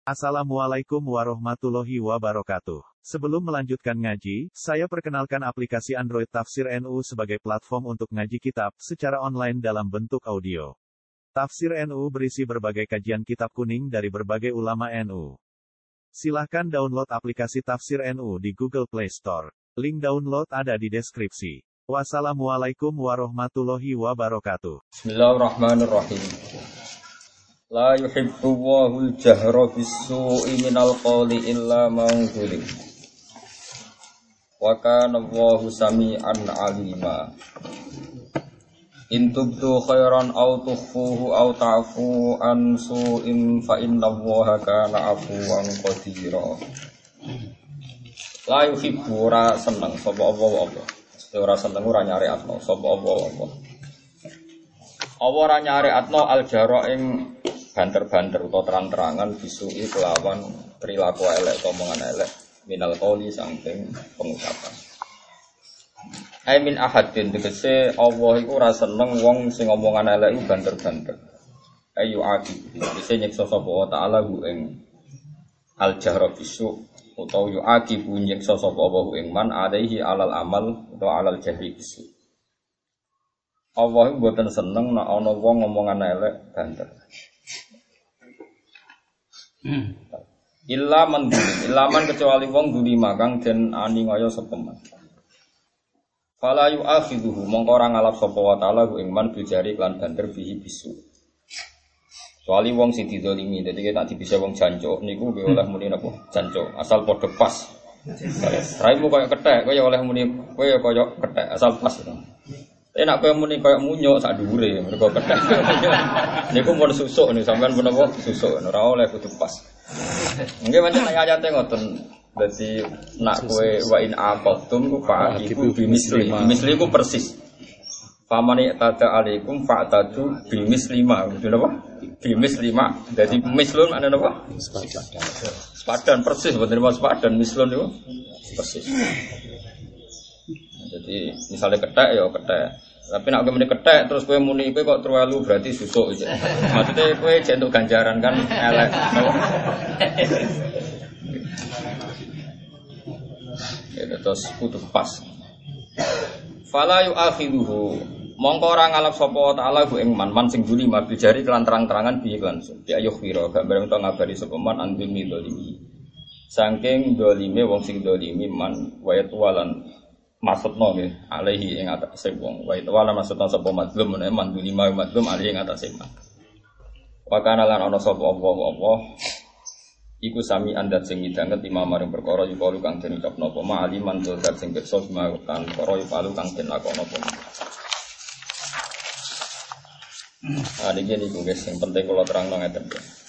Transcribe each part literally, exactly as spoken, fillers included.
Assalamualaikum warahmatullahi wabarakatuh. Sebelum melanjutkan ngaji, saya perkenalkan aplikasi Android Tafsir N U sebagai platform untuk ngaji kitab secara online dalam bentuk audio. Tafsir N U berisi berbagai kajian kitab kuning dari berbagai ulama N U. Silahkan download aplikasi Tafsir N U di Google Play Store. Link download ada di deskripsi. Wassalamualaikum warahmatullahi wabarakatuh. Bismillahirrahmanirrahim. La yuhibbullahu al-jahra bis-su'i minal qawli illa man zulim. Wa kana Allahu sami'an 'alima. In tubdu khairan aw tukhfuhu aw ta'fu an su'in fa innallaha kana 'afuwan qadira. La yuhibbu ora seneng sapa Allah apa. Ora seneng ora nyari atno sapa Allah apa. Allah ora nyari atno al-jahra ing banter-banter atau terang-terangan bisu'i kelawan perilaku elek atau omongan elek minal qawli saking pengucapan. Ai min ahadin tegese Allah iku ora seneng wong sing omongan elek iku banter-banter. Ayu aki tegese nyiksa sapa wa taala hu ing al jahra bisu utawa yu aki bu nyiksa sapa wa ing man alaihi alal amal utawa alal jahri bisu. Allah iku mboten seneng nek ana wong omongan elek banter. Hmm. Illa man illa man kecuali wong dulima kang den ani ngaya sapa man. Fala yu'akhiduhu mongko ora ngalap sapa wa taala ku ing man bijari lan banter bihi bisu. Kecuali wong sing didolimi, dadi tak dibisa wong jancuk niku nggih oleh muni napa jancuk asal padha pas. Raimu koyo kethek, koyo oleh muni koyo koyo kethek asal pas. Tapi nak koyo muni koyo munyuk sak dhuwure mergo kethek. Niku mun susuk niku sampean pun apa susuk ora oleh kudu pas. Nggih pancen ayate ngoten. Dadi nak kowe wa in aqatum ku fa iku bimisli. Bimisli ku persis. Famani tada alaikum fa'tadu bimisli ma. Kudu napa? Bimisli ma. Dadi mislun maknane napa? Sepadan. Sepadan persis bener mas sepadan mislun niku persis. Jadi misalnya ketek ya ketek. Tapi nak kowe muni ketek terus kowe muni kowe kok terlalu berarti susuk iki. Maksudnya kowe jentuk ganjaran kan elek. Ya terus kudu pas. Fala yu'akhiduhu mongko ora ngalap sapa taala ku ing man man sing juli mabil jari kelan terang-terangan bi langsung. Di ayuh wira gak bareng to ngabari sapa man andimi dolimi. Saking dolime wong sing dolimi man wayat walan maksudna nggih alaihi ing atase wong wa itu wala maksudna sapa madlum menawa manduli ma madlum alaihi ing atase man wa kana lan ana sapa Allah Allah iku sami andat sing midanget imam maring perkara yukalu kang den ucapna apa ma aliman zat sing pirsa kan perkara yukalu kang den lakono apa ah iki niku guys sing penting kula terangno ngeten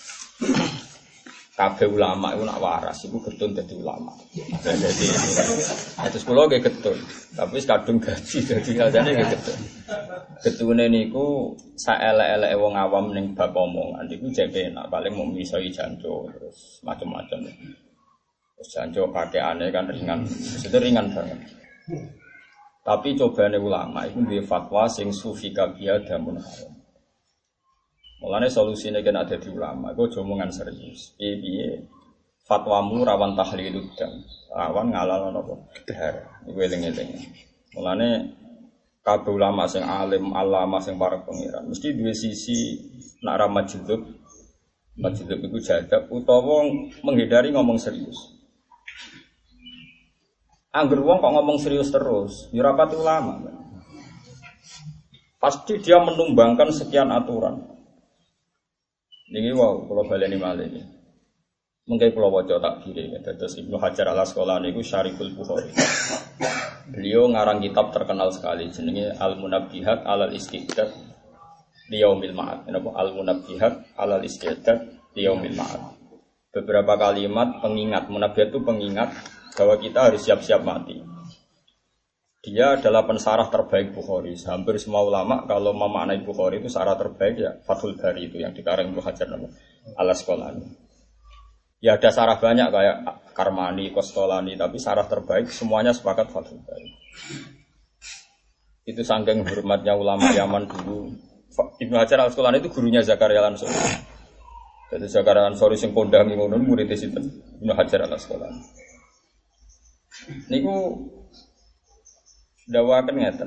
kabeh ulama iku nak waras iku getun dadi ulama. Dadi atus kula nggih getun, tapi kadung gaji dadi kadane nggih getun. Getune niku saelek-eleke wong awam ning bab omongan niku jek penak paling mung misoi jancuk terus macam-macam. Terus jancuk pakaiane kan ringan, mesti ringan banget. Tapi cobane ulama iku duwe fatwa sing sufi kabia damun haram. Mulane solusine kan ada di ulama, iku aja omongan serius. Piye-piye fatwamu rawan tahlilud dam, rawan ngalal napa darah. Iku eling-eling. Mulane kabeh ulama sing alim, alama sing para pengiran mesti duwe sisi nak ra majdzub. Majdzub iku jadab utawa menghindari ngomong serius. Angger wong kok ngomong serius terus, ya ora pati ulama. Pasti dia menumbangkan sekian aturan. Niki wow, kalau baleni malih iki. Mengke kula waca takdire dados Ibnu Hajar Al-Asqalani niku Syarihul Bukhari. Beliau ngarang kitab terkenal sekali jenenge Al-Munabbihat 'alal Istidad Liyaumil Ma'ad. Napa Al-Munabbihat 'alal Istidad Liyaumil Ma'ad. Beberapa kalimat pengingat, munabbihat itu pengingat bahwa kita harus siap-siap mati. Dia adalah pensarah terbaik Bukhari. Hampir semua ulama kalau memaknai Bukhari itu sarah terbaik ya Fathul Bari itu yang dikarang Ibnu Hajar Al-Asqalani. Ya ada sarah banyak kayak Karmani, Qastolani, tapi sarah terbaik semuanya sepakat Fathul Bari. Itu saking hormatnya ulama Yaman dulu. Ibnu Hajar Al-Asqalani itu gurunya Zakaria langsung. Jadi sekarang sorry sing kondangi ngono murid sinten Ibnu Hajar Al-Asqalani. Niku dawaken ngeten.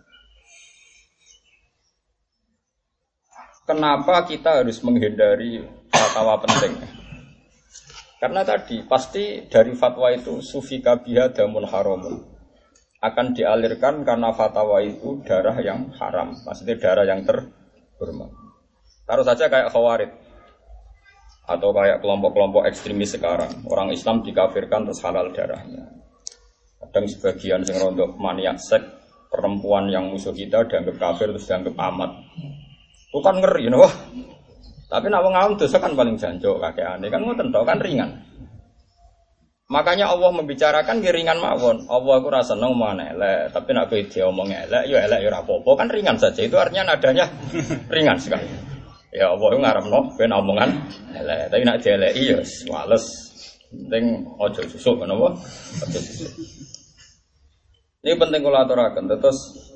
Kenapa kita harus menghindari fatwa penting? Karena tadi pasti dari fatwa itu sufika biha damun haramun akan dialirkan karena fatwa itu darah yang haram, maksudnya darah yang terhormat. Taruh saja kayak Khawarij atau kayak kelompok-kelompok ekstremis sekarang, orang Islam dikafirkan terus halal darahnya. Kadang sebagian sing rondo maniak sek, perempuan yang musuh kita dianggap kafir terus dianggap amat. Bukan ngeri, you know? Tapi nak wong awam dosa kan paling jancuk kakeane kan ngoten tok kan ringan. Makanya Allah membicarakan ringan mawon. Allah aku rasa seneng omong elek, tapi nak kowe diomong elek ya elek ya ora apa-apa kan ringan saja. Itu artinya nadanya ringan sekali. Ya Allah ngarepno ben omongan elek, tapi nak dieleki ya wales. Penting aja susuk napa? Aja susuk. Ini penting kula aturaken terus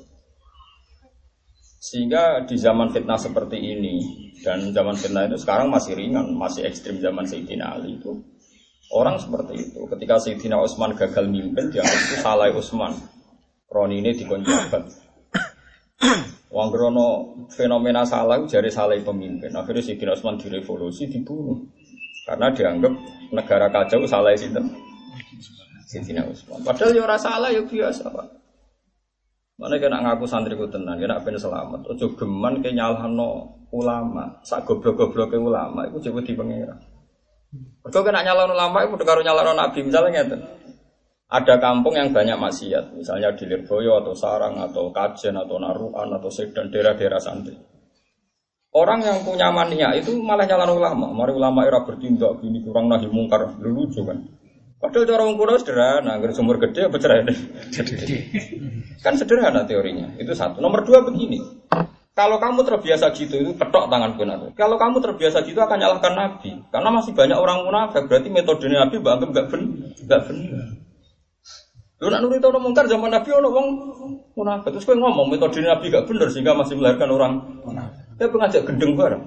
sehingga di zaman fitnah seperti ini dan zaman fitnah itu sekarang masih ringan, masih ekstrim zaman Sayyidina Ali itu orang seperti itu. Ketika Sayyidina Utsman gagal mimpin, dianggap itu salah Utsman. Roni ini dikonjabat. Wong grono fenomena salah jare salah pemimpin. Akhirnya Sayyidina Utsman direvolusi, dibunuh. Karena dianggap negara kacau salah sinten? Sayyidina Utsman. Padahal ya ora salah ya biasa, Pak. Mana kena ngaku santriku tenan, kena ben selamat. Ojo geman ke nyalahno ulama, sak goblok-gobloke ulama iku jebul di pangeran. Mergo kena nyalahno ulama iku padha karo nyalahno nabi, misalnya ngeten. Ada kampung yang banyak maksiat, misalnya di Lirboyo atau Sarang atau Kajen atau Narukan atau Sedan, daerah-daerah santri. Orang yang punya mania itu malah nyalahno ulama. Mari ulama era bertindak gini kurang nahi mungkar, lucu kan. Padahal cara wong kuno sederhana, agar sumur gede apa cerai deh. Kan sederhana teorinya. Itu satu. Nomor dua begini. Kalau kamu terbiasa gitu itu ketok tangan benar. Kalau kamu terbiasa gitu akan nyalahkan Nabi. Karena masih banyak orang munafik. Berarti metode Nabi anggap enggak benar, enggak benar. Lu nak nurut orang mungkar zaman Nabi ono wong munafik. Terus kowe ngomong metode Nabi enggak benar sehingga masih melahirkan orang munafik. Dia pengajak gendeng bareng.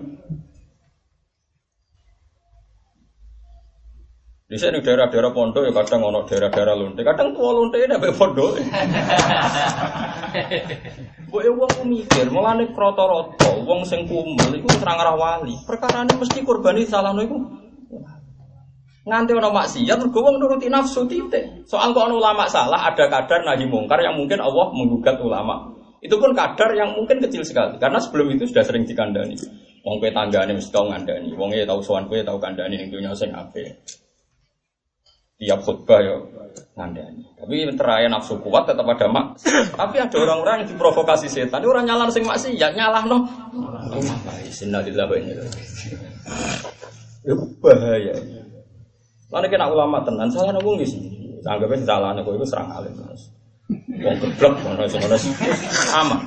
Di sini daerah-daerah pondok ya kadang ono daerah-daerah lonte, kadang tua lonte ini sampai pondok. Mbok e wong mikir, mulane kroto-roto, wong sing kumel iku serang arah wali. Perkarane mesti kurbani salahno iku. Nganti ono maksiat mergo wong nuruti nafsu titik. Soal kok ono ulama salah, ada kadar nahi mungkar yang mungkin Allah menggugat ulama. Itu pun kadar yang mungkin kecil sekali karena sebelum itu sudah sering dikandani. Wong kowe tanggane mesti tau ngandani, wong e tau sowan kowe tau kandani ning dunya sing apik. Tiap khutbah ya ngandani. Tapi terakhir nafsu kuat tetap ada mak. Tapi ada orang-orang yang diprovokasi setan. Ini orang nyalan sing maksiat nyalah no. Innalillahi wa inna ilaihi raji'un. Itu bahaya. Lan kena ulama tenan salah nang wong iki. Anggape salahane kowe iku serang alim terus. Wong geblek ngono ngono aman.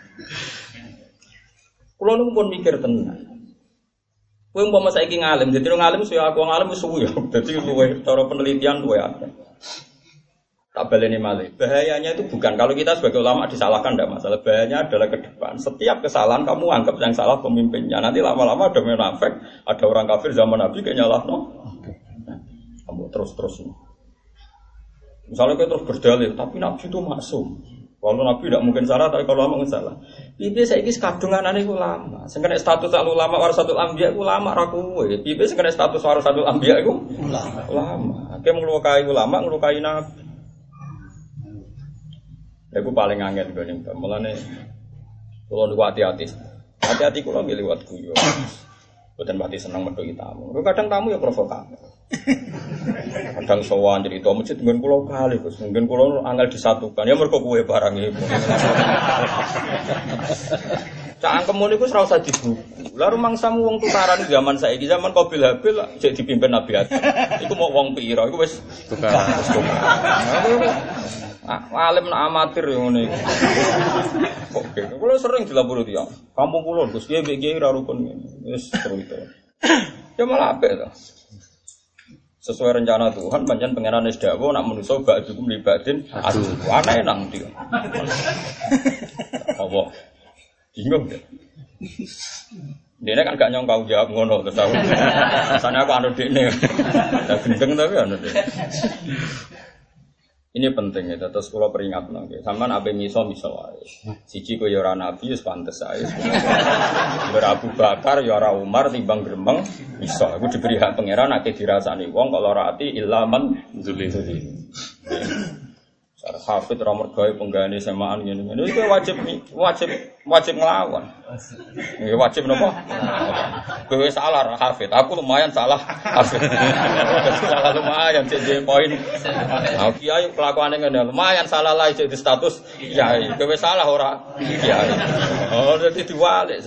Kulo nu pun mikir tenan. Kowe umpama saiki ngalim, dadi wong ngalim saya aku ngalim wis suwi ya. Dadi luwe cara penelitian luwe akeh. Tak baleni malih. Bahayanya itu bukan kalau kita sebagai ulama disalahkan tidak masalah. Bahayanya adalah ke depan. Setiap kesalahan kamu anggap yang salah pemimpinnya. Nanti lama-lama ada munafik, ada orang kafir zaman Nabi kayak nyalahno. Kamu terus-terus. Misalnya kita terus berdalil, tapi Nabi itu maksum. Kalau Nabi tidak mungkin salah, tapi kalau ulama mungkin salah. Bibi saya ini kadungan aneh ulama. Sekarang status ulama warasatul anbiya ulama rakuwe. Bibi sekarang status warasatul anbiya itu ulama. Ulama. Dia mengelukai ulama, mengelukai Nabi. Aku paling angin gue nih. Mulane kalau niku hati-hati, hati-hati kalau milih buat guyon. Bukan berarti senang medoi tamu. Kadang tamu ya provokator. Kadang sowan jadi tamu masjid mungkin pulau kali, terus mungkin pulau anggal disatukan. Ya mereka kue barang itu. Cangkem niku ora usah dibuku. Lah rumangsamu wong tukaran zaman saiki zaman Qabil Habil cek dipimpin Nabi Adam. Iku mau wong pira? Iku wis tukaran. Ah, alim nak amatir yang ini. Oke, kalau sering dilapor dia, kampung pulau, terus dia B G I rarukun, yes seru itu. Ya malah apa itu? Sesuai rencana Tuhan, panjang pengenalan isdawo, nak menuso bak cukup libatin, aduh, aneh nang dia. Allah, bingung deh. Dene kan gak nyongkau jawab ngono terus aku. Rasane aku anu dekne. Lah gendeng tapi anu dekne. Ini penting ya, terus kula peringatno nggih. Sampeyan ape miso miso wae. Siji koyo ora nabi wis pantes ae. Ora Abu Bakar ya ora Umar timbang gremeng iso. Aku diberi hak pangeran nek dirasani wong kok ora ati ilaman dzuli. Cara hafid ra mergawe penggane semaan ngene-ngene iki wajib wajib wajib nglawan. Nggih wajib napa? Kowe salah ra hafid. Aku lumayan salah hafid. Salah lumayan jadi poin. Nah, kiai kelakuane ngene lumayan salah lah jadi status kiai. Kowe salah ora kiai. Oh dadi diwalik.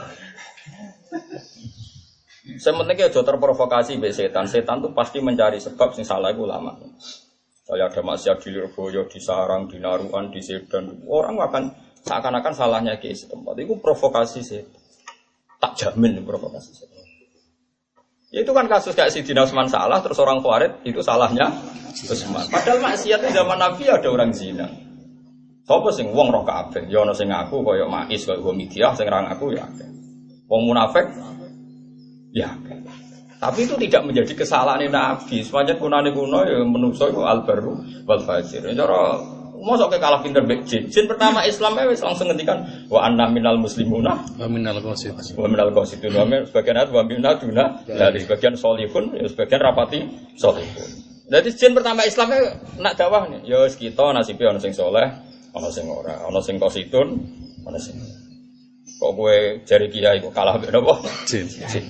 Sementing aja terprovokasi mbek setan. Setan tuh pasti mencari sebab sing salah iku ulama. Saya ada maksiat di Lirboyo, di Sarang, di Naruan, di Sedan. Orang akan seakan-akan salahnya ke setempat. Itu provokasi setan. Tak jamin provokasi setan. Ya itu kan kasus kayak Sidina Utsman salah, terus orang Khawarij itu salahnya Utsman. Padahal maksiat di zaman Nabi ada orang zina. Sopo sing wong roh kabeh, ya ana sing ngaku kaya Mais, kaya Humidiah, sing ra ngaku ya akeh. Wong munafik ya akeh. Tapi itu tidak menjadi kesalahan Nabi. Sepanjang kunane kuno ya menungso iku al-barru wal fajir. Cara mosok ke kalah pinter mbek jin. Jin pertama Islam wis langsung ngendikan wa anna minal muslimuna wa minal qasidun. Wa minal qasidun. Sebagian ayat wa minal duna, dari sebagian salihun, ya sebagian rapati salihun. Jadi jin pertama Islam nak dakwah nih. Ya wis kita nasibe ana sing saleh, ana sing ora, ana sing qasidun, ana sing. Kok kowe jari kiai kok kalah mbek napa? Jin. Jin.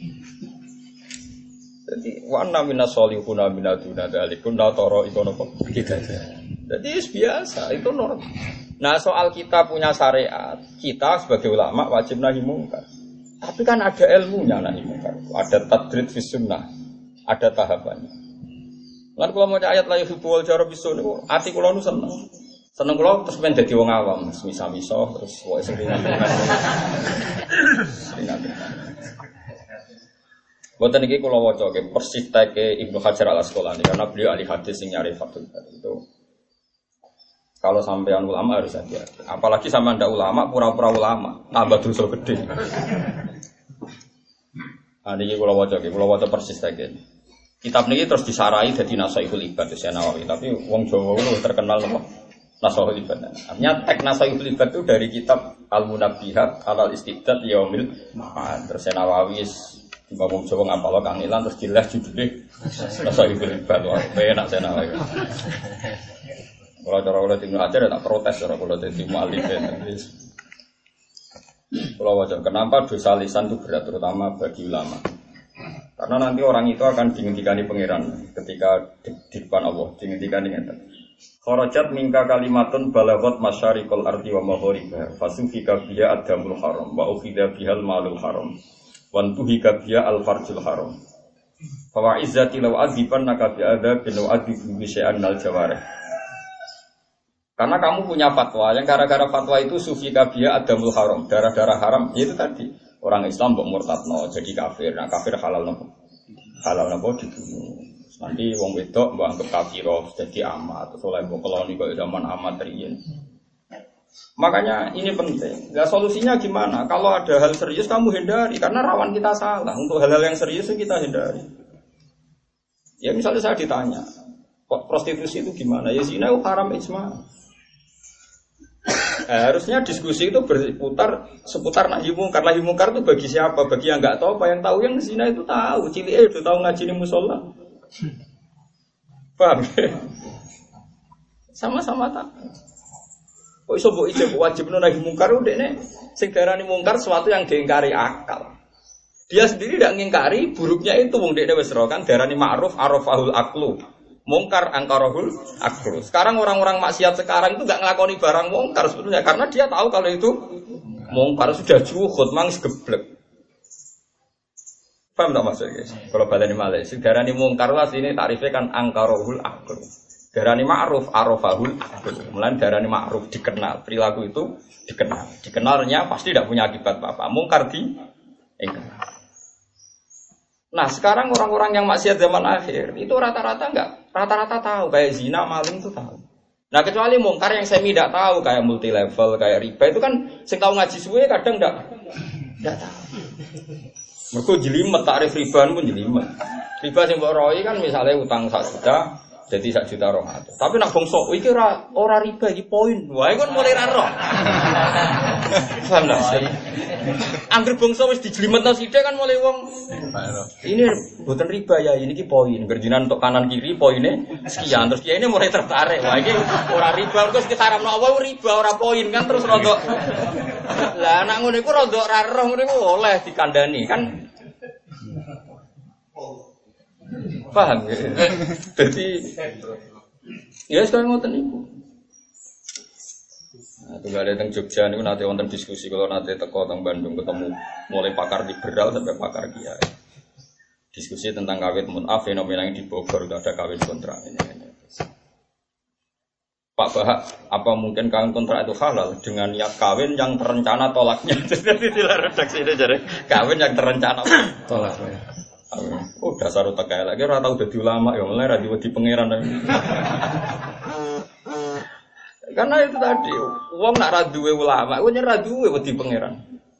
Jadi wana minas solihuna minaduna dalikun la toro iku napa kita. Jadi biasa itu normal. Nah soal kita punya syariat, kita sebagai ulama wajib nahi mungkar. Tapi kan ada ilmunya nahi mungkar. Ada tadrid fis sunnah, ada tahapannya. Lan kula maca ayat la yuhibbu wal jara bisu niku ati kula nu seneng. Seneng kula terus men dadi wong awam, misah-misah terus wae seringan. Seringan. Boten iki kula waca ke persis teke Ibnu Hajar Al-Asqalani karena beliau ahli hadis sing nyari Fathul Bari itu. Kalau sampean ulama harus hati-hati. Apalagi sama ndak ulama, pura-pura ulama, tambah dosa gede. Nah niki kula waca ke, kula waca persis teke. Kitab niki terus disarai dadi Nasaihul Ibad Syekh Nawawi, tapi wong Jawa itu terkenal apa? Nasaihul Ibad. Artinya teks Nasaihul Ibad itu dari kitab Al-Munabbihat Al-Istibdad Yaumil Ma'ad. Terus Syekh Nawawi Tiba wong Jawa ngapalo kangelan terus jelas judulnya Nasaihul Ibad. Wah, enak saya nawawi. Kalau cara kalau Ibnu Hajar tak protes cara kalau jadi mu'alif. Kalau wajar kenapa dosa lisan itu berat terutama bagi ulama. Karena nanti orang itu akan dihentikan pangeran ketika di, di depan Allah, dihentikan dengan kharajat minka kalimatun balagot masyariqal ardi wa maghribiha fasufika biha adamul haram wa ukhidha bihal malul haram. Wantuhi kabia al-farjul haram. Fawa izzati law aziban naka bi adzabin wa adhibu bi syai'an al jawarih. Karena kamu punya fatwa yang gara-gara fatwa itu sufi kabia adamul haram, darah-darah haram. Itu tadi orang Islam mbok murtadno jadi kafir. Nah kafir halal nopo? Halal nopo dibunuh. Nanti wong wedok mbok anggap kafiro jadi amat terus oleh mbok keloni kok zaman amat riyen. Makanya ini penting. Nah, solusinya gimana? Kalau ada hal serius kamu hindari karena rawan kita salah. Untuk hal-hal yang serius kita hindari. Ya misalnya saya ditanya, kok prostitusi itu gimana? Ya zina itu haram ijma. Nah, harusnya diskusi itu berputar seputar nahi mungkar. Nahi mungkar itu bagi siapa? Bagi yang enggak tahu apa yang tahu yang zina itu tahu. Cilik itu tahu ngaji di mushola. Paham? Sama-sama tak. Kok iso mbok ijab wajib nahi mungkar udene sing darani mungkar sesuatu yang diingkari akal. Dia sendiri tidak ngingkari buruknya itu wong dekne wis ro kan darani ma'ruf arafahul aqlu. Mungkar angkarahul aqlu. Sekarang orang-orang maksiat sekarang itu enggak nglakoni barang mungkar sebetulnya karena dia tahu kalau itu mungkar sudah juhud mang geblek. Paham tak maksudnya guys? Kalau baleni malih sing darani mungkar lah sini tarifnya kan angkarahul aqlu. Darani ma'ruf arafahul mulai darani ma'ruf dikenal perilaku itu dikenal dikenalnya pasti tidak punya akibat apa-apa mungkar di enggak. Nah sekarang orang-orang yang maksiat zaman akhir itu rata-rata enggak rata-rata tahu kayak zina maling itu tahu. Nah kecuali mungkar yang semi tidak tahu kayak multi level kayak riba itu kan sing tahu ngaji suwe kadang enggak enggak tahu. Mergo jelimet takrif riba pun jelimet. Riba sing mbok roi kan misalnya utang satu juta jadi satu juta roh atus. Tapi nak bangsa iki ora ora riba iki poin. Wae kan mulai ra roh. Paham dah sih. Angger bangsa wis dijlimetno sithik kan mulai wong ini mboten riba ya ini ki poin. Gerjinan untuk kanan kiri poinnya sekian terus dia ini mulai tertarik. Wah iki ora riba terus diharamno apa riba ora poin kan terus rodok. Lah anak ngono iku rodok ra roh ngono iku oleh dikandani kan. Paham ya? Jadi ya sekarang ngoten niku. Nah, tunggal datang Jogja niku nanti wonten diskusi kalau nanti teko teng Bandung ketemu mulai pakar liberal sampai pakar kiai. Diskusi tentang kawin munaf fenomena yang di Bogor itu ada kawin kontrak ini. ini. Pak Bahak, apa mungkin kawin kontrak itu halal dengan niat kawin yang terencana tolaknya? Jadi tidak redaksi ini jadi kawin yang terencana tolaknya. Oh dasar otak kaya lagi, orang tahu jadi ulama ya, mulai radio di pangeran. Karena itu tadi, uang nak raduwe ulama, uangnya raduwe di pangeran.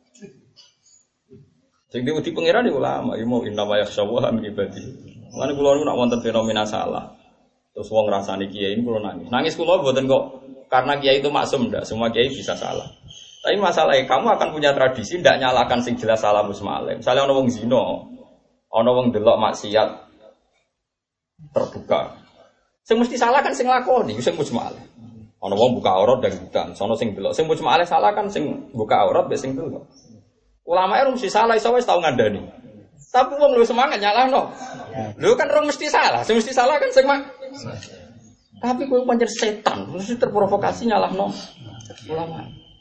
Jadi di pangeran di ulama, ya mau inna wa yakhsyawah min ibadi. Mana kulo nak wonten fenomena salah, terus uang rasani kiai ini kulo nangis. Nangis kulo buatan kok karena kiai itu maksum, ndak semua kiai bisa salah. Tapi masalahnya kamu akan punya tradisi ndak nyalakan sing jelas salah musmalem. Misalnya orang wong zina. Ana wong delok maksiat terbuka. Sing mesti salah kan sing lakoni, sing mujmal. Ana wong buka aurat dan bukan, sono sing delok. Sing mujmal salah kan sing buka aurat mbek sing delok. Ulama e mesti salah iso wis tau ngandani. Tapi wong lu semangat nyalahno. Lho kan rong mesti salah, sing mesti salah kan sing mak. Tapi kowe pancen setan, mesti terprovokasi nyalahno ulama.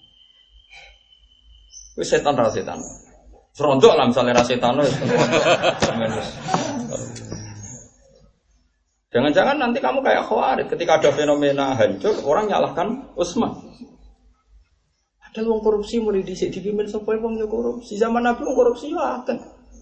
Wis setan ra setan. Serondok lah misalnya rasetano ya. Jangan-jangan nanti kamu kayak Khawarij ketika ada fenomena hancur orang nyalahkan Utsman. Ada wong korupsi mulai dhisik dipimpin sapa wong yo korupsi. Zaman Nabi wong korupsi yo akeh.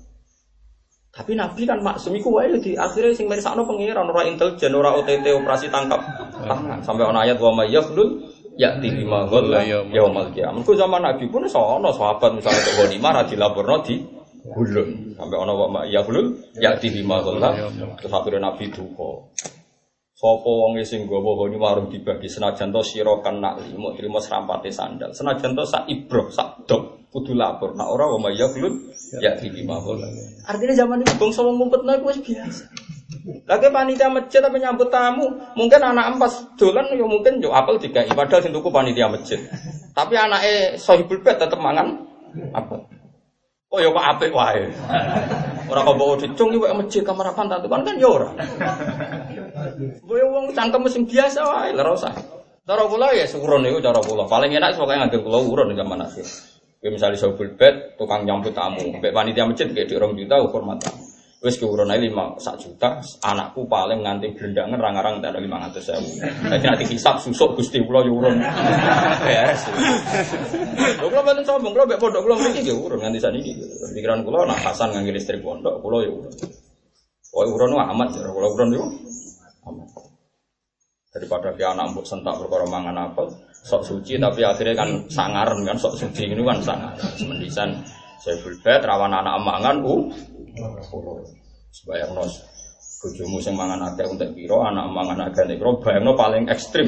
Tapi Nabi kan maksum iku wae di akhire sing mirsakno pengiran ora intelijen ora O T T operasi tangkap tangan. Sampai ana ayat wa may yaflul yakti bima ghalla yaumal qiyamah. Ku zaman Nabi pun sono sahabat misalnya kok ghanimah ra dilaporno di gulun. Sampai ana wa ya gulun yakti bima ghalla terus akhire Nabi duka. Sapa wong sing nggawa ghanimah marung dibagi senajan to sira kan nak limo trimo serampate sandal. Senajan to sak ibroh sak dok kudu lapor. Nak ora wa ya gulun yakti bima ghalla. Artinya zaman itu bangsa wong ngumpetno iku wis biasa. Lagi panitia masjid tapi nyambut tamu, mungkin anak empas dolan ya mungkin yo apel dikai padahal sing tuku panitia masjid. Tapi anake Sohibul Bait tetep mangan apel. Oh ya kok apik wae. Ora kok bawa dicung iki wae masjid kamar apa tak kan kan ya ora. Boyo wong cangkem sing biasa wae ora usah. Cara kula ya urun niku cara kula. Paling enak pokoke nganggo kula urun zaman akhir. Kayak misalnya Sohibul Bait tukang nyambut tamu, mbek panitia masjid kayak di orang juta hormat tamu. Wis keurun ae lima sak juta, anakku paling nganti blendangan rang-rang tak ada lima ratus ribu. Dadi nanti hisab susuk Gusti kula yo urun. Beres. Lho kula mboten sombong, kula mbek pondok kula mriki yo urun nganti saniki. Pikiran kula nak Hasan nganggo listrik pondok, kula yo urun. Oh urun amat ya, kula urun yo amat. Daripada ki anak mbok sentak perkara mangan apel, sok suci tapi akhirnya kan sangaren kan sok suci ngene kan sangar. Semendisan Sohibul Bait rawan anak mangan u sebayang nos bojomu sing mangan akeh entek pira anak mangan akeh nek pira bayangno paling ekstrim.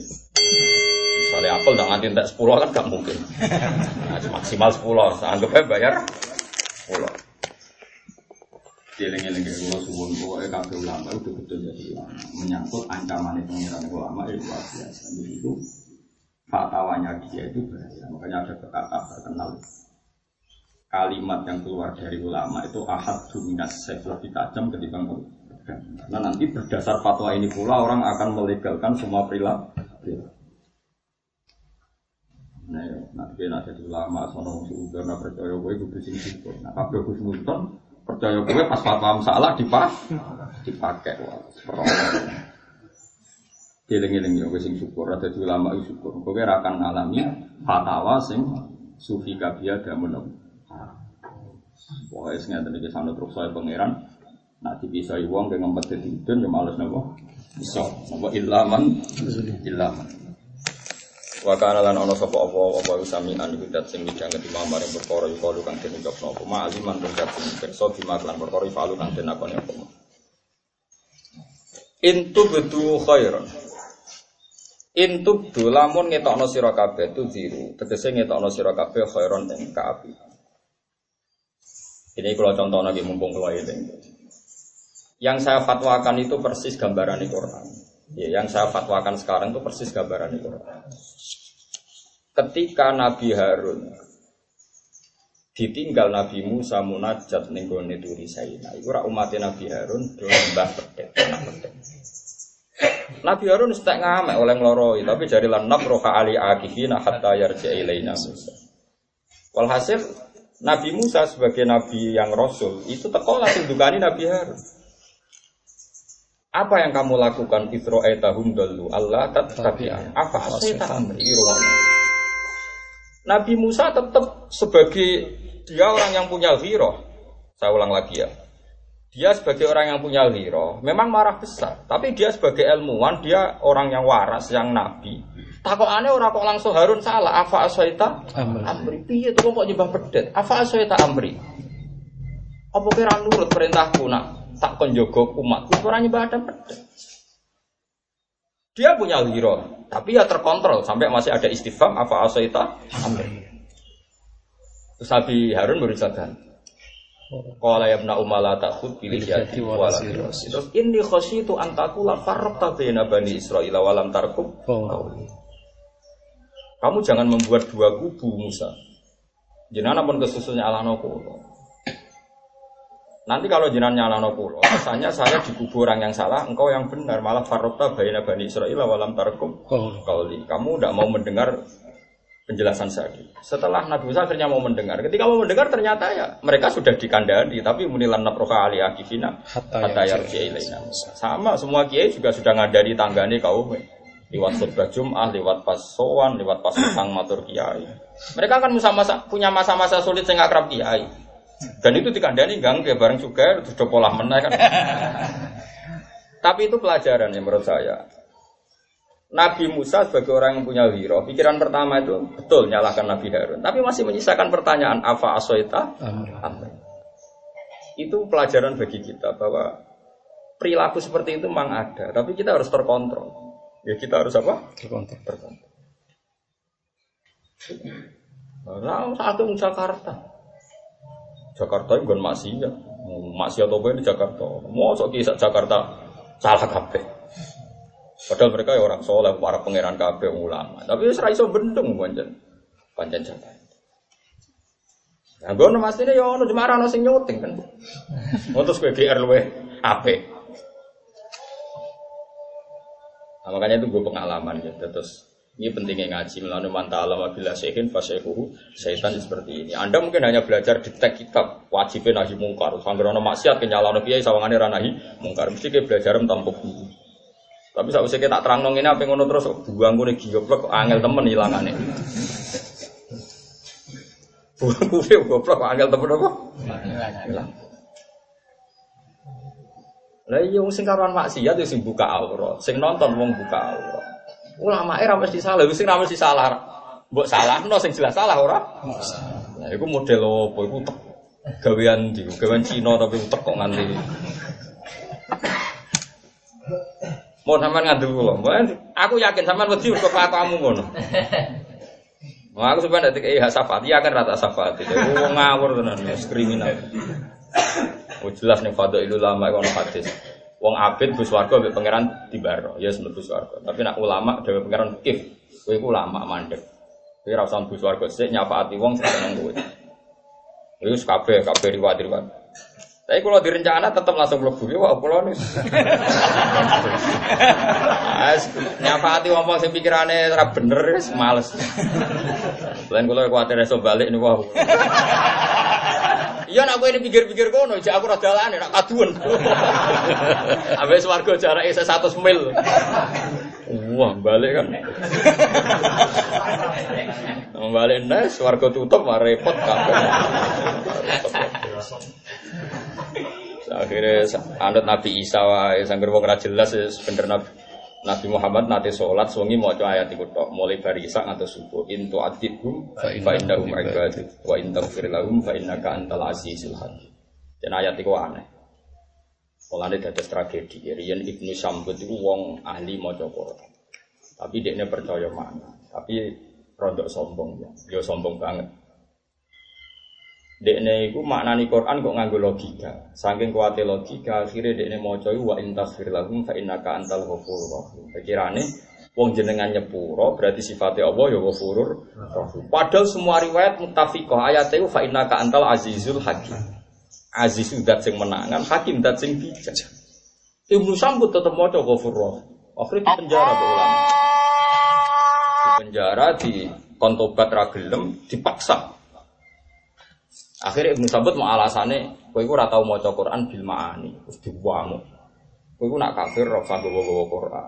Misalnya apel ndak nganti entek sepuluh kan gak mungkin. Nah, maksimal sepuluh, anggap ae bayar sepuluh. Dieling-eling kula suwun pokoke kabeh ulama itu betul jadi menyangkut ancaman pengiran ulama itu luar biasa. Jadi itu fatwanya dia itu bahaya. Makanya ada kata terkenal kalimat yang keluar dari ulama itu ahad dominas lebih tajam ketimbang pedang. Karena nanti berdasar fatwa ini pula orang akan melegalkan semua perilaku. Nah, nanti ada ulama sono sudah nak percaya gue itu sing sipur. Nah, kabeh Gus Nunton percaya gue pas fatwa salah dipak dipakai wah Eling-eling yo sing syukur ada ulama itu syukur. Kowe ora akan ngalami fatwa sing sufi kabia damun. Pokoknya sengaja iki sanut terus saya pangeran nak dipisai wong ke ngempet dadi udun ya males napa iso napa ilaman ilaman Wa kana lan ana sapa apa apa samian iku dat sing midhanget imam maring perkara iku kang den ucapno apa ma'aliman dat sing pirsa dimaklan perkara falu kang den akoni apa. Intu bedu khairan. Intu du lamun ngetokno sira kabeh tu ziru, tegese ngetokno sira kabeh khairan ing kaapian. Ini kalau contoh lagi mumpung kalau ini. Yang saya fatwakan itu persis gambaran di Quran. Ya, yang saya fatwakan sekarang itu persis gambaran di Quran. Ketika Nabi Harun ditinggal Nabi Musa munajat ning gone turi Saina, iku ora umat Nabi Harun do mbah pedet, anak pedet. Nabi Harun setek ngamek oleh ngloroi, tapi jari lan nabroha ali akifina hatta yarja ilaina Musa. Walhasil Nabi Musa sebagai nabi yang rasul itu teko langsung dukani Nabi Harun. Apa yang kamu lakukan Isra'aitahum dallu Allah tattabi'an. Apa asaita amri? Nabi Musa tetap sebagai dia orang yang punya ghirah. Saya ulang lagi ya. Dia sebagai orang yang punya ghirah memang marah besar, tapi dia sebagai ilmuwan, dia orang yang waras, yang nabi. Takokane ora kok langsung Harun salah. Afa asaita amri. Piye to kok nyembah pedet? Afa asaita amri. Apa kira nurut perintahku nak tak kon jaga umatku ora nyembah pedet. Dia punya ghirah, tapi ya terkontrol sampai masih ada istifham afa asaita amri. Terus Nabi Harun berusaha qala ya ibna umma la ta'khud bil yadi wa la terus inni khasyitu an taqula farraqta baina bani Israila wa lam tarqub. Kamu jangan membuat dua kubu Musa. Jenengan pun kesusunya alano kulo. Nanti kalau jenengan nyalano kulo, rasanya saya di kubu orang yang salah, engkau yang benar, malah farraqta baina bani Israila wa lam tarqub. Kamu tidak mau mendengar penjelasan saya. Setelah Nabi Musa akhirnya mau mendengar. Ketika mau mendengar ternyata ya mereka sudah dikandani, tapi munilan naproha ali akifina hatta yarji ilaina. Sama semua kiai juga sudah ngadani tanggane kaum. Lewat khutbah Jum'ah, lewat pas sowan, lewat pas sang matur kiai. Mereka kan masa-masa punya masa-masa sulit sing akrab kiai. Dan itu dikandani gang ke bareng juga sudah pola meneh kan. Tapi itu pelajaran ya menurut saya. Nabi Musa sebagai orang yang punya ghirah, pikiran pertama itu betul nyalahkan Nabi Harun, tapi masih menyisakan pertanyaan afa asoita amri. Itu pelajaran bagi kita bahwa perilaku seperti itu memang ada, tapi kita harus terkontrol. Ya kita harus apa? Terkontrol. Terkontrol. Nah, saat itu Jakarta, Jakarta itu bukan maksiat, maksiat apa ini Jakarta? Mau sok kisah Jakarta salah kabeh. Padahal mereka ya orang soleh, para pangeran kabeh ulama. Tapi wis ra iso bendung pancen. Pancen Jakarta. Nah, ngono mestine ya ono cuma ana sing nyuting kan. Terus kowe G R luwe apik. Nah, makanya itu gue pengalaman ya. Terus ini pentingnya ngaji melalui manta alam bila syekhin fasyekhuhu syaitan seperti ini. Anda mungkin hanya belajar di teks kitab wajibnya nahi mungkar. Sanggerono maksiat kenyalano kiai sawangane ra nahi mungkar. Mesti ke belajar tampuk dulu. Tapi sak usah kita terang nong ini apa ngono terus buang gue goblok angel temen hilangane. Buang gue goblok angel temen apa? Hilang. Lah iya wong sing karuan maksiat yo sing buka aurat, sing nonton wong buka aurat. Ulama e ra mesti salah, sing ra mesti salah. Mbok salahno sing jelas salah ora? Lah iku model opo iku gawean ndi? Gawean Cina tapi utek kok nganti. Mau sampean ngandel kula. Aku yakin sampean wedi kok kelakuanmu ngono. Wah aku sampean nek iki hasafat, iya kan rata safat. Wong ngawur tenan, kriminal. Oh jelas nih fadhailul ulama ono hadis. Wong abid bus warga mbek pangeran dibaro, ya mlebu swarga. Tapi nak ulama dhewe pangeran kif, kowe iku ulama mandek. Kowe ora usah bus warga sik nyafaati wong sing seneng kowe. Iku kabeh kabeh riwayat-riwayat. Tapi kalau direncana tetap langsung mlebu ya wah kula nis. Nyafaati wong sing pikirane ora bener wis males. Lan kula kuwatir iso balik niku wah. Iya nak kowe ini pikir-pikir kono, jek aku ora dalane nak kaduan. Ambek swarga jarake seratus mil. Wah, balik kan. Balik nes swarga tutup mah repot kabeh. Akhirnya anut Nabi Isa wae sangger wong ora jelas wis bener Nabi Nabi Muhammad nate salat wengi maca ayat iku tok mulai bari isak ngantos subuh intu adibhum fa innahum ibadu wa in taghfir lahum fa innaka antal azizul hakim. Dan ayat iku aneh. Mulane dados tragedi. Riyen Ibnu Sambut iku wong ahli maca Quran. Tapi dekne percaya makna. Tapi rodok sombong ya. Yo sombong banget. Dekne iku maknani Quran kok nganggo logika. Saking kuwate logika, akhire dekne maca wa in taghfir lahum fa innaka antal ghafurur rahim. Pikirane wong jenengan nyepuro berarti sifatnya Allah ya ghafurur rahim. Padahal semua riwayat muttafiqah ayate fa innaka antal azizul hakim. Aziz zat sing menangan, hakim zat sing bijak. Ibnu Sambut tetep maca ghafurur rahim. Akhire di penjara be ulama. Di penjara di kontobat ra gelem dipaksa. Akhirnya Ibnu Sambut mau alasannya, kowe iku ora tau maca Quran bil ma'ani, terus dibuang. Kowe iku nak kafir ora usah gowo-gowo Quran.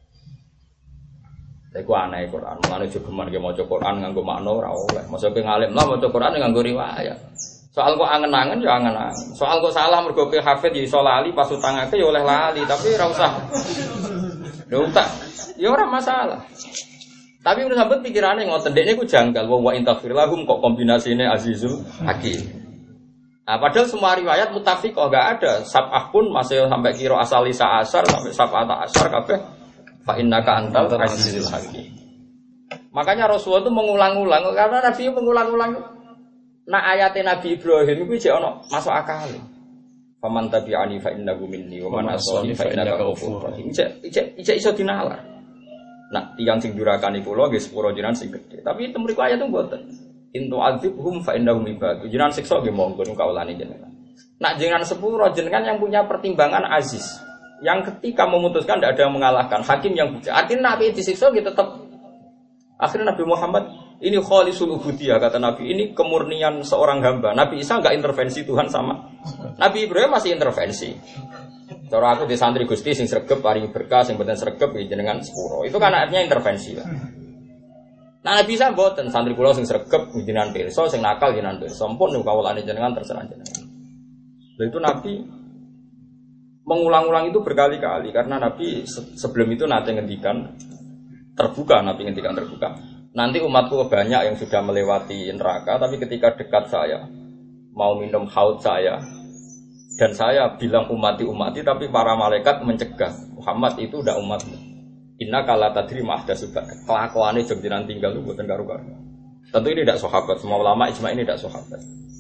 Lha iku aneh Quran, mulane jogeman ge maca Quran nganggo makna ora oleh. Mosok ngalim lah maca Quran nganggo riwayat. Soal kok angen-angen ya angen-angen. Soal kok salah mergo ke hafid ya iso lali pas utangake ya oleh lali, tapi ora usah. Lha utak, ya ora masalah. Tapi Ibnu Sambut pikirannya ngoten dekne ku janggal wa in taghfir lahum kok kombinasine azizul hakim. Nah, padahal semua riwayat muttafiqah enggak ada. Sab'ah pun masih sampai kira asal lisa asar sampai sab'ata asar kabeh fa innaka antal azizul hakim. Makanya Rasulullah itu mengulang-ulang karena Nabi mengulang-ulang. Nah ayatnya Nabi Ibrahim itu jek ono masuk akal. Faman tabi'ani fa innahu minni wa man asani fa innaka ghafurur rahim. Ijek ijek iso dinalar. Nah, tiang sing durakani kula nggih sepuro jenengan sing gedhe. Tapi itu mriku ayat itu mboten. Intu azibhum fa innahum ibadu. Jenengan siksa nggih monggo niku kawulane jenengan. Nak jenengan sepuro jenengan yang punya pertimbangan aziz. Yang ketika memutuskan tidak ada yang mengalahkan, hakim yang bijak. Artinya Nabi disiksa nggih tetap. Akhirnya Nabi Muhammad ini khalisul ubudiyah kata Nabi, ini kemurnian seorang hamba. Nabi Isa enggak intervensi Tuhan sama. Nabi Ibrahim masih intervensi. Cara aku di santri Gusti sing sregep paring berkah sing mboten sregep jenengan sepuro. Itu kan artinya intervensi lah. Nah bisa mboten santri kula sing sregep jenengan pirsa sing nakal jenengan pirsa. Sampun niku kawulane jenengan terserah jenengan. Lha itu Nabi mengulang-ulang itu berkali-kali karena Nabi sebelum itu nanti ngendikan terbuka Nabi ngendikan terbuka. Nanti umatku banyak yang sudah melewati neraka tapi ketika dekat saya mau minum haud saya dan saya bilang umati-umati tapi para malaikat mencegah Muhammad itu udah umatmu. Inna kala tadri ma'ahda subak. Kelakuannya jengjiran tinggal itu buatan karu-karu. Tentu ini tidak sahabat. Semua ulama ijma ini tidak sahabat.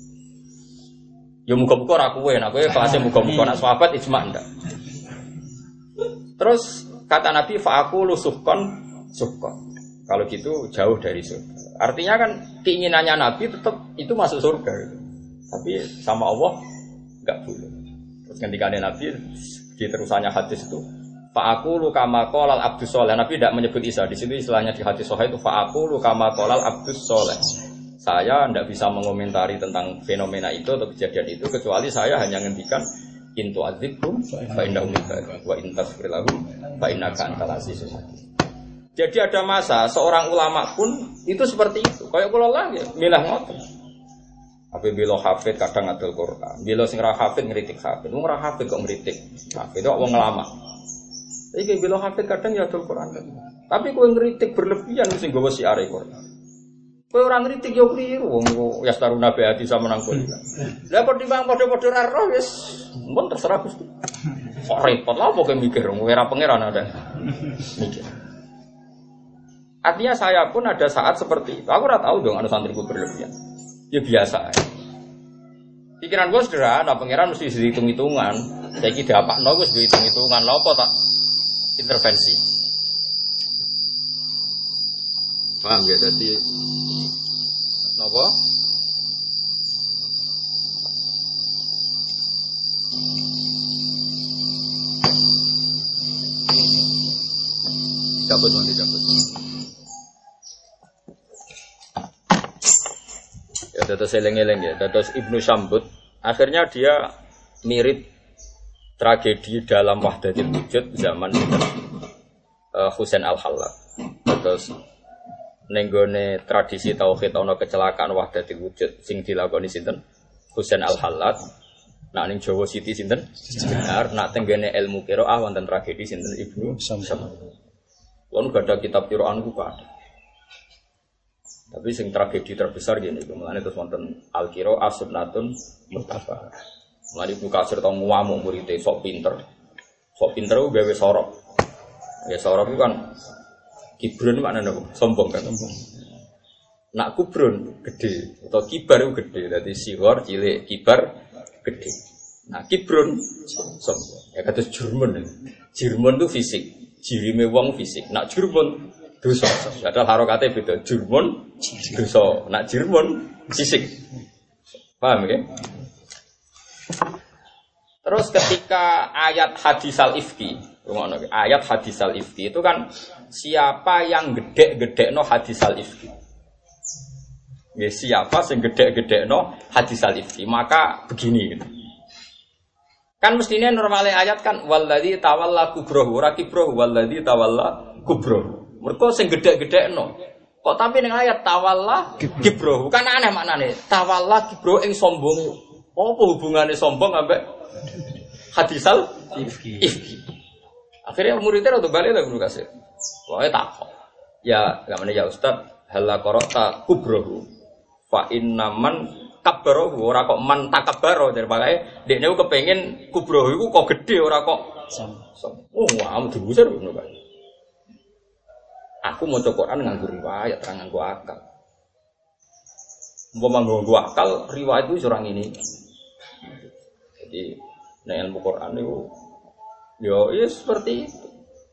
Ya muka-muka rakuwe. Nah gue kelasnya muka-muka. Nak sahabat ijma enggak. Terus kata Nabi fa'akulu suhkon suhkon. Kalau gitu jauh dari surga. Artinya kan keinginannya Nabi tetap itu masuk surga gitu. Tapi sama Allah enggak boleh. Terus ketika Nabi di terusannya hadis itu fa'akulu kama qolal abdus soleh. Nabi tidak menyebut Isa. Di situ istilahnya di hadis sahih itu fa'akulu kama qolal abdus soleh. Saya tidak bisa mengomentari tentang fenomena itu atau kejadian itu kecuali saya hanya ngendikan intu adzibhum fa innahum ibadu wa in tasfir lahum fa innaka antal azizul hakim. Jadi ada masa seorang ulama pun itu seperti itu. Kayak kula lagi milah ngoten. Apa bilo hafid kadang ngadul Quran. Bilo sing ra hafid ngritik hafid. Wong ra hafid kok ngritik hafid. Kok wong lama. Iki bilo hafid kadang ya adul Quran. Tapi kowe ngritik berlebihan sing nggawa siare Quran. Kowe ora ngritik yo kliru wong ya staruna be ati sama nang kowe. Lah pertimbang padha-padha ra roh wis mun terserah Gusti. Kok repot lha pokoke mikir wong ora pangeran ada. Mikir. Artinya saya pun ada saat seperti itu. Aku ora tahu dong anu santriku berlebihan. Ya biasa. Pikiran gue sederhana, pangeran mesti dihitung-hitungan. Saya kira apa? No, gue dihitung-hitungan. Lopo tak intervensi. Paham ya? Jadi, nopo? Cabut nanti cabut. Ya, dados eleng-eleng ya, dados Ibnu Sambut. Akhirnya dia mirip tragedi dalam Wahdatul Wujud zaman uh, Husain Al-Hallaj. Dados nenggone tradisi tauhid ana kecelakaan Wahdatul Wujud sing dilakoni sinten? Husain Al-Hallaj. Nak ning Jawa Siti sinten? Benar, nak tenggene ilmu qiraah wonten tragedi sinten Ibnu Sambut. Wong gak ada kitab qira'an ku ada. Tapi sing tragedi terbesar gini, mulane terus wonten al-qira'ah sunnatun muttaba. Mulane Ibnu Katsir tau ngamuk murid-e sok pinter. Sok pinter ku gawe sorok. Ya sorok ku kan kibrun maknane apa? Sombong kan sombong. Nak kubrun gede atau kibar ku gede. Dadi sighar cilik, kibar gede. Nah kibrun sombong. Ya kata Jerman. Jerman itu fisik. Jirime wong fisik. Nak Jerman dosa. Padahal harokate beda. Jerman dosa. Nak Jerman fisik. Paham ya? Terus ketika ayat hadis al-ifki, ayat hadis al-ifki itu kan siapa yang gede-gedekno hadis al-ifki? Ya, siapa yang gede-gedekno hadis al-ifki? Maka begini gitu. Kan mestinya normalnya ayat kan walladzi tawalla kubrohu ora kibrohu walladzi tawalla kubrohu. Mergo sing gedhe-gedhekno. Kok tapi ning ayat tawalla kibrohu kan aneh maknane. Tawalla kibrohu ing sombong. Apa hubungane sombong ambek hadisal ifki? Ifki. Akhirnya muridnya rada balik lho Guru Kasir. Pokoke takok. Ya, gamane ya Ustaz, hal qara'ta kubrohu. Fa innaman kabaro ora kok man takabaro dari pakai dekne ku kepengin kubro iku kok gede ora kok som. Oh, wah, dibusir ngono kae. Aku maca Quran nganggo riwayat, ora nganggo akal. Umpama nganggo akal, riwayat itu ora ngene. Jadi nek ilmu Quran itu yo ya seperti itu.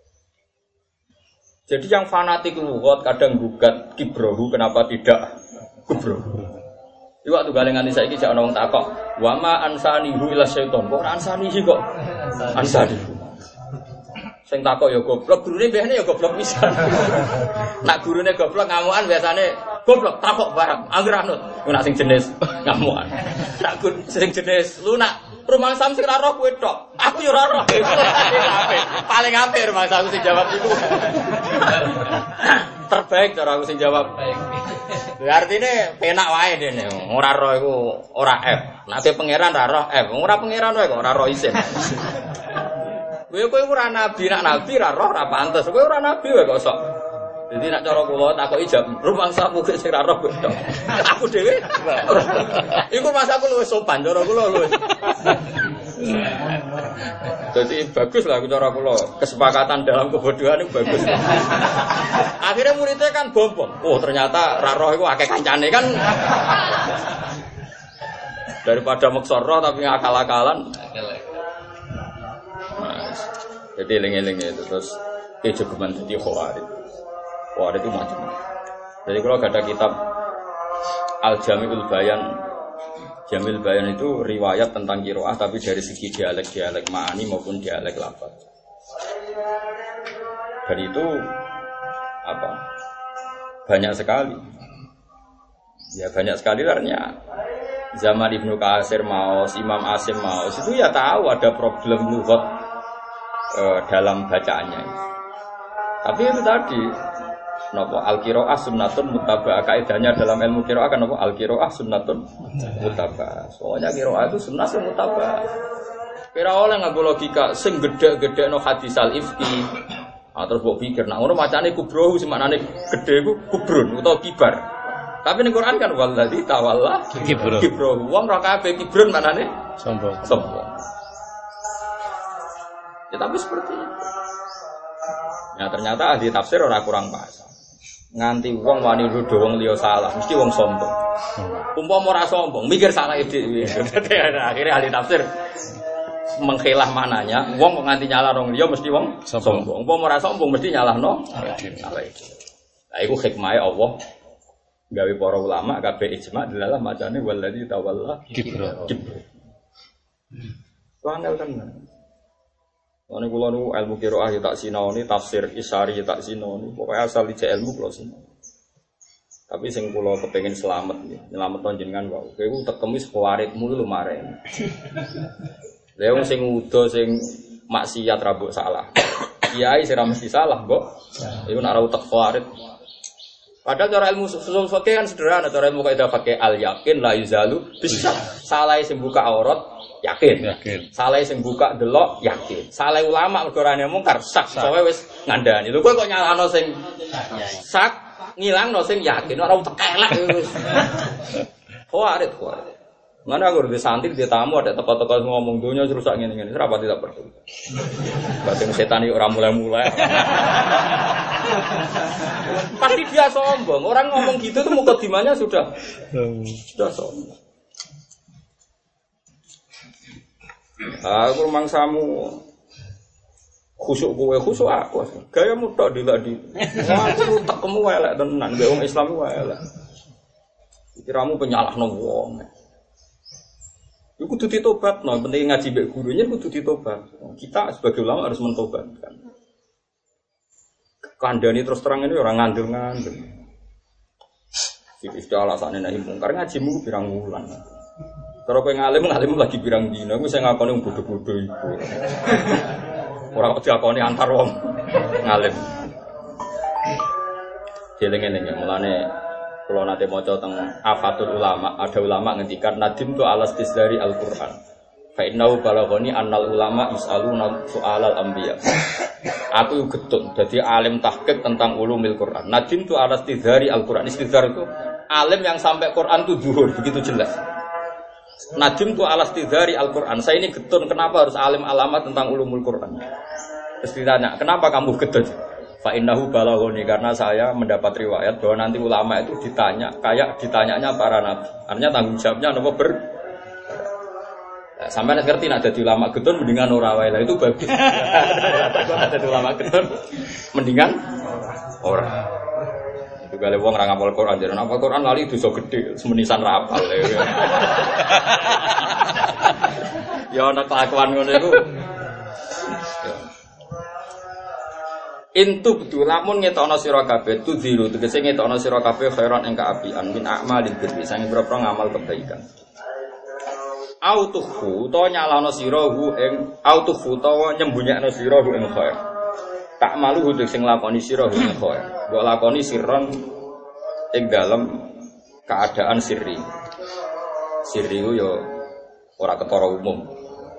Jadi yang fanatik lugat kadang gugat kibrohu kenapa tidak kubrohu. Iku waktu gale nganti saiki jek ana wong takok, "Wa ma ansanihu ila syaiton." Kok ora ansanihi kok? Ansani. Sing takok ya goblok, gurune mbehne ya goblok pisan. Nak gurune goblok ngamukan biasane goblok takok barang, anggere anut. Nak sing jenis ngamukan. Nak sing jenis lunak, rumah sam sing ora roh kowe tok. Aku ya ora roh. Paling apik rumah sam sing jawab iku. Terbaik cara aku sing jawab. Artinya penak wae dene. Ora roh iku ora F. Nek pangeran ra roh F. Ora pangeran wae kok ora roh isin. Kowe kowe ora nabi, nak nabi ra roh ra pantes. Kowe ora nabi wae kok sok. Jadi nak cara kula takoki jam rumah sapu sing ra roh kowe tok. Aku dhewe. Iku masaku luwih sopan cara kula luwih. Jadi bagus lah cara kula. Kesepakatan dalam kebodohan itu bagus. Akhirnya muridnya kan bombong. Oh ternyata raroh itu akeh kancane kan. Daripada maksoroh tapi akal-akalan. Nah, jadi eling-eling itu terus kejogeman jadi khawarij. Khawarij itu macam-macam. Jadi kalau ada kitab Al-Jami'ul Bayan, Jamil Bayan itu riwayat tentang qiraah tapi dari segi dialek-dialek ma'ani maupun dialek lafaz. Dan itu apa? Banyak sekali. Ya banyak sekali artinya. Zaman Ibnu Katsir Maos, Imam Asim Maos itu ya tahu ada problem lughat eh, dalam bacaannya. Tapi itu tadi napa al-qiraah sunnatun muttaba'ah, kaidahnya dalam ilmu qiraah kan napa al-qiraah sunnatun muttaba'ah. Soalnya qiraah itu sunnah sing muttaba'ah. Kira oleh nganggo logika sing gedhe-gedhekno hadis al-ifki. Ah terus mbok pikir nek ngono macane kubrohu sing maknane gedhe iku kubrun utawa kibar. Tapi ning Quran kan wallazi tawalla kibrohu. Kibrohu wong ora kabeh kibrun maknane sombong. Sombong. Ya tapi seperti itu. Ya ternyata ahli tafsir ora kurang pas. Nganti wong wani nuduh wong liya salah, mesti wong sombong. Umpama ora sombong, mikir salah dhewe. Akhirnya ahli tafsir mengkhilah mananya, wong kok nganti nyalah wong liya mesti wong sombong. Umpama ora sombong mesti nyalahno salah iki. Lah iku hikmahe Allah gawe para ulama kabeh ijma dalam macane wallazi tawalla kibra. Wangel kan. Ane kula nu ilmu qiraah ya tak sinaoni, tafsir Isari ya tak sinaoni, pokoke asal ijek ilmu kula sinaoni. Tapi sing kula kepengin slamet nggih, nyelametno jenengan wae. Kowe tekemi sepawaritmu lho maren. Lha wong sing udo sing maksiat ra mbok salah. Kiai sing ra mesti salah, Mbok. Iku nek ora utek fawarit. Padahal cara ilmu usul fikih kan sederhana, cara ilmu kaidah fikih al yakin la yuzalu bisa. Salah sing buka aurat yakin. Yakin. Saleh sing buka delok yakin. Saleh ulama mergo ora mungkar sak sowe wis ngandani. Lho kowe kok nyalano sing sak ngilangno sing yakin ora tekelek wis. Kuarit kuarit. Mana aku udah santri dia tamu ada teko-teko ngomong dunia rusak ngene-ngene ora tidak perlu. Batin setan iki ora mulai-mulai. Pasti dia sombong. Orang ngomong gitu tuh mukadimahnya sudah sudah sombong. Aku mangsamu khusuk kowe khusuk aku. Gayamu tok dilak di. Aku tekemu elek tenan, mbek wong Islam ku elek. Kiramu penyalahno wong. Iku kudu ditobatno, penting ngaji mbek gurunya kudu ditobat. Kita sebagai ulama harus mentobatkan. Kandhani terus terang ini orang ngandel-ngandel. Iki alasane nek mungkar ngajimu pirang wulan. Kalau kowe ngalim ngalim lagi pirang dina, aku sing ngakoni bodho-bodho iku. Ora kok diakoni antar wong ngalim. Jeleng-eleng mulane kula nate maca teng Afatul Ulama, ada ulama ngendikan nadim tu alas tisdari Al-Qur'an. Fa innahu balaghani annal ulama yus'aluna su'alal anbiya. Aku getun dadi alim tahqiq tentang ulumil Quran. Nadim tu alas tisdari Al-Qur'an. Istidhar itu alim yang sampai Quran itu zuhur, begitu jelas. Nadim tu alas tisdari Al-Qur'an. Saya ini getun kenapa harus alim alamat tentang ulumul Quran. Terus ditanya, kenapa kamu getun? Fa innahu balaghani karena saya mendapat riwayat bahwa nanti ulama itu ditanya kayak ditanyanya para nabi. Artinya tanggung jawabnya napa ber nah, sampai nek ngerti nek dadi ulama getun mendingan ora wae. Lah itu bagus. Takut dadi ulama getun mendingan ora. Itu gale wong ora ngapal Quran, jare ngapal Quran lali dosa gedhe, semenisan ra apal. Ya ana kelakuan ngono iku. Intu betul lamun ngetokno sira kabeh tudziru tegese ngetokno sira kabeh khairan ing kaapian min a'malil birri sange boro ngamal kebaikan. Autuhu to nyalano sira hu ing autuhu to nyembunyakno sira hu ing khair. Tak malu hu sing lakoni sira hu ing khair. Mbok lakoni sirron ing dalem keadaan sirri. Sirri ku yo ora ketara umum.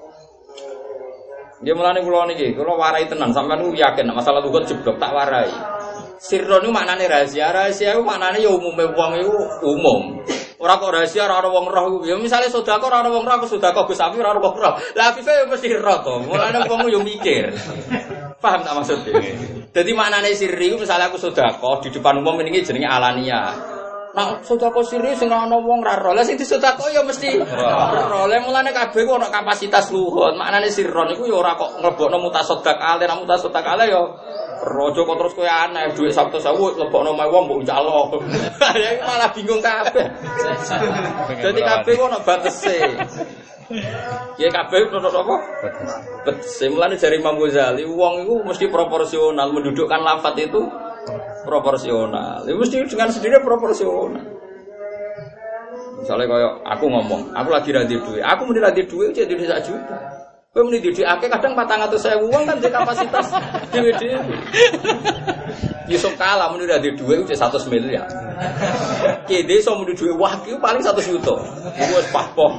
Dia mulane kula niki, kula warai tenan sampean ku yakin masalah lugat jeblok tak warai. Sirron niku maknane rahasia, rahasia iku maknane ya umume wong iku umum. Ora kok rahasia ora ana wong roh. Ya misale sedekah ora ana wong roh, aku sedekah Gus Safi ora ana wong roh. Lah afife ya mesti roh to. Mulane wong yo mikir. Paham tak maksudnya? Dadi maknane sirri iku misale aku sedekah di depan umum ini jenenge alania. Nah, sedekah sirri sing ana wong ra roh. Lah sing disedekah ya mesti roh. Lah mulane kabeh ku ana kapasitas luhut. Maknane sirron iku ya ora kok nglebokno mutasaddiq ale, nek mutasaddiq ale ya rojo kok terus kowe aneh dhuwit satu sewu lebokno mae wong mbok njalo. Ya malah bingung kabeh. Dadi kabeh ku ana batese. Ya kabeh ono apa? Batese. Mulane jare Imam Ghazali wong iku mesti proporsional mendudukkan lafaz itu proporsional. Ya mesti dengan sendirinya proporsional. Misalnya kaya aku ngomong, aku lagi ra duwe. Aku muni ra duwe cek duwe sak juta. Kowe muni duwe akeh kadang patang atus ribu wong kan duwe kapasitas dhewe-dhewe. Yusuf kalah muni ra duwe cek seratus miliar. Ki desa muni duwe wah ki paling seratus juta. Iku wis pahpoh.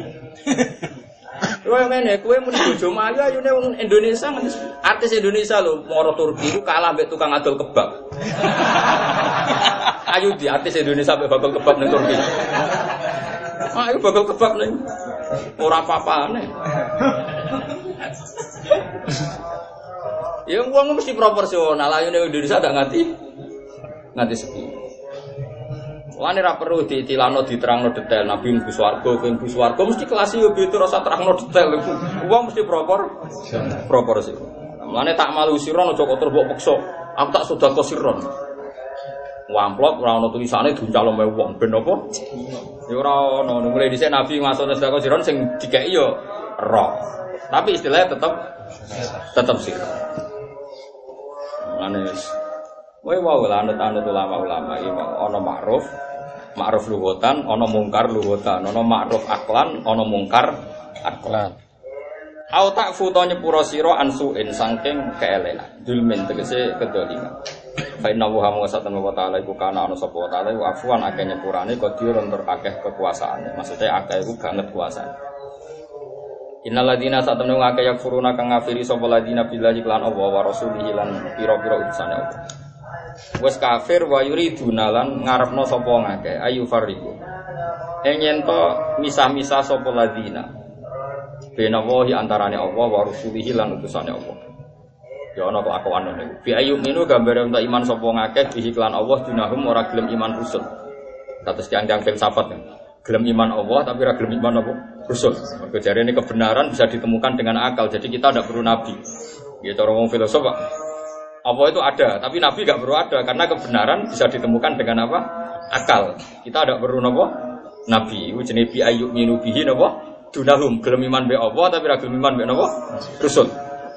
Kowe ngene, kowe muni bojo Melayu ayune wong Indonesia, artis Indonesia lho, moro Turki iku kalah mbek tukang adol kebab. Ayo di artis Indonesia mbek bakal kebab ning Turki. Ayo bakal kebab ning ora apa-apane. Ya wong mesti proporsional, ayune Indonesia gak nganti nganti sepi. Lane ra perlu ditilano diterangno detail Nabi mlebu swarga, kowe mlebu swarga mesti kelas yo beda rasa terangno detail. Wong mesti propor proporsi. Lane tak malu siron aja kok terbok peksa. Aku tak sedekah siron. Amplop ora ono tulisane duncalo me wong ben apa? Ya ora ono. Mulai dhisik Nabi masuk sedekah siron sing dikeki yo roh. Tapi istilahnya tetap tetap siron. Lane kowe wae lah anut-anut ulama-ulama iki ana ma'ruf, ma'ruf lughatan, ana mungkar lughatan, ana ma'ruf aklan, ana mungkar aklan. Au ta'fu ta nyepura sira ansuin saking keelelan, dulmin tegese kedoliman. Fa inna wa hamsatan wa ta'ala iku kana ana sapa wa ta'ala wa afwan akeh nyepurane qadirun tur akeh kekuasaane. Maksude akeh iku banget kuasane. Innal ladzina satamnu ngake yakfuruna kang ngafiri sapa ladzina billahi lan Allah wa rasulihi lan pira-pira utusane Allah. Wes kafir wa yuriduna lan ngarepno sapa ngake ayu fariqu. Ing yen to misah-misah sapa ladzina. Bena wahi antarane Allah wa rasulihi lan utusane Allah. Ya ana kelakuan niku. Bi ayu minu gambare untuk iman sapa ngake bihi lan Allah dunahum ora gelem iman rusul. Kados tiang-tiang filsafat. Gelem iman Allah tapi ora gelem iman apa? Rusul. Mergo jarene kebenaran bisa ditemukan dengan akal. Jadi kita tidak perlu nabi. Ya cara wong filosof, Pak. Apa itu ada, tapi nabi enggak perlu ada karena kebenaran bisa ditemukan dengan apa? Akal. Kita tidak perlu napa? Nabi. Iku jenenge bi ayyuk minu bihi napa? Dunahum gelem iman be Allah tapi ora gelem iman be napa? Rusul.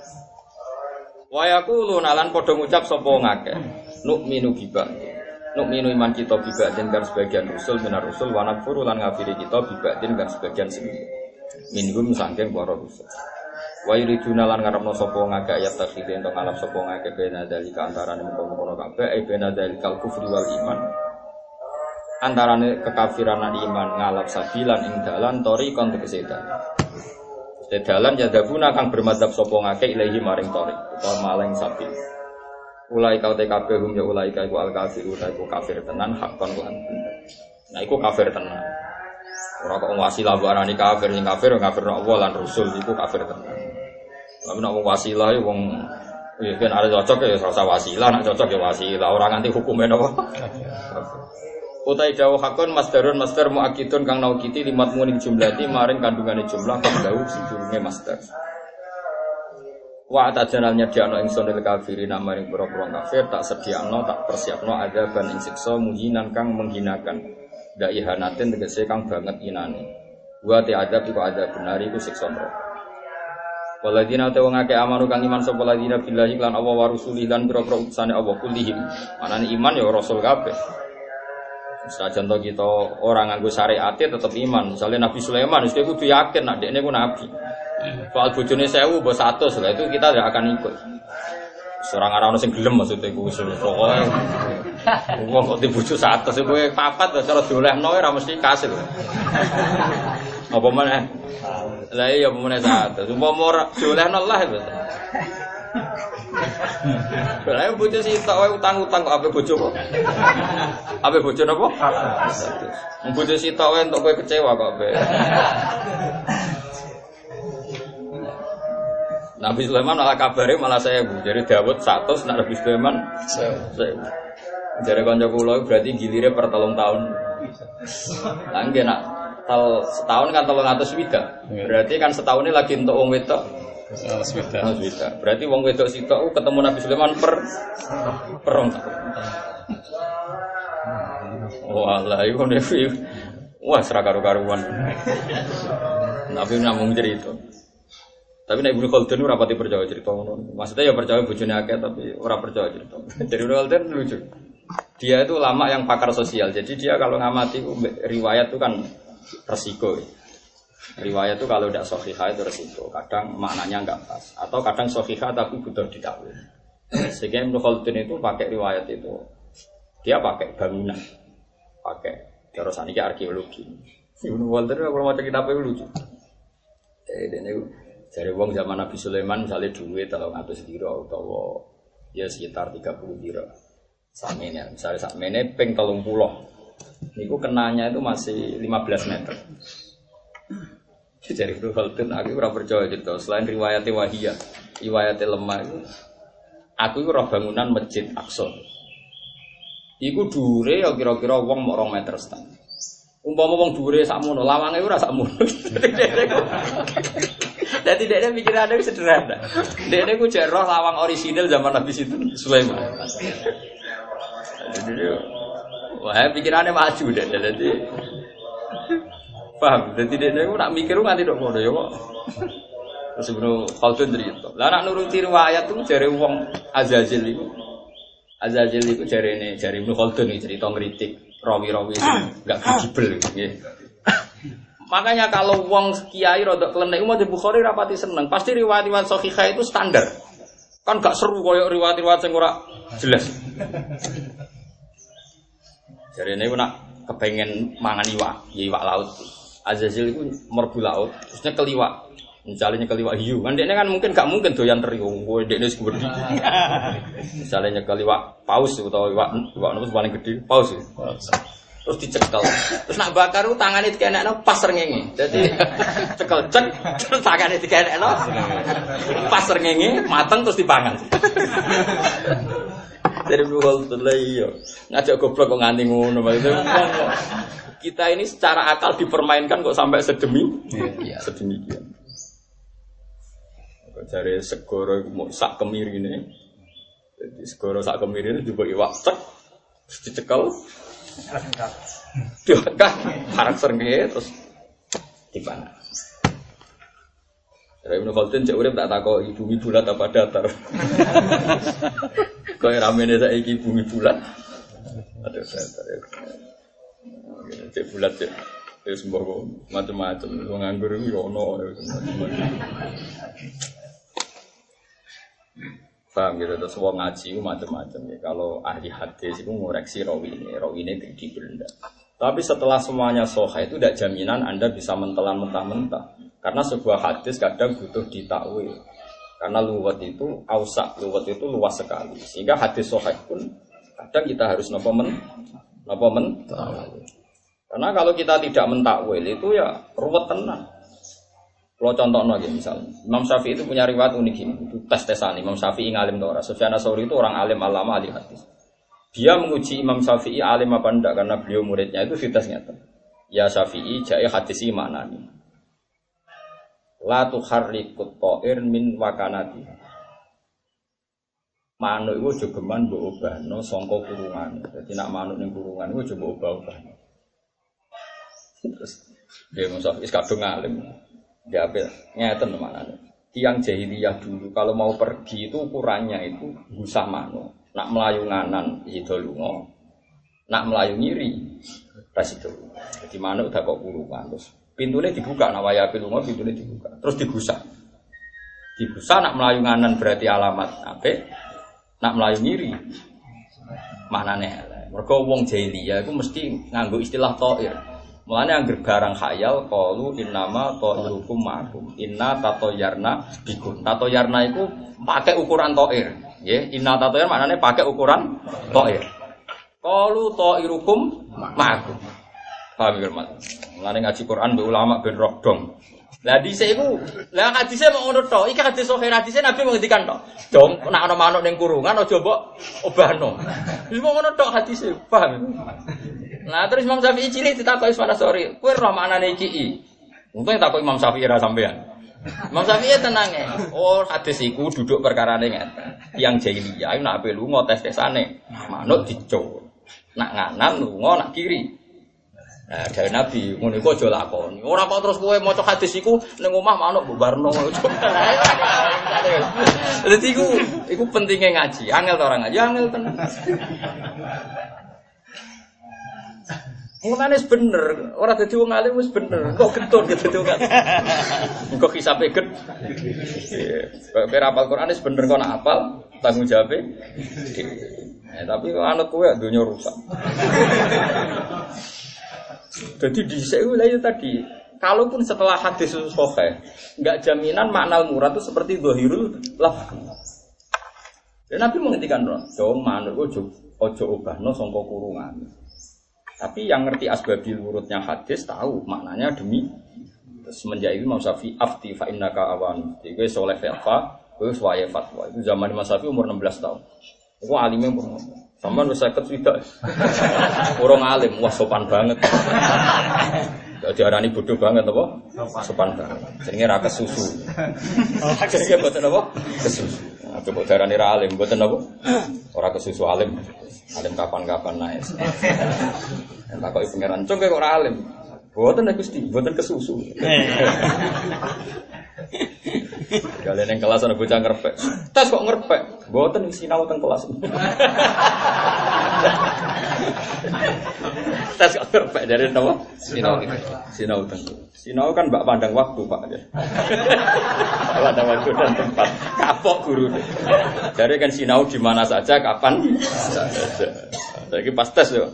Wa yaqulun lan padha ngucap sapa ngakeh. Nu'minu biba. Nu'minu iman kita biba dengan sebagian rusul minar rusul wa nakfuru lan ngafiri kita biba dengan sebagian sendiri. Minhum sangking para rusul. Wa yuriduna lan ngarepno sapa ngake ayat takhide ento ngalap sapa ngake bena dalika antarane mengkono-kono kabeh e bena dalikal kufri wal iman. Antarane kekafiran lan iman ngalap sabilan ing dalan tori kon tegese dalan. Dalan ya dabuna kang bermadzhab sapa ngake ilahi maring tori utawa maling sabil. Ulai kau tkp hum ya ulai kau al kafiru iku kafir tenan hakon lan bener. Nah iku kafir tenan. Ora kok wasilah barani kafir sing kafir ngafirno Allah lan Rasul iku kafir tenan. Tapi nek wong wasilah ya wong ya ben arep cocok ya ora wasilah, nek cocok ya wasilah, ora nganti hukume napa. Utai dawuh hakon masdarun masdar muakidun kang naukiti limat muning jumlati maring kandungane jumlah kang dawuh sidurunge masdar. Wa atajanalnya diano ingsun lil kafirin maring pira-pira kafir tak sediakno tak persiapno adzaban ing siksa muhinan kang menghinakan. Ndak ihanatin tegese kang banget inane. Wa te adzab iku adzab benar iku siksa neraka. Waladina te wong akeh amanu kang iman sapa ladina billahi lan Allah wa rasulih lan pira-pira utusane Allah kulihim. Manane iman ya rasul kabeh. Sajan to kita ora nganggo syariate tetep iman. Misalnya Nabi Sulaiman wis kudu yakin nek dekne ku nabi. Soal bojone seribu mbok seratus lah itu kita tidak akan ikut. Serang arah sing gelem maksudnya ku wis pokoke. Wong kok dibojo seratus kowe papat cara diolehno ora mesti kasil. Apa meneh? Lah iya apa meneh seratus. Umpama ora diolehno lah itu. Lah bojo sitok wae utang-utang kok ape bojo kok. Ape bojo napa? seratus. Wong bojo sitok wae entuk kowe kecewa kok ape. Nabi Sulaiman malah kabare malah saya bu. Jadi Dawud satu, Nabi Sulaiman saya. Jadi kanca kula berarti gilire per telung tahun. Lah nggih nak tal setahun kan telung atus swidak. Berarti kan setahun ini lagi untuk wong wedok. swidak. swidak. Berarti wong wedok sitok ketemu Nabi Sulaiman per per rong tahun. Walah iku nevi. Wah serak karo-karuan. Nabi namung cerita. Tapi nek Ibnu Khaldun ora pati percaya cerita ngono. Maksudnya ya percaya bojone akeh tapi ora percaya cerita. Jadi Ibnu Khaldun lucu. Dia itu ulama yang pakar sosial. Jadi dia kalau ngamati riwayat itu kan resiko. Riwayat itu kalau tidak sahihah itu resiko. Kadang maknanya enggak pas atau kadang sahihah tapi butuh ditakwil. Sehingga Ibnu Khaldun itu pakai riwayat itu. Dia pakai bangunan. Pakai terus ini arkeologi. Ibnu Khaldun kalau mau cerita apa lucu. Eh ini dari wong zaman Nabi Sulaiman misalnya duit telung atus diro utawa ya sekitar tiga puluh diro. Samene misalnya sakmene ping telung puluh. Niku kenanya itu masih lima belas meter. Jadi Ibnu Khaldun aku ora percaya gitu. Selain riwayat wahiyah, riwayat lemah itu aku iku ora bangunan Masjid Aqsa. Iku dhuwure ya kira-kira wong mok rong meter setengah. Umpama wong dhuwure sakmono, lawange ora sakmono. Jadi dia pikirannya sederhana. Dia ku cek roh lawang orisinil zaman Nabi Sulaiman. Jadi dia, wah pikirannya maju deh. Jadi paham. Jadi dia ku nak mikir nganti dok ngono ya kok. Terus Ibnu Khaldun cerita. Lah nak nuruti riwayat tuh jare wong Azazil itu. Azazil itu jare ini jare Ibnu Khaldun iki cerita ngritik rawi-rawi enggak kredibel nggih. Makanya kalau wong kiai rodok klenek umat Bukhari rapati seneng. Pasti riwayat-riwayat sahihah itu standar. Kan gak seru koyo riwayat-riwayat sing ora jelas. Jarene nak kepengen mangan iwak, ya iwak laut. Azazil iku merbu laut, terusnya keliwak. Misalnya nyekel iwak hiu, kan dia kan mungkin gak mungkin doyan teri, kowe dekne wis gede. Misalnya nyekel iwak paus atau iwak iwak nopo paling gede, paus. Terus dicekel. Terus nak bakar ku tangane dikenekno pas srengenge. Dadi cekel cek terus tangane dikenekno pas srengenge mateng terus dipangan. Dari buhol iya. Ngajak goblok kok nganti ngono maksudnya. Kita ini secara akal dipermainkan kok sampai sedemi iya, sedemikian. Kok jare segoro iku sak kemirine. Jadi segoro sak kemirine juga iwak cek terus dicekel. Dia kan parang srengenge terus dipangan. Dari Ibnu Khaldun cek urip tak takoki bumi bulat apa datar. Kok ramene saiki bumi bulat. Ada datar ya. Cek bulat cek. Wis mbok macam-macam wong nganggur iki yo ono paham gitu, terus wong ngaji itu macam-macam ya. Kalau ahli hadis itu ngoreksi rawi ini, rawi ini kredibel enggak. Tapi setelah semuanya sahih itu tidak jaminan Anda bisa mentelan mentah-mentah. Karena sebuah hadis kadang butuh ditakwil. Karena luwat itu ausak, luwat itu luas sekali. Sehingga hadis sahih pun kadang kita harus napa men, napa men. Karena kalau kita tidak mentakwil itu ya ruwet tenan. Kalau contohnya gitu misalnya, Imam Syafi'i itu punya riwayat unik ini, itu tes-tesan. Imam Syafi'i ngalim atau ora. Sufyan Ats-Tsauri itu orang alim alama ahli hadis. Dia menguji Imam Syafi'i alim apa enggak karena beliau muridnya itu ditesnya. Ya Syafi'i jae hadisi maknani. La tuharrikut ta'ir min wakanati. Manuk iku jogeman mbok obahno sangka kurungan. Dadi nak manuk ning kurungan iku coba obah-obahno. Terus dia Imam Syafi'i kadung alim. Dia ngeten maknanya. Tiang jahiliyah dulu kalau mau pergi itu ukurannya itu gusah mano. Nak melayu nganan itu lunga. Nak melayu ngiri ras itu. Jadi manuk udah kok kurungan terus pintunya dibuka nak waya lunga pintunya dibuka. Terus digusah. Digusah nak melayu nganan berarti alamat apik. Nak melayu ngiri maknane. Mergo wong jahiliyah iku mesti nganggo istilah ta'ir. Mulanya angger barang khayal qalu innama ta'irukum ma'akum inna tatoyarna bikum. Tatoyarna itu pakai ukuran ta'ir. Nggih, inna tatoyar maknane pakai ukuran ta'ir. Qalu ta'irukum ma'akum. Paham ya, Mas? Mulane ngaji Quran mbek ulama ben roh dong. Lah dhisik iku, lah hadise mok ngono tok. Iki hadis sahih hadise Nabi menghentikan tok. Dong nek ana manuk ning kurungan aja mbok obahno. Wis mok ngono tok hadise, paham? Nah terus Imam Syafi'i cilik ditakoki Ismana Sori, kowe roh maknane iki. Untung takok Imam Syafi'i ra sampean. Imam Syafi'i tenange. Oh, hadis iku duduk perkarane ngeten. Yang jahiliyah iku nek ape lunga tes-tesane, manuk dicuk. Nak nganan lunga nak kiri. Nah, dari Nabi ngono iku aja lakoni. Ora kok terus kowe maca hadis iku ning omah manuk bubarno. Dadi iku iku pentinge ngaji. Angel to ora ngaji, angel tenan. Mulane wis bener, ora dadi wong alim wis bener. Kok getun gitu dadi wong alim. Kok hisabe get. Kok ora hafal Quran wis bener kok nak hafal, tanggung jawabe. Eh, tapi kok anut kowe donya rusak. Jadi dhisik lha itu tadi, kalaupun setelah hadis sahih, enggak jaminan makna murad itu seperti zahirul lafz. Dan Nabi menghentikan dong, manuk ojo ojo obahno sangka kurungan. Tapi yang ngerti asbabil wurudnya hadis tahu maknanya demi semenjak itu Imam Syafi'i afti fa innaka awan. Jadi soleh fatwa, kowe wae fatwa. Itu zaman Imam Syafi'i umur enam belas tahun. Iku alime umur sampean wis seket swidak. Urung alim, wah sopan banget. Diarani bodoh banget apa? Sopan banget. Jenenge ra kesusu. Jenenge boten apa? Kesusu. Coba diarani ra alim, boten apa? Ora kesusu alim. Alim kapan-kapan naik. Takoki pengeran, "Cung kok ora alim?" Mboten nek Gusti, mboten kesusu. Kalian yang kelas ana bocah ngrepek. Tes kok ngrepek? Mboten sinau teng kelas. Tes kok ngrepek dari napa? Sinau. Sinau teng. Sinau kan mbak pandang waktu, Pak. Pandang waktu dan tempat. Kapok guru. Jadi kan sinau di mana saja, kapan saja. Lagi pas tes yo.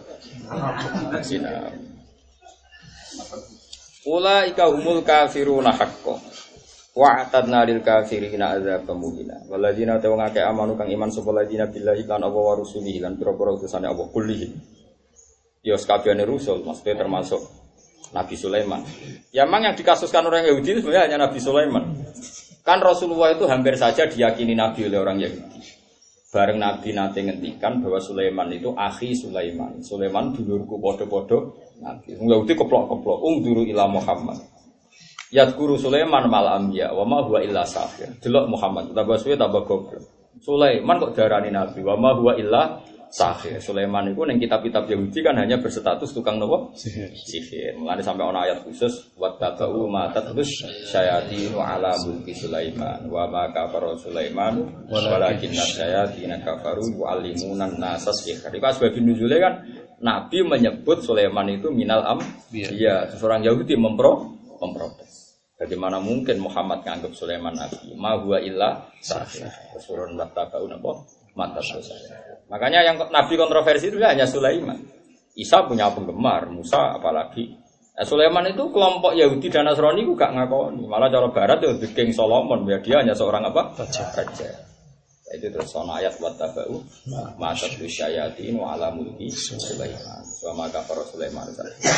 Sinau. Ulaika humul kafiruna haqqo. Wa'atadna lil kafirina adzaban muhina. Walladzina tawangake amanu kang iman sapa ladina billahi lan apa wa rusulihi lan pira-pira utusane Allah kullihi. Ya sakabehane rusul maksudnya termasuk Nabi Sulaiman. Ya memang yang dikasuskan orang Yahudi itu sebenarnya hanya Nabi Sulaiman. Kan Rasulullah itu hampir saja diyakini Nabi oleh orang Yahudi. Bareng Nabi nanti ngendikan bahwa Sulaiman itu akhi Sulaiman. Sulaiman dulurku podo-podo Nabi. Yahudi keplok-keplok. Ungduru ila Muhammad. Yadkuru Sulaiman mal anbiya wa ma huwa illa sahir. Delok Muhammad tambah suwe tambah goblok. Sulaiman kok darani nabi wa ma huwa illa sahir. Sulaiman itu ning kitab-kitab Yahudi kan hanya berstatus tukang nopo? Sihir. Sihir. Mulane sampai ana ayat khusus wattaba'u ma tatlus syayatinu ala mulki Sulaiman wa ma kafara Sulaiman walakinna syayatina kafaru yu'allimuna an-nasa sihir. Iku sebab nuzule kan Nabi menyebut Sulaiman itu minal am. Iya, seorang Yahudi mempro memprotes. Bagaimana mungkin Muhammad menganggap Sulaiman nabi? Ma huwa illa sahir. Surun wattaba'u napa? Mata saya. Makanya yang nabi kontroversi itu hanya Sulaiman. Isa punya penggemar, Musa apalagi. Nah, Sulaiman itu kelompok Yahudi dan Nasrani itu gak ngakoni. Malah cara barat itu King Solomon, ya dia hanya seorang apa? Raja. Raja. Itu terus ana ayat wattaba'u ma tatlu syayatin wa ala mulki Sulaiman. Wa ma kafara Sulaiman.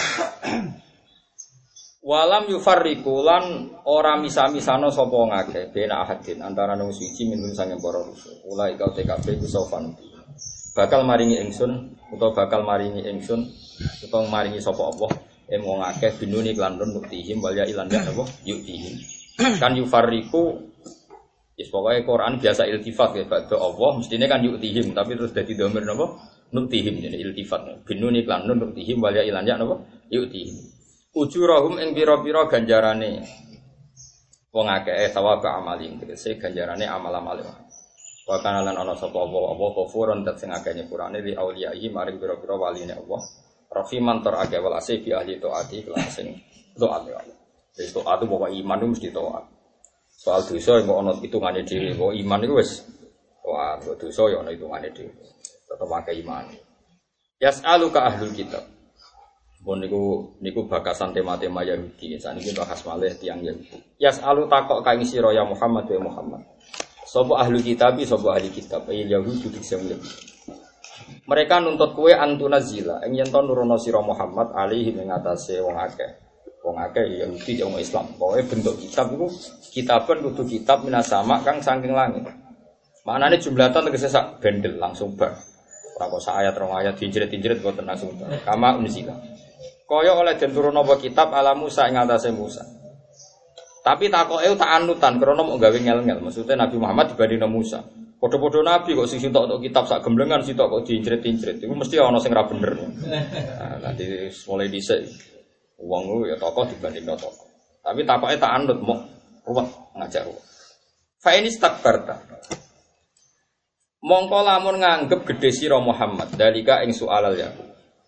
Walam yufarriqu lan ora misa-misano sapa ngake bena ahadin antara nang suci minum sange para rusul. Ulai kau T K B ku sofan. Bakal maringi ingsun utawa bakal maringi ingsun utawa maringi sapa Allah em wong akeh binuni lan nuktihim wal ya ilan ya apa yuktihim. Kan yufarriqu is pokoke Quran biasa iltifat ya badhe Allah mestine kan yuktihim tapi terus dadi dhamir napa nuktihim jadi iltifat. Binuni lan nuktihim wal ya ilan ya apa yuktihim. Ujurahum ing pira-pira ganjarane wong akeh sawaba amaling tegese ganjarane amal-amal. Wa kana lan ana sapa apa apa kufurun dat sing akeh nyepurane li auliyai maring pira-pira waline Allah. Rafiman tor akeh walase bi ahli taati kelan sing taat ya Allah. Wis taat bahwa iman itu mesti taat. Soal dosa kok ana hitungane dhewe, kok iman iku wis wah dosa ya ana hitungane dhewe. Tetep akeh iman. Yas'aluka ahlul kitab. Bon niku niku bakasan tema-tema Yahudi. Saniki bahas malih tiyang Yahudi. Yas'alu takok kaing sira ya Muhammad wa Muhammad. Sapa ahli kitab, sapa ahli kitab, ay Yahudi dikse mereka nuntut kowe antunazila ing yen to nurono sira Muhammad alaihi ing atase wong akeh. Wong akeh Yahudi wong Islam. Pokoke bentuk kitab iku kitaban kudu kitab minasama kang saking langit. Maknane jumlatan tegese sak bendel langsung bar. Ora kok sak ayat rong ayat dijerit-jerit kok langsung bar. Kama unzila. Kaya oleh den turun apa kitab ala Musa ing atase Musa. Tapi takoke tak anutan krana mok gawe ngel-ngel. Maksudnya Nabi Muhammad dibandingno Musa. Padha-padha nabi kok sing sitok kitab sak gemblengan sitok kok diinjret-injret. Iku mesti ana sing ra bener. Nah, nanti mulai dhisik wong ya tokoh dibandingno tokoh. Tapi takoke tak anut mok ruwet ngajak ruwet. Fa ini stakbarta. Mongko lamun nganggep gedhe sira Muhammad dalika ing soalal ya.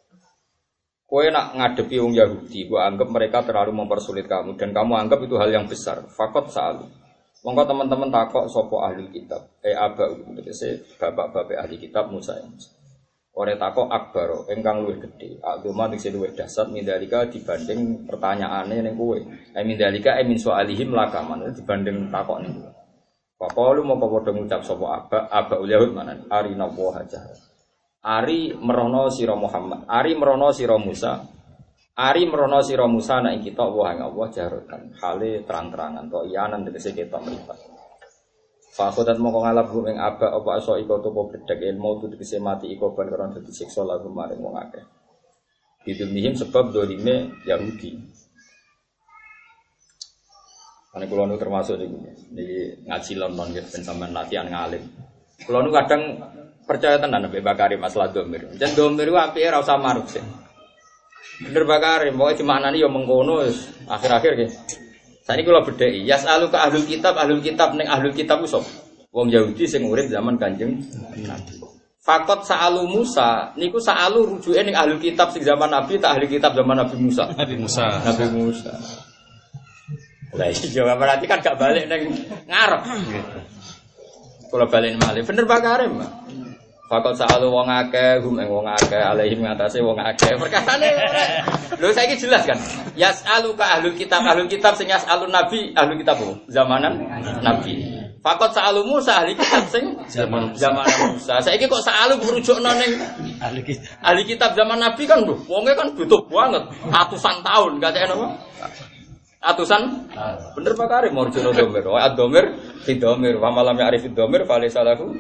Kowe nak ngadepi wong Yahudi, gua anggap mereka terlalu mempersulit kamu dan kamu anggap itu hal yang besar. Fakot sa'alu. Monggo teman-teman takok sapa ahli kitab. Eh aba tegese bapak-bapak ahli kitab Musa. Ora takok akbaro ingkang luwih gedhe. Agama sing luwih dahsyat mindalika dibanding pertanyaane ning kowe. Eh mindalika eh min soalihim lakaman dibanding takok ning kowe. Faqalu mongko padha ngucap sapa aba aba Yahud manan arina wa hajah. Ari merono sira Muhammad, ari merono sira Musa, ari merono sira Musa nek kita wa ing Allah jarotan, hale terang-terangan to iyanan tegese ketok mripat. Fa khodat mongko ngalap ing aba apa aso iko to bedhek ilmu tu tegese mati iko ban karo dadi siksa lagu maring wong akeh. Didunihim sebab dolime Yahudi. Ane kula nu termasuk niku niki ngaji London nggih ben sampean latihan ngalim. Kula nu kadang percaya tenan Mbak Bakari masalah domir. Jan domir ku apike ora usah maruk sih. Bener Bakari, pokoke dimaknani ya mengkono wis akhir-akhir nggih. Saiki kula bedheki, yas'alu ka ahlul kitab, ahlul kitab ning ahlul kitab ku sapa? Wong Yahudi sing urip zaman Kanjeng Nabi. Fakot sa'alu Musa, niku sa'alu rujuke ning ahlul kitab sing zaman Nabi tak ahli kitab zaman Nabi Musa. Nabi Musa. Nabi Musa. Lah iya berarti kan gak balik ning ngarep. Kula balik malih. Bener Bakari, Mbak. Fakot sa'alu wong akeh, hum ing wong akeh, alaihim ngatasi wong akeh. Perkasane ora. Lho saiki jelas kan. Yas'alu ka ahlul kitab, ahlul kitab sing yas'alun nabi, ahlul kitab zamanan nabi. Fakot sa'alu Musa ahli kitab sing zaman zaman Musa. Saiki kok sa'alu merujukno ning ahli kitab. Ahli kitab zaman nabi kan lho, wonge kan butuh banget, ratusan tahun gak cek napa? Atusan bener Pak Karim marjono domir wa ad-domir fi domir wa malam ya'rif ad-domir fa laysa lahu.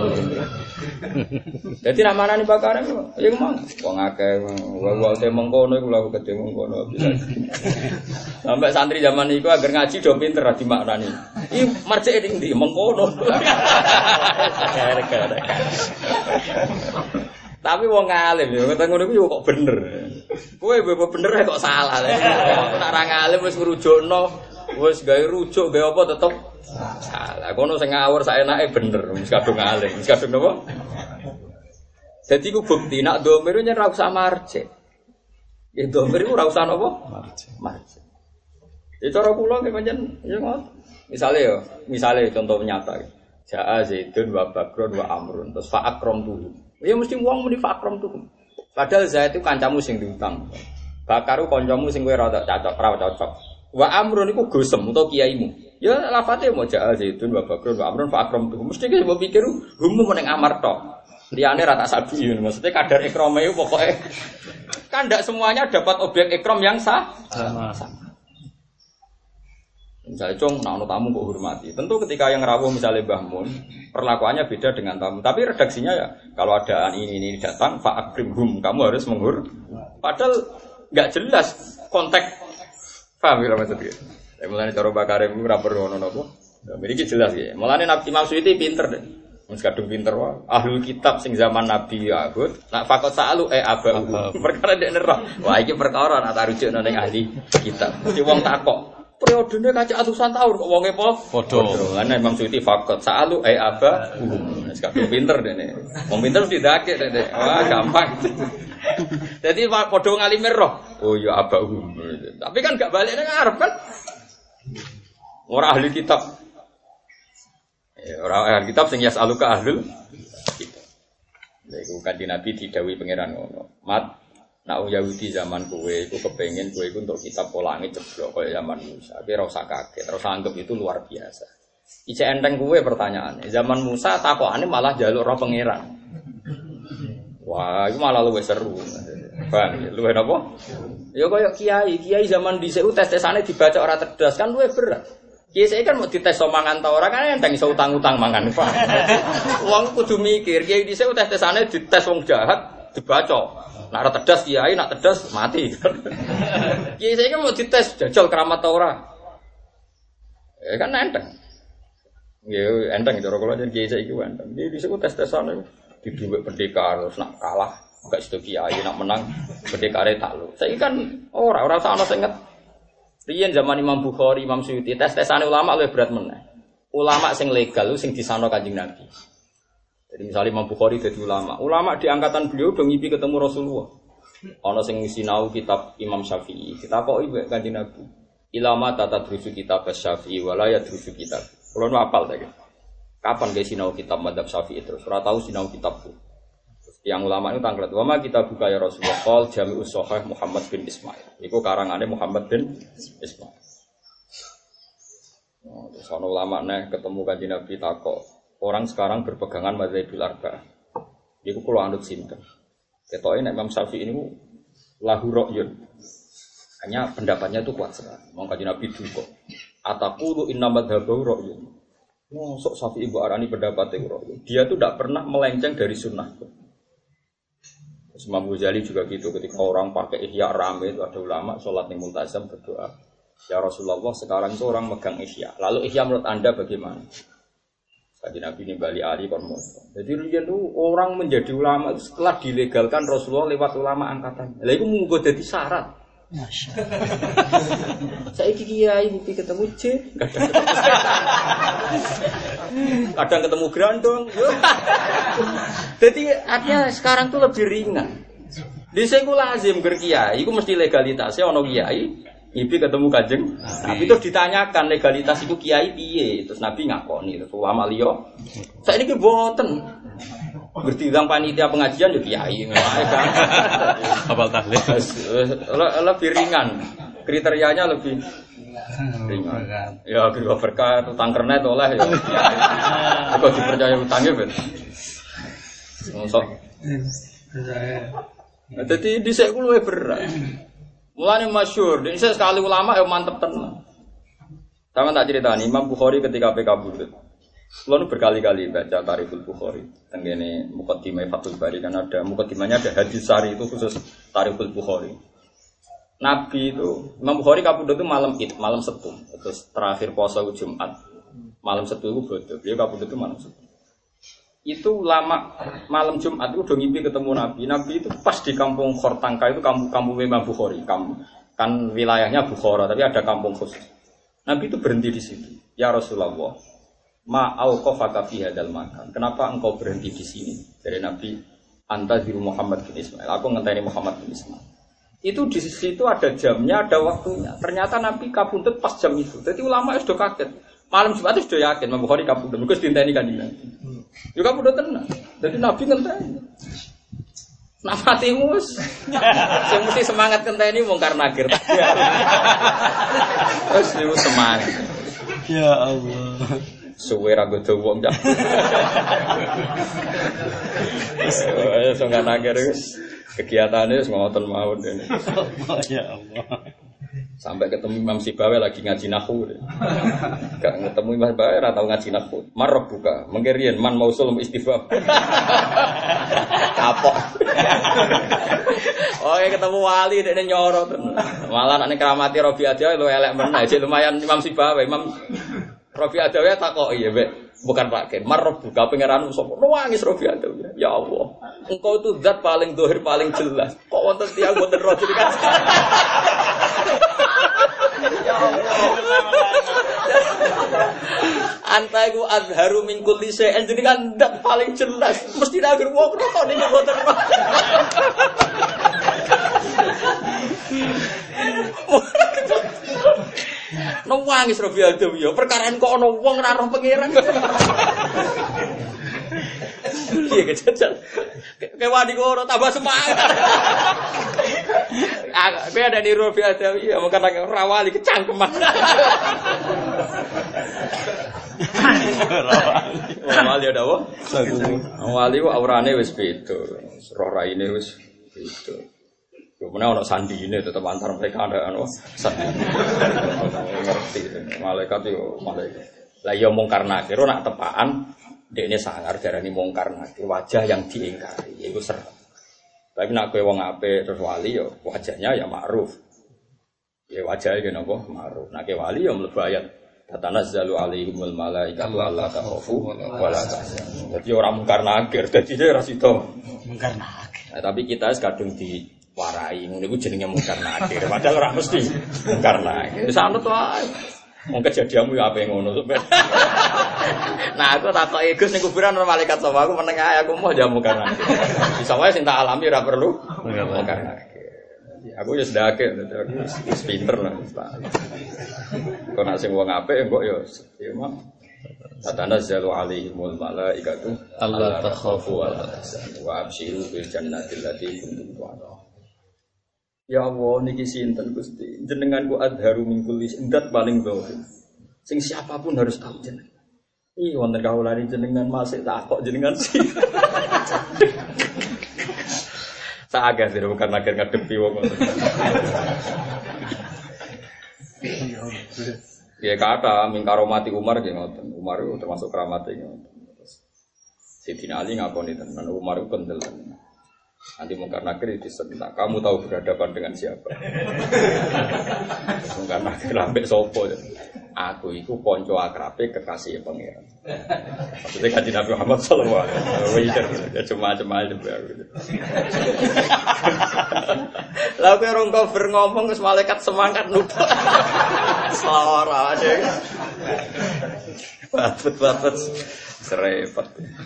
Dadi namane Pak Karim ya mong wong akeh wong te mengkono iku lha gedhe mengkono bisa. Sampai santri zaman iku agar ngaji do pinter ra dimaknani. Iki marjeke ning ndi mengkono. Tapi wong alim ya ngono iku kok bener. Kowe bebo bener kok salah. Nek ora ngalim wis ngrujukno, wis gawe rujuk, gawe apa tetep salah. Kono sing ngawur saenake bener, wis kadung ngalim, wis kadung napa? Dadi ku bukti nek domir yen ora usah marje. Ya domir ora usah napa? Marje. Marje. Ya cara kula nggih pancen ya ngoten. Misale ya, misale contoh nyata. Ja'a Zaidun wa Bakrun wa Amrun, terus fa akramtuhum. Ya mesti wong muni fa akramtuhum. Padahal Zaid itu kancamu sing diutang. Bakaru kancamu sing kowe rada cocok, ora cocok. Wa Amrun iku gosem utawa kiaimu. Ya lafate mau Ja'a Zaidun wa Bakrun wa Amrun fa akramtuhum. Mesti ki mbok pikir humu ning amar tok. Liyane ra tak sabi, maksudnya kadar ikrame iku pokoke kan ndak semuanya dapat objek ikram yang sah. Sama. Misalnya cung, nah tamu kok hormati. Tentu ketika yang rawuh misalnya Mbah Mun, perlakuannya beda dengan tamu. Tapi redaksinya ya, kalau ada ini ini datang, fa'akrimhum, kamu harus menghur. Padahal nggak jelas konteks. Paham ya maksudnya? Ya, mulanya cara Bakarim itu rapor ngono nopo. Jadi jelas ya. Mulanya Nabi Imam Suyuti pinter deh. Mas kadung pinter wah. Ahlul kitab sing zaman Nabi Yahud, nak fakot sa'alu eh abah. Perkara dek nerah. Wah iki perkara nak tarujuk nang ahli kitab. Di wong takok. Periodenya kaca atusan tahun kok wonge po padha. Lan Imam Suyuti fakot sa'alu ai aba. Wis kabeh pinter dene. Wong pinter mesti ndake dene. Wah, gampang. Jadi padha ngalimir roh. Oh ya aba. Tapi kan gak balik nang arep kan. Ora ahli kitab. Ya ora ahli kitab sing yasaluka ahlul kitab. Lha iku kanthi Nabi didhawuhi pangeran ngono. Mat nak Yahudi zaman kowe iku kepengin kowe iku untuk kitab polange jeblok kaya zaman Musa. Tapi ora usah kaget, terus anggap itu luar biasa. Ijek enteng kowe pertanyaane. Zaman Musa takokane malah njaluk roh pangeran. Wah, itu malah luwih seru. Bang, luwih napa? Ya kaya kiai, kiai zaman dhisik tes-tesane dibaca ora cerdas kan luwih berat. Kiai saya kan mau dites somangan ta ora kan enteng iso utang-utang mangan, Pak. Wong kudu mikir, kiai dhisik tes-tesane dites wong jahat dibaca. Nak ora tedas kiai, nak tedas mati. Kiai saya kan mau dites jajal keramat ta ora. Ya kan enteng. Ya enteng cara kula yen kiai saiki enteng. Iki disebut tes-tesan di dhuwit pendekar terus nak kalah gak sedo kiai nak menang pendekare takluk. Saiki kan ora ora usah ana sing nget. Riyen zaman Imam Bukhari, Imam Suyuti tes-tesane ulama luwih berat meneh. Ulama sing legal sing disano Kanjeng Nabi. Jadi misalnya Imam Bukhari jadi ulama, ulama di angkatan beliau udah ngipi ketemu Rasulullah. Ono sing sinau kitab Imam Syafi'i, kita kok ibu Kanjeng Nabi. Ilama tata drusu kitab Syafi'i, walaya drusu kitab. Kalau nu apal tadi. Kapan guys sinau kitab Madzhab Syafi'i terus? Ora tahu sinau kitabku. Yang ulama itu tanglet. Wama kita buka ya Rasulullah. Qol Jami'us Shahih Muhammad bin Ismail. Iku karangane Muhammad bin Ismail. Oh, terus ono ulama nih ketemu Kanjeng Nabi takok. Orang sekarang berpegangan mazhabul arba'ah. Iku kula anut sinten. Ketoke nek Imam Syafi'i niku lahu ra'yun. Hanya pendapatnya itu kuat sekali. Mong Kanjeng Nabi duka. Ataqulu inna madhhabahu ra'yun. Mosok Syafi'i mbok arani pendapatnya ra'yun. Dia tuh tidak pernah melenceng dari sunnah. Imam Ghazali juga gitu. Ketika orang pakai ihya rame itu ada ulama sholat ning multazam berdoa. Ya Rasulullah sekarang itu orang megang ihya. Lalu ihya menurut Anda bagaimana? Kanjeng Nabi nimbali ali kon moso. Jadi riyen itu orang menjadi ulama itu setelah dilegalkan Rasulullah lewat ulama angkatan. Lah iku munggo dadi syarat. Masyaallah. Saiki kiai mimpi ketemu C. Kadang ketemu grandong. Jadi artinya sekarang tuh lebih ringan. Dhisik ku lazim ger kiai iku mesti legalitasnya ono kiai. Ibi ketemu Kanjeng Nabi terus ditanyakan legalitas itu kiai piye terus Nabi ngakoni terus ulama liya saiki ki mboten Bertimbang panitia pengajian ya kiai wae kan. Hafal tahlil. Lebih ringan. Kriterianya lebih ringan. Ya guru berkah utang kernet oleh ya. Kok dipercaya utangnya ben. Mosok. Dadi dhisik ku luwih berat. Mulane masyhur, dhisik sekali ulama ya mantep tenan. Sama tak ceritani Imam Bukhari ketika P K Burdut. Kulo berkali-kali baca Tarikhul Bukhari. Tenggene Muqaddimah Fathul Bari kan ada muqaddimahnya ada hadis sari itu khusus Tarikhul Bukhari. Nabi itu Imam Bukhari kapundhut itu malam Id, malam Setu. Terus terakhir puasa Jumat. Malam Setu itu bodoh. Dia kapundhut itu malam Setu. Itu lama malam Jumat itu udah ngimpi ketemu Nabi. Nabi itu pas di kampung Khortangka itu kampung kampung Imam Bukhari. Kampung, kan wilayahnya Bukhara tapi ada kampung khusus. Nabi itu berhenti di situ. Ya Rasulullah, ma'auqafaka fi hadzal makan. Kenapa engkau berhenti di sini? Dari Nabi, anta ziru Muhammad bin Ismail. Aku ngenteni Muhammad bin Ismail. Itu di situ ada jamnya, ada waktunya. Ternyata Nabi kapundhut pas jam itu. Jadi ulama sudah kaget. Malam Jumat itu sudah yakin Imam Bukhari kapundhut. Mergo dinteni kan Nabi. Yo kapundhut tenan. Jadi Nabi ngenteni. Nak mati mus. Sing mesti semangat ngenteni mungkar nakir. Terus niku semangat. Ya Allah. Suwe ra godo wong cah. Wis sing nakir wis kegiatane wis ngoten mawon dene. Ya Allah. Sampai ketemu Imam Sibawi lagi ngaji nahwu. Gak ketemu Imam Sibawi ora tau ngaji nahwu. Marab buka, mengkirian man mausul istifham. Kapok. Oh, ketemu wali dekne nyoro tenan. Malah nek keramati Robi Adawi lu elek meneh, jek lumayan Imam Sibawi. Imam Robi Adawi takoki ya, Mbak. Bukan Pak Ken, marab buka pangeran sapa. Nangis Robi Adawi. Ya Allah, engkau itu zat paling dohir paling jelas. Kok wonten tiyang mboten roh kan? Ya Allah. Anta iku azharu min kulli syai'in jadi kan ndak paling jelas. Mesti nak wong kok niki mboten. Nangis Robi Adawi ya, perkara kok ana wong ora roh pangeran. Piye kejajal. Kewani kok ora tambah semangat. Ah, kowe ada di Robi Adawi ya, mungkin ora wali kecangkeman. Wali ada apa? Wali ku aurane wis beda. Roh raine wis beda. Yo menawa ana sandine tetep antar mereka ada anu sandi. Ngerti malaikat yo malaikat. Lah yo mungkar nakir nak tepaan dekne sangar darani mungkar nakir wajah yang diingkari iku ser. Tapi nek kowe wong apik terus wali yo wajahnya ya ma'ruf. Ya wajahnya ki napa ma'ruf. Nek wali yo mlebu ayat tatanazzalu alaihimul malaikatu alla takhafu wa la tahzanu. Dadi ora mungkar nakir, dadi ora sida mungkar nakir. Nah, tapi kita kadung di warai ngono iku jenenge mungkar nakir. Padahal ora mesti mungkar nakir. Sanut wae. Wong kejadianmu yo ape ngono. Nah, aku takoki Gus ning kuburan ana malaikat sapa aku meneng ae aku mau jamu mungkar nakir. Bisa wae sing tak alami ora perlu mungkar nakir. Aku ya sedake aku wis pinter lah. Kok nek sing wong apik kok ya ya mah tatanazzalu alaihimul malaikatu alla takhafu wa la tahzanu wa abshiru bil jannati allati kuntum tu'adun. Ya Allah niki sinten Gusti, jenenganku adharu min kulli indat paling dhahir. Sing siapapun harus tahu jenengan. Ih wonten kawulane jenengan masih tak kok jenengan sih. Saagah sih bukan nakir ngadepi wong. Ya kata mingkaromati Umar nggih ngoten. Umar itu termasuk keramatnya ngoten. Sayyidina Ali ngakoni tenan Umar itu kendel. Nanti mungkar nakir disentak. Kamu tahu berhadapan dengan siapa? Mungkar nakir ambek sapa? Aku iku kanca akrabe kekasih pangeran. Maksudnya kanjeng Nabi Muhammad sallallahu alaihi wasallam. Ya cuma-cuma aja aku. Lah kowe rong cover ngomong wis malaikat semangat numpuk. Selawara aja. Batet-batet serepet.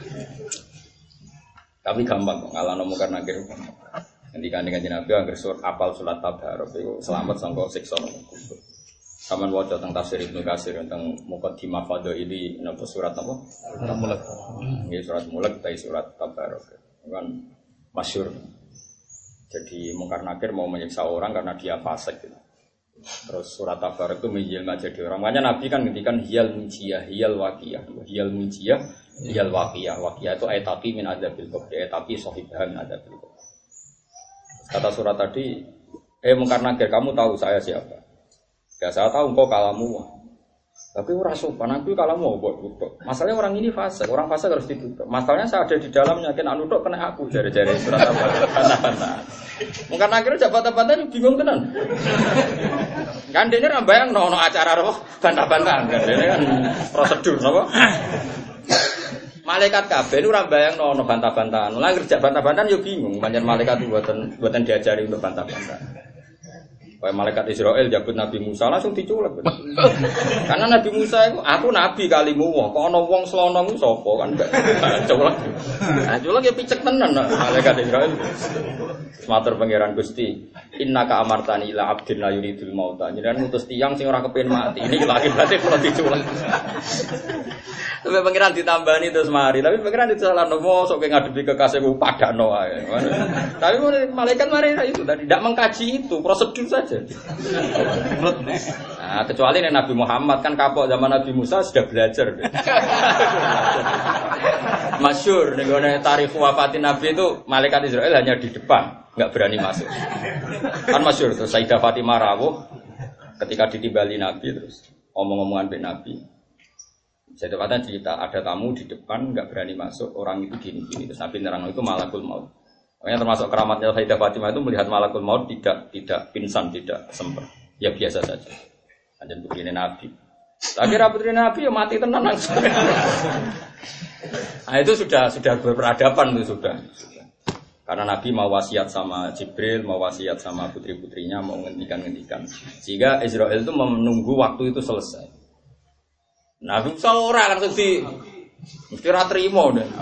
Tapi gampang kok ngalahno mungkar nakir. Ngendikane kanjeng Nabi anggere sur apal salat tabarok iku selamat sangka siksa kubur. Saman waca tentang tafsir Ibnu Katsir tentang Muqaddimah Fadaili napa surat apa? Surat Mulk. Nggih surat Mulk tai surat Tabarok. Kan masyhur. Jadi Mungkar Nakir mau menyiksa orang karena dia fasik gitu. Terus surat Tabarok itu menjelma jadi orang. Makanya Nabi kan ngendikan hiyal mujiyah, hiyal waqiyah. Hiyal mujiyah, hiyal waqiyah. Waqiyah itu ayataki min adzabil qabr, ayataki sahibah min adzabil qabr. Kata surat tadi, eh Mungkar Nakir, kamu tahu saya siapa? Ya saya tahu engkau kalamu. Tapi ora sopan, aku kalamu kok. Masalahnya orang ini fasik, orang fasik harus ditutup. Masalahnya saya ada di dalamnya, kan anu tok kena aku jare-jare surat apa. Mungkin akhirnya jabatan-jabatan bingung tenan. Kan dene ra bayang ono acara roh bantah-bantahan kan dene kan prosedur napa? Malaikat kabeh ora bayang ono bantah-bantahan. Lah kerja bantah-bantahan yo bingung, pancen malaikat mboten mboten diajari untuk bantah-bantahan. Kayak malaikat Israel jabut Nabi Musa langsung diculek. Karena Nabi Musa itu aku nabi kalimu wah, kok ana wong slonong ku sapa kan enggak culek. Nah, culek ya picek tenan malaikat Israel. Matur pangeran Gusti, innaka amartani ila abdin la yuridul mauta. Jenengan ngutus tiyang sing ora kepengin mati. Ini lagi berarti kula diculek. Tapi pangeran ditambani terus mari, tapi pangeran disalahno mosok ngadepi kekasihku padakno wae. Tapi malaikat mari itu tadi tidak mengkaji itu, prosedur saja. Nah, kecuali Nabi Muhammad kan kapok zaman Nabi Musa sudah belajar. Masyhur ning gone tarikh wafatin Nabi itu malaikat Israel hanya di depan, enggak berani masuk. Kan masyhur tuh Sayyidah Fatimah rawuh ketika ditimbali Nabi terus omong-omongan be Nabi. Saya dapatkan cerita ada tamu di depan enggak berani masuk, orang itu gini-gini terus Nabi nerang itu malakul maut. Makanya termasuk keramatnya Sayyidah Fatimah itu melihat malakul maut tidak tidak pingsan, tidak sempat. Ya biasa saja. Ada begini Nabi. Tapi putri Nabi ya mati tenang langsung. Nah itu sudah sudah berperadaban itu sudah. Karena Nabi mau wasiat sama Jibril, mau wasiat sama putri-putrinya, mau ngendikan-ngendikan. Sehingga Israel itu menunggu waktu itu selesai. Nabi seorang langsung di mesti ra trimo deh.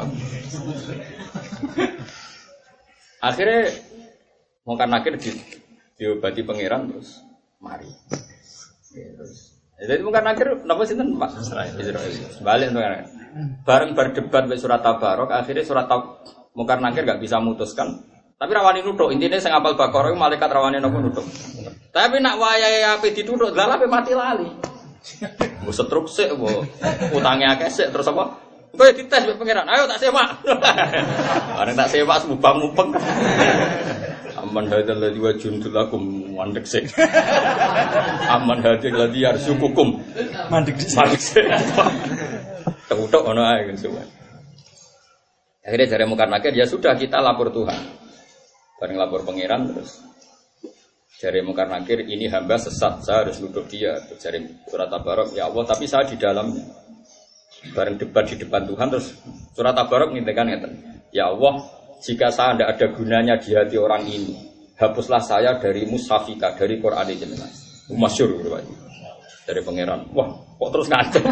Akhirnya Mungkar Nakir di diobati pangeran terus mari. Terus jadi Mungkar Nakir napa sinten Pak Israel. Balik to kan. Bareng berdebat be surat Tabarok, akhirnya surat Mungkar Nakir enggak bisa memutuskan. Tapi rawani nuthuk, intine sing apal Baqarah malaikat rawani napa nuthuk. Tapi nak wayahe ape dituthuk dalah ape mati lali. Mbok setruk sik, mbok utange akeh sik terus apa? Engko ya dites mbek pangeran. Ayo tak semak. Arek tak semak mubang-mubeng. Aman hadzal ladzi wajundul lakum mandek sik. Aman hadzal ladzi yarzuqukum mandek sik. Mandek sik. Tutuk ono ae semua. Akhirnya jare Mungkar Nakir ya sudah kita lapor Tuhan. Bareng lapor pangeran terus jare Mungkar Nakir ini hamba sesat, saya harus nuduh dia. Jare surat Tabarok, ya Allah, tapi saya di dalamnya. Bareng debat di depan Tuhan terus surat Tabarok ngintikan ngeten. Ya Allah, jika saya tidak ada gunanya di hati orang ini, hapuslah saya dari mushafika, dari Quran jenengan. Masyhur gitu Pak. Dari pangeran. Wah, kok terus ngancem.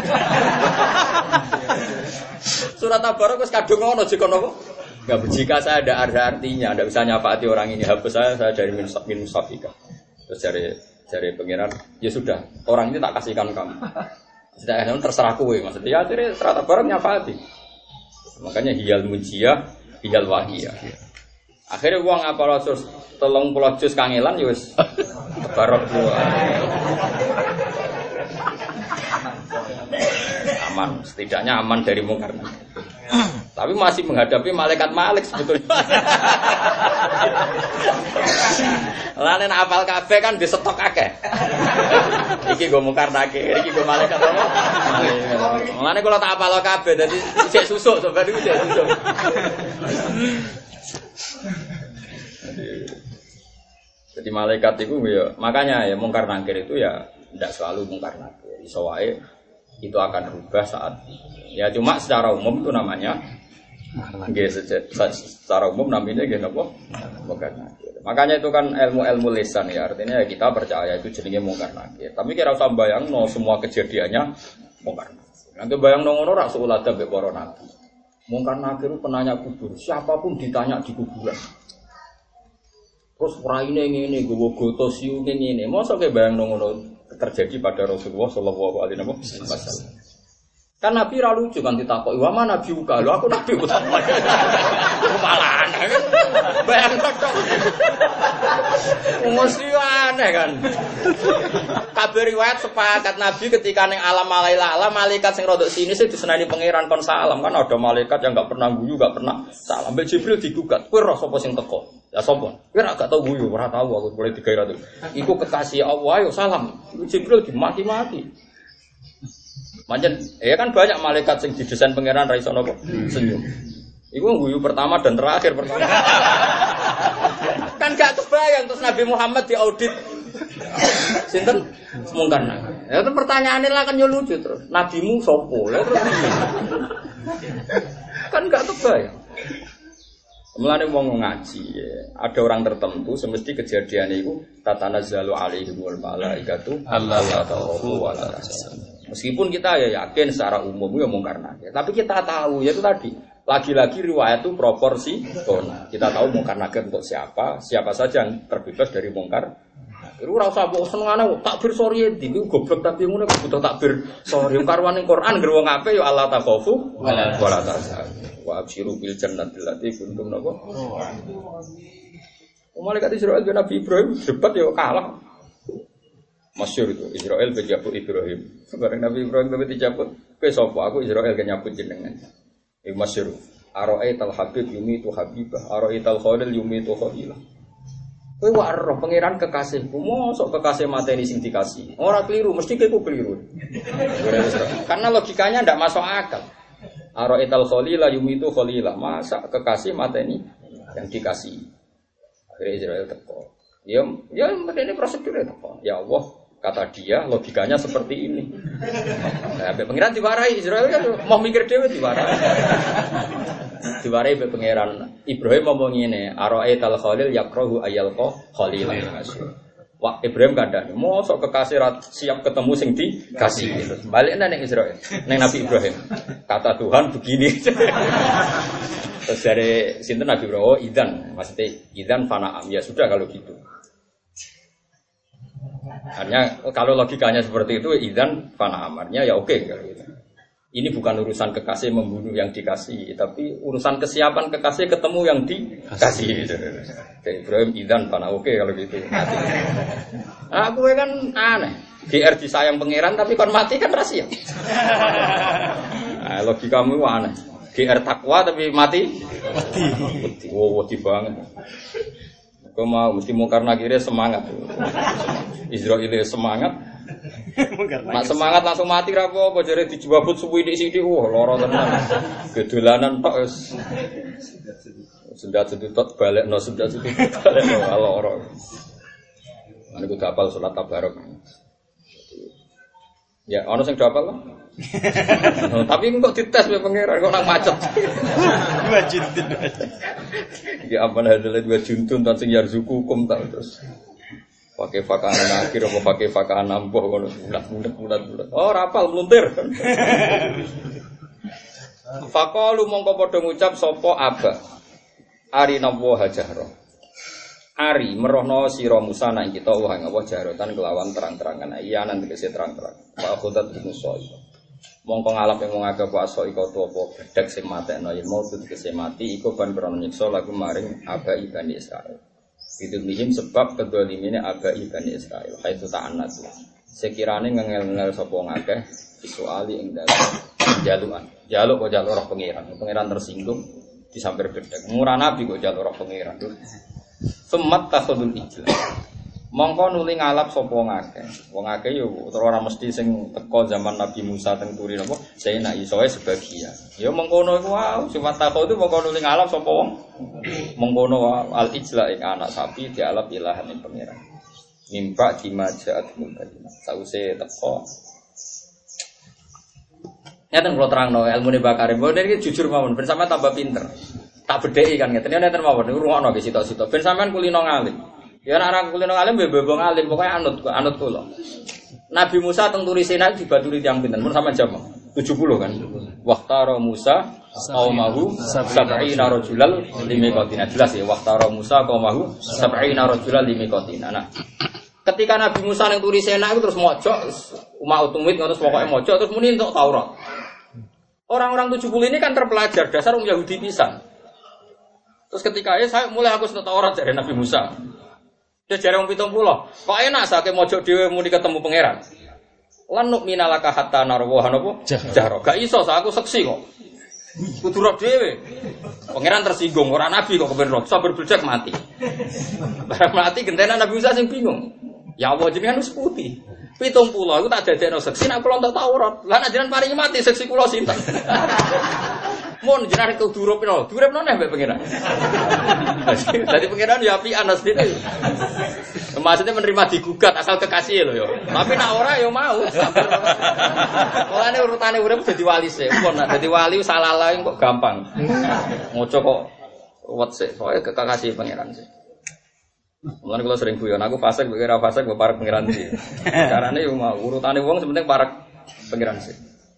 Surat Tabarok wis kadung ngono jika napa? Enggak, jika saya ada artinya, tidak bisa nyafaati orang ini, hapus saya, saya dari min musafika. Terus dari dari pangeran, ya sudah, orang ini tak kasihkan kamu. Sudah, terserah kowe, maksudnya. Ya, akhirnya surat Tabarok nyafaati. Makanya hiyal mujiyah, hiyal wahiyah. Akhirnya uang apa ratus telung puluh juz kangelan, ya wis Tabarok dua. Aman, setidaknya aman dari Mungkar Nakir. Tapi masih menghadapi malaikat Malik sebetulnya. Lanen apal kabeh kan di stok akeh. Iki go Mungkar Nakir, iki go malaikat apa? Lanen kalau tak apal kabeh dadi isih susuk sampeyan iki isih susuk. Jadi malaikat itu ya, makanya ya Mungkar Nakir itu ya tidak selalu Mungkar Nakir. Iso wae itu akan berubah saat ya cuma secara umum itu namanya nggih secara umum namanya nggih napa Mungkar Nakir. Makanya itu kan ilmu-ilmu lisan ya, artinya ya kita percaya itu jenenge Mungkar Nakir. Tapi kira usah bayangno semua kejadiannya Mungkar Nakir. Nanti bayangno ngono ra seulada mbek para nabi. Mungkar Nakir penanya kubur, siapapun ditanya di kuburan. Terus raine ngene, gowo goto siu ngene. Mosok ke bayangno ngono terjadi pada Rasulullah Shallallahu Alaihi Wasallam. Kan Nabi ra lucu kan ditakoki, "Wa mana nabi uga?" Lho aku nabi utama. Malah aneh kan. Bayangkan tok. Mesti aneh kan. Kabeh riwayat sepakat Nabi ketika ning alam malaila alam malaikat sing rodok sini sih disenani pangeran kon salam kan ada malaikat yang enggak pernah guyu, enggak pernah salam. Mbek Jibril digugat, "Kowe roh sapa sing teko?" Ya sapa? Kowe ra gak tau guyu, ora tau aku boleh digairah tuh. Iku kekasih Allah, ayo salam. Jibril dimaki-maki. Manjen, ya kan banyak malaikat sing didesain pangeran ra iso napa senyum. Iku guyu pertama dan terakhir pertama. Kan gak kebayang terus Nabi Muhammad diaudit. Sinten? Mungkar. Ya itu pertanyaannya lah kan yo lucu terus. Nabimu sopo? Lah terus kan gak kebayang. Mulane wong ngaji ya. Ada orang tertentu semesti kejadian itu tatanazzalu alaihimul malaikatu alla takhafu wa la tahzanu. Meskipun kita ya yakin secara umum ya mungkar nakir, tapi kita tahu ya itu tadi lagi-lagi riwayat itu proporsi. Kita tahu mungkar nakir untuk siapa, siapa saja yang terbebas dari mungkar. Iku ora usah mbok senengane takbir sori ndi iku goblok tapi ngono butuh takbir sori karwane Quran ngger wong apik ya Allah takhafu wa la tahzanu wa absyiru bil jannati allati kuntum napa. Malaikat Israil dengan Nabi Ibrahim debat ya kalah. Masyhur itu Israel berjabut Ibrahim. Bareng Nabi Ibrahim tapi dijabut, kowe sapa? Aku Israel kan nyabut jenengan. Iku masyhur. Ara'aital habib yumitu habibah, ara'aital khalil yumitu khalilah. Kowe wae roh pangeran kekasihku, mosok kekasih mateni sing dikasih. Ora keliru, mesti kowe keliru. Karena logikanya ndak masuk akal. Ara'aital khalila yumitu khalilah, masa kekasih mateni yang dikasih. Akhirnya Israel teko. Ya, ya ini prosedurnya teko. Ya Allah, kata dia, logikanya seperti ini. Nah, pengiran diwarai Israel kan mau mikir dewe diwarai. Diwarai be pengiran Ibrahim ngomong ngene, ara'aital khalil yakrahu ayyalqa khalilan. Wah, Ibrahim kandhane, mosok kekasih siap ketemu sing dikasih. Baliknya ning Israel, ning Nabi Ibrahim. Kata Tuhan begini. Terus dari sinten Nabi Ibrahim, oh, idzan, maksudnya idzan fana'am. Ya sudah kalau gitu. Artinya kalau logikanya seperti itu idzan fana'am, artinya ya oke kalau gitu. Ini bukan urusan kekasih membunuh yang dikasih, tapi urusan kesiapan kekasih ketemu yang dikasih. Jadi Ibrahim idzan fana'am, oke kalau gitu. Nah, aku kan aneh. G R disayang pangeran tapi kon mati kan rahasia. Nah, logikamu aneh. G R takwa tapi mati mati. Mati. Wow, mati banget. Kau mau mesti mungkar nakire semangat. Israil semangat. Nak semangat langsung mati ra apa jare dijabut suwi-sithik wah lara tenan. Gedolanan tok wis. Sendat sedut balekno sendat sedut balekno lara. Ane kudu hafal salat tabarok. Ya, ono sing hafal lah. Tapi kok dites ya pangeran kok nang macet. Dua juntun. Ya apa hadalah dua juntun tan sing yarzukukum tak terus. Pakai fakaan akhir apa pakai fakaan ampuh ngono bulat-bulat bulat-bulat. Oh, rapal meluntir. Faqalu mongko padha ngucap sapa aba. Arina wa hajara. Ari merohno sira Musa nang kita wah ngapa jarotan kelawan terang-terangan. Iya nang tegese terang-terang. Wa khudat Musa. Mongko ngalap yang ngake puasa iku apa bedhek sing matekno yen mau tegese mati iku ban krana nyiksa lagu maring abai Bani Israil. Itu mihim sebab kedolimine abai Bani Israil. Haitsu ta'annat. Sekirane ngengel-ngel sapa ngakeh visuali ing dalem jalukan. Jaluk kok jaluk roh pangeran. Pangeran tersinggung disamper bedhek. Murah nabi kok jaluk roh pangeran. Semat takhudul ijlah. Mongko nuli ngalap sapa ngakeh. Wong akeh yo ora mesti sing teko zaman Nabi Musa teng turi napa, saya nak isoe sebagian. Ya mengkono iku wae, sifat takho itu mongko nuli ngalap sapa wong. Mengkono al ijla ing anak sapi dialap ilahan ing pangeran. Nimpa dimajaat mungkadina. Sause teko. Ngeten kula terangno ilmune Bakari. Mbok niki jujur mawon ben sampean tambah pinter. Tak bedheki kan ngeten. Ngeten mawon niku rungokno ge sitok-sitok. Ben sampean kulino ngalim. Ya nek ora kulino alim bebong alim pokoke anut anut kula. Nabi Musa teng turi Sinai dibaturi tiyang pinten? Mun sampean jam tujuh puluh kan. Waqtara Musa qaumahu sab'ina rajulal limiqatina. Jelas ya waqtara Musa qaumahu sab'ina rajulal limiqatina. Nah, Ketika Nabi Musa yang turi Sena itu terus mojok, umat utumit terus pokoknya mojok terus muni untuk Taurat. Orang-orang tujuh puluh ini kan terpelajar dasar orang Yahudi pisan. Terus ketika ya saya mulai aku untuk Taurat dari Nabi Musa. Dia jare wong pitung puluh. Kok enak sakake mojok dhewe muni ketemu pangeran. Lan nuk minalaka hatta narwa napa? Jahro. Gak iso aku seksi kok. Kudu roh dhewe. Pangeran tersinggung, ora nabi kok kepen roh. Sabar berjak mati. Barang mati gentenan Nabi Musa sing bingung. Ya Allah jenengan wis putih. pitung puluh aku tak dadekno seksi nek kula entuk Taurat. Lah nek jenengan paringi mati seksi kula sinten? Mun jenengan kudu durupno. Durupno nek mbek pangeran. Dadi pangeran ya apian asline. Maksudnya menerima digugat asal kekasih lho ya. Tapi nek ora ya mau. Mulane urutane urip dadi wali sih. Mun nek dadi wali salah lain kok gampang. Ngoco kok wet sih. Pokoke kekasih pangeran sih. Mulane kula sering guyon aku fasik kira fasik kok parek pangeran sih. Carane yo mau urutane wong sepenting parek pangeran sih.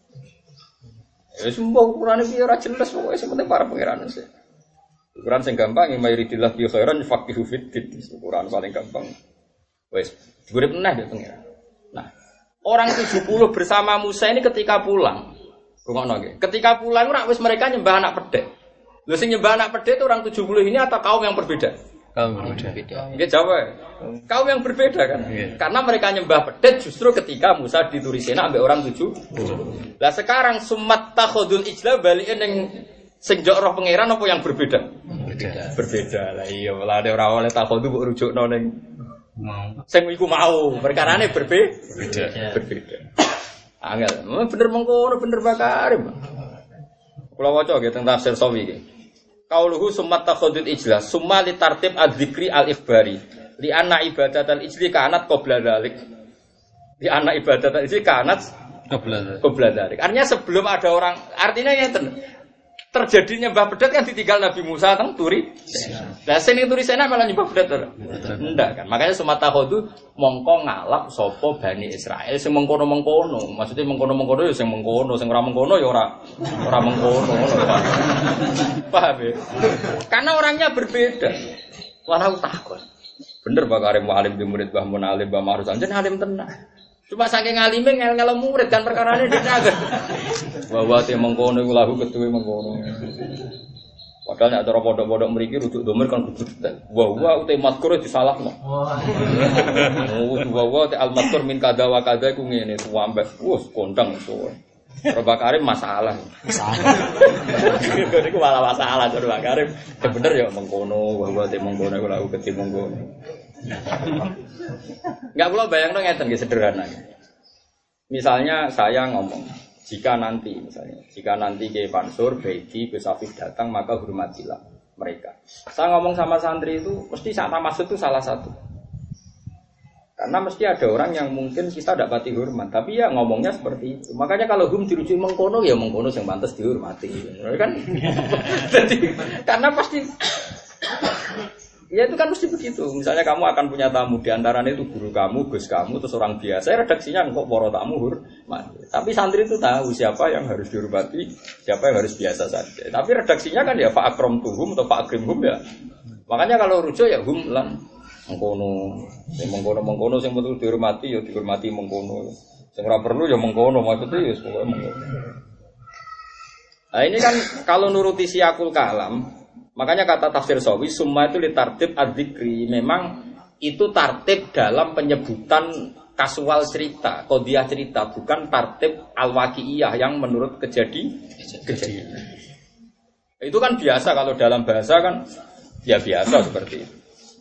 Ya sumpah ukurane piye ora jelas pokoke sepenting parek pangeran sih. Ukuran sing gampang yang mayoritillah bi khairan faqihu fiddin. Ukuran paling gampang. Wes, digurep meneh ya pangeran. Nah, orang tujuh puluh bersama Musa ini ketika pulang. Rungokno nggih. Ketika pulang ora wis mereka nyembah anak pedhet. Lho sing nyembah anak pedhet itu orang tujuh puluh ini atau kaum yang berbeda? Kaum berbeda. Nggih jawab. Kaum yang berbeda kan? Yeah. Karena mereka nyembah pedhet justru ketika Musa dituri Sina ambek orang tujuh puluh. Lah sekarang sumat takhudul ijla balikin ning sing njok roh pangeran apa yang berbeda? Berbeda. Berbeda. Lah iya malah ada ora oleh takhudu mbok rujukno ning mau. Sing iku mau, perkarane berbe berbeda. Berbeda. Angel, bener mengkono bener bakarim. Kula waca nggih teng tafsir Sawi iki. Qauluhu summa takhudul ijlas summa li tartib adzikri al-ikhbari li anna ibadatal ijli kanat qabla dzalik. Li anna ibadatal ijli kanat qabla qabla dzalik. Artinya sebelum ada orang, artinya ngeten. Terjadinya nyembah pedhet kan ditinggal Nabi Musa teng turi. Lah sing turi Sena malah nyembah pedhet ora? Ndak kan. Makanya sumata khodu mongko ngalap sapa Bani Israil sing mengkono-mengkono. Maksudnya mengkono-mengkono ya sing mengkono, sing ora mengkono ya ora ora mengkono. Paham ya? Karena orangnya berbeda. Wala takon. Bener Pak Karim alim di murid Mbah Mun alim Mbah Marus anjen alim tenan. Cuma saking ngalime ngel-ngel murid kan perkarane dene agak. Bahwa te mengkono iku lahu ketuwe mengkono. Padahal nek cara pondok-pondok mriki ruduk domir kan kudu detail. Wa wa ute mazkur disalahno. Oh, wa wa te al mazkur min kada wa kada iku ngene suwambek. Wes kondang suwe. Roba Karim masalah. Masalah. Iku malah masalah Roba Karim. Bener ya mengkono, wa wa te mengkono iku lahu ketuwe mengkono. Enggak kula bayangno ngeten nggih sederhana. Misalnya saya ngomong, jika nanti misalnya, jika nanti Kiai Mansur, Baiti, Gus Afif datang maka hormatilah mereka. Saya ngomong sama santri itu mesti sama maksud itu salah satu. Karena mesti ada orang yang mungkin kita tidak pati hormat, tapi ya ngomongnya seperti itu. Makanya kalau hum dirujuk mengkono ya mengkono yang pantas dihormati, kan? Jadi karena pasti ya itu kan mesti begitu. Misalnya kamu akan punya tamu di antaranya itu guru kamu, gus kamu, terus orang biasa. Redaksinya kok para tamu hormat. Tapi santri itu tahu siapa yang harus dihormati, siapa yang harus biasa saja. Tapi redaksinya kan ya Pak Akram tuhum atau Pak Akrim hum ya. Makanya kalau rujuk ya hum lan mengkono, yang mengkono mengkono yang betul dihormati ya dihormati mengkono. Yang ora perlu ya mengkono maksudnya ya pokoknya mengkono. Nah ini kan kalau nuruti siakul kalam. Makanya kata tafsir Sawi summa itu litartib adzikri memang itu tartib dalam penyebutan kasual cerita, qadhiyah cerita, bukan tartib al-waqi'iyah yang menurut kejadi kejadian. Itu kan biasa kalau dalam bahasa kan ya biasa seperti itu.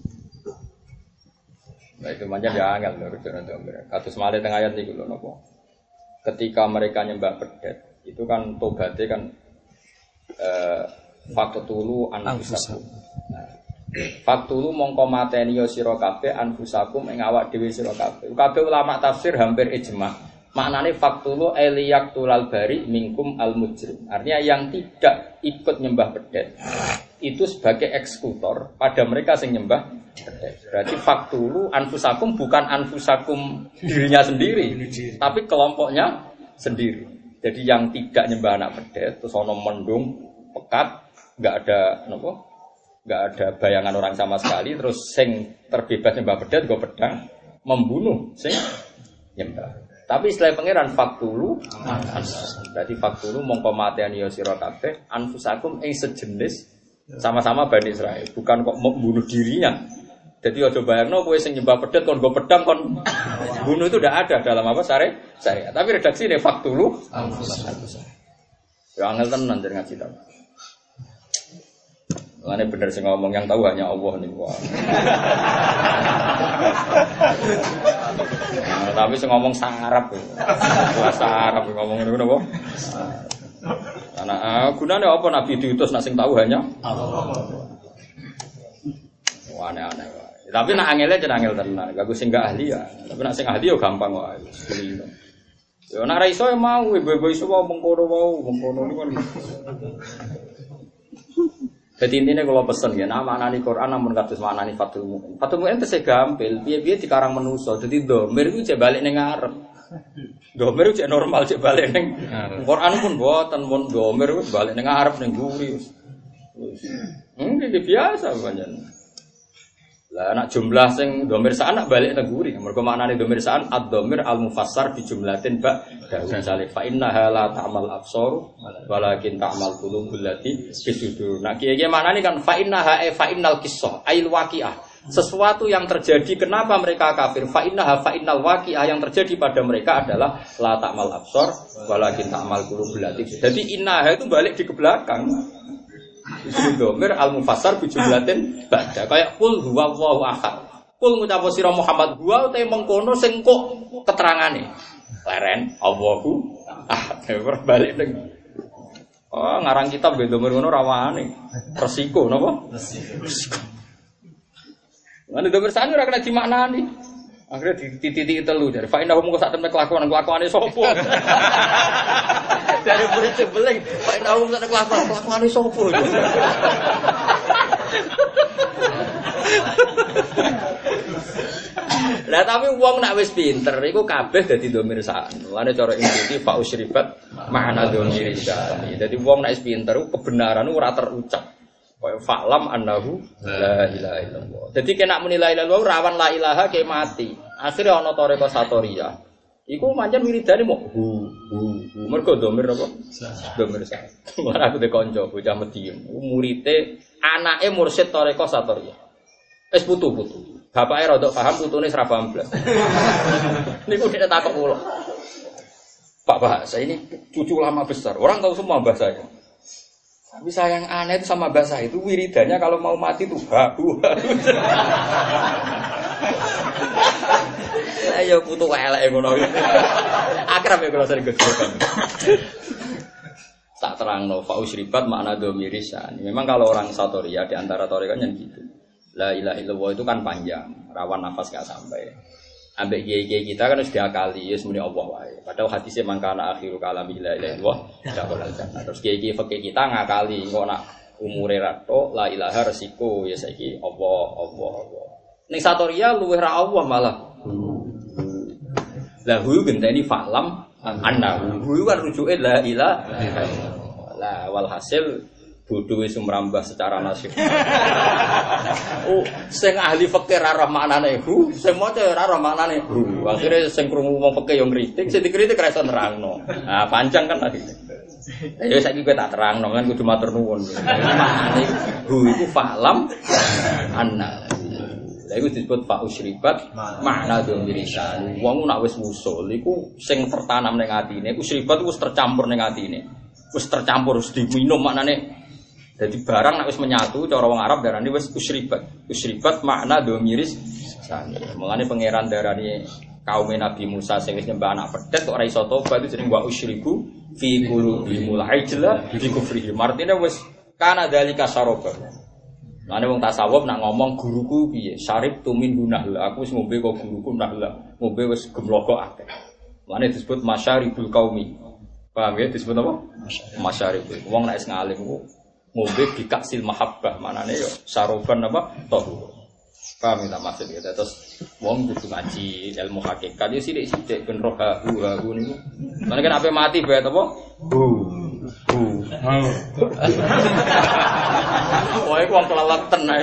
Nah itu macam ya angel menurut orang kados malih teng ayat iki lho napa. Ketika mereka nyembah pedhet, itu kan tobaté kan eh faktulu anfusakum. Nah, faktulu mongko mateni ya sira kabeh anfusakum ing awak dhewe sira kabeh. Kabeh ulama tafsir hampir ijma. Maknane faktulu eliyaqtulal bari minkum al mujrim. Artinya yang tidak ikut nyembah pedhet itu sebagai eksekutor pada mereka sing nyembah pedhet. Berarti faktulu anfusakum bukan anfusakum dirinya sendiri, tapi kelompoknya sendiri. Jadi yang tidak nyembah anak pedhet terus ana mendung pekat nggak ada nopo, nggak ada bayangan orang sama sekali. Terus sing terbebas nyembah pedhet go pedang, membunuh sing nyembah. Tapi istilah pangeran faktulu, berarti faktulu mongko mateni ya sira kabeh anfusakum ing sejenis sama-sama Bani Israil, bukan kok membunuh dirinya. Jadi aja bayangno kowe sing nyembah pedet kon nggo pedang kon bunuh itu tidak ada dalam apa syariat. Syariat. Tapi redaksi ini faktulu anfusakum. Ya angel tenan jeneng ngaji ta. Lane bener sing ngomong yang tahu hanya Allah nih wah. Nah, tapi sing ngomong sarap. Bahasa Arab ngomong ngono napa? Ana gunane apa nabi diutus nak sing tahu hanya Allah. Wah aneh-aneh wae. Tapi nak angele jeneng angel tenan. Gak sing gak ahli ya. Tapi nak sing ahli yo gampang wae. Yo nak ra iso mau ibu-ibu iso mengkono mau mengkono niku kan. Jadi intinya kalau pesen ya, nama anani Quran namun kados maknani Fathul Mu'in. Fathul Mu'in itu gampil, piye-piye dikarang manusa. Jadi domir itu cek balik ning ngarep. Domir itu cek normal cek balik ning Quran pun boten pun domir itu balik ning ngarep ning guri. Hmm, iki biasa pancen. Lah anak jumlah sing domir sa'an balik ning guri. Mergo maknane domir sa'an ad-domir al-mufassar bi jumlatin ba misale fa innaha la ta'mal absar walakin ta'mal qulubul lati fisudur. Nah kiye-kiye maknane kan fa innaha fa innal qissah ail waqiah. Sesuatu yang terjadi kenapa mereka kafir? Fa innaha fa innal waqiah yang terjadi pada mereka adalah la ta'mal absar walakin ta'mal qulubul lati. Jadi innaha itu balik di ke belakang. Isu domir al-mufassar bijumlatin ba'da kayak kul huwallahu ahad. Kul ngucap sira Muhammad huwa te mengkono sing kok keterangane. Leren Allahu ahad. Balik ning. Oh, ngarang kitab ge domir ngono rawane. Resiko napa? Resiko. Lan domir sane ora kena dimaknani. Akhirnya di titik telu dari fa inna hum sak temne kelakuan kelakuane sapa. Dari murid sebeling fa inna hum sak kelakuan kelakuane sapa. Lah tapi wong nak wis pinter iku kabeh dadi domir sa'an. Lane cara inti fa usribat ma'ana domir sa'an. Dadi wong nak wis pinter kebenaran ora terucap. Kaya fa'lam annahu la ilaha illallah. Jadi kena menilai lalu rawan la ilaha ke mati. Akhirnya ana toreko satoria. Iku pancen wiridane mok hu hu hu. Mergo domir apa? Domir sa. Ora aku de kanca bocah Medium. Murite anake mursyid toreko satoria. Wis putu-putu. Bapake rada paham, putune ora paham blas. Niku nek takok kula. Pak bahasa ini cucu lama besar. Orang tahu semua bahasanya. Tapi sayang aneh itu sama bahasa itu wiridannya kalau mau mati tuh habu. Ayo putu elek ngono. Akrab ya kalau sering gojekan. Tak terangno fa usribat makna domirisan. Memang kalau orang satoria di antara torikanya gitu. La ilaha illallah itu kan panjang, rawan nafas enggak sampai. Ambek kiai-kiai kita kan sudah diakali ya semuanya Allah wae. Padahal hadisnya mangkana akhiru kalami la ilaha illallah dakhalal jannah. Terus kiai-kiai fikih kita ngakali kok nak umure rato la ilaha resiko ya saiki Allah Allah Allah. Ning satoria luwih ra Allah malah. La hu genteni fa'lam annahu. Hu kan rujuke la ilaha illallah. Lah walhasil bodoh wis merambah secara nasib. Oh, sing ahli fikih ora roh maknane hu, sing maca ora roh maknane hu. Akhire sing krungu wong fikih yo ngritik, sing dikritik ora iso nerangno. Nah, panjang kan tadi. Ya saiki kowe tak terangno kan kudu matur nuwun. Maknane hu iku fa'lam anna. Lha iku disebut fa usribat makna domirisan. Wong nek wis wusul iku sing tertanam ning atine, usribat iku wis tercampur ning atine. Wis tercampur wis diminum maknane. Jadi barang nek wis menyatu cara wong Arab darani wis usribat. Usribat makna domiris sani. Mulane pangeran darani kaum Nabi Musa sing wis nyembah anak pedet kok ora iso tobat itu jeneng wa usriku fi qulubihimul ajla bi kufrihim. Artine wis kana dalika saroba. Mulane wong tasawuf nak ngomong guruku piye? Syarib tumin hunahla. Aku wis ngombe kok guruku nahla. Ngombe wis gemloko akeh. Mulane disebut masyaribul qaumi. Paham ya disebut apa? Masyaribul. Wong nek wis ngalim ku ngombe bikaksil mahabbah manane yo saroban apa toh paham tak maksud ya terus wong kudu ngaji ilmu hakikat yo sithik-sithik ben roh hu hu niku mane kan ape mati bae apa hu hu Wah, iku wong keleleten ae.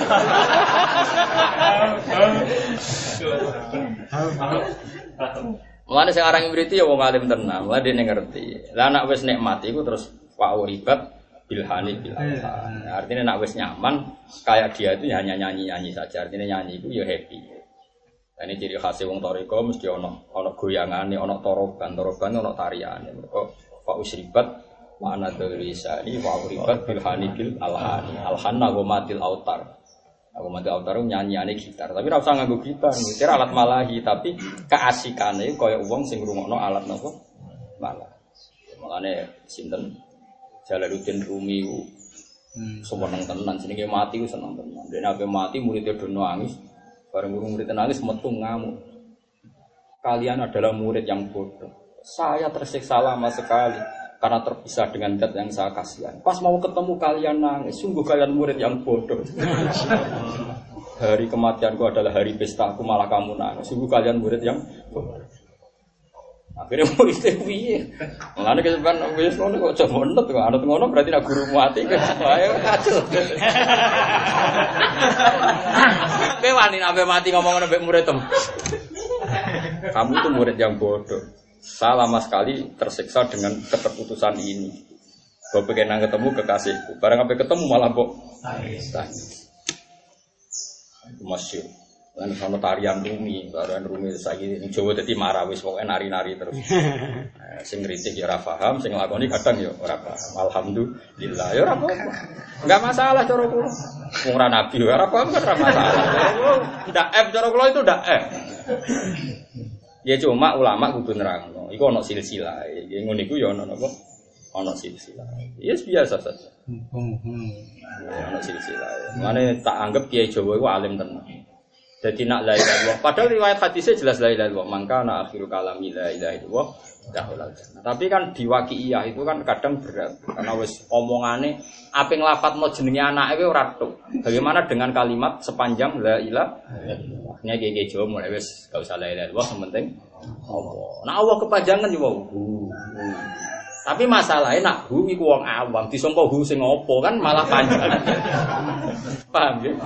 Mulane sing aran ngriti ya wong alim tenan, mulane dene ngerti. Lah nek wis nikmat iku terus wa uribat bilhani bilhan. Artinya nek wis nyaman, kayak dia itu hanya nyanyi-nyanyi saja. Artinya nyanyi itu ya happy. Nah, ini ciri khas wong toriko mesti ono ono goyangane, ono toroban, toroban ono tariane. Mergo fa usribat wa ana dzalisani wa uribat bilhani bil alhani. Alhanna wa matil autar. Aku mati autar nyanyiane gitar, tapi ora usah nganggo gitar, kira alat malahi, tapi keasikane kaya wong sing ngrungokno alat napa? Malah. Makane sinten Jalaluddin Rumi ku hmm. seneng tenan, jenenge mati ku seneng tenan. Dene ape mati muridé do nangis, bareng guru murid nangis metu ngamuk. Kalian adalah murid yang bodoh. Saya tersiksa lama sekali karena terpisah dengan zat yang saya kasihan. Pas mau ketemu kalian nangis, sungguh kalian murid yang bodoh. Hari kematianku adalah hari pestaku, malah kamu nangis. Sungguh kalian murid yang bodoh. Akhirnya muridnya piye? Mulane kesepan wis ngono kok aja monot kok anut ngono berarti nek guru mati ayo kacau. Kowe wani nek mati ngomong ngono mbek muridem. Kamu itu murid yang bodoh. Saya lama sekali tersiksa dengan keterputusan ini. Gue pengen nang ketemu kekasihku. Barang sampai ketemu malah kok tangis. Itu masyhur. Lan sono tarian Rumi, tarian Rumi saiki ning Jawa dadi marawis pokoke nari-nari terus. Nah, sing ngritik ya ora paham, sing nglakoni kadang ya ora paham. Alhamdulillah ya ora apa-apa. Enggak masalah cara kula. Wong ora nabi ora paham kan ora masalah. Ndak F cara kula itu ndak F. Ya cuma ulama kudu nerangno. Iku ana silsilah. Ya ngono iku ya ana napa? Ana silsilah. Ya biasa saja. Ya ana silsilah. Mane tak anggap Kiai Jawa iku alim tenan. Jadi nak la ilaha illallah. Padahal riwayat hadisnya jelas la ilaha illallah. Mangka na akhiru kalami la ilaha illallah dahulal jannah. Tapi kan di waqi'iyah itu kan kadang berat. Karena wis omongane ape nglafatno jenenge anake ora tok. Bagaimana dengan kalimat sepanjang la ilaha illallah? Nek iki Jawa mulai wis gak usah la ilaha illallah, yang penting Allah. Nah Allah kepanjangan yo hu. Tapi masalahnya nak hu iku wong awam disangka hu sing apa kan malah panjang. Paham ya?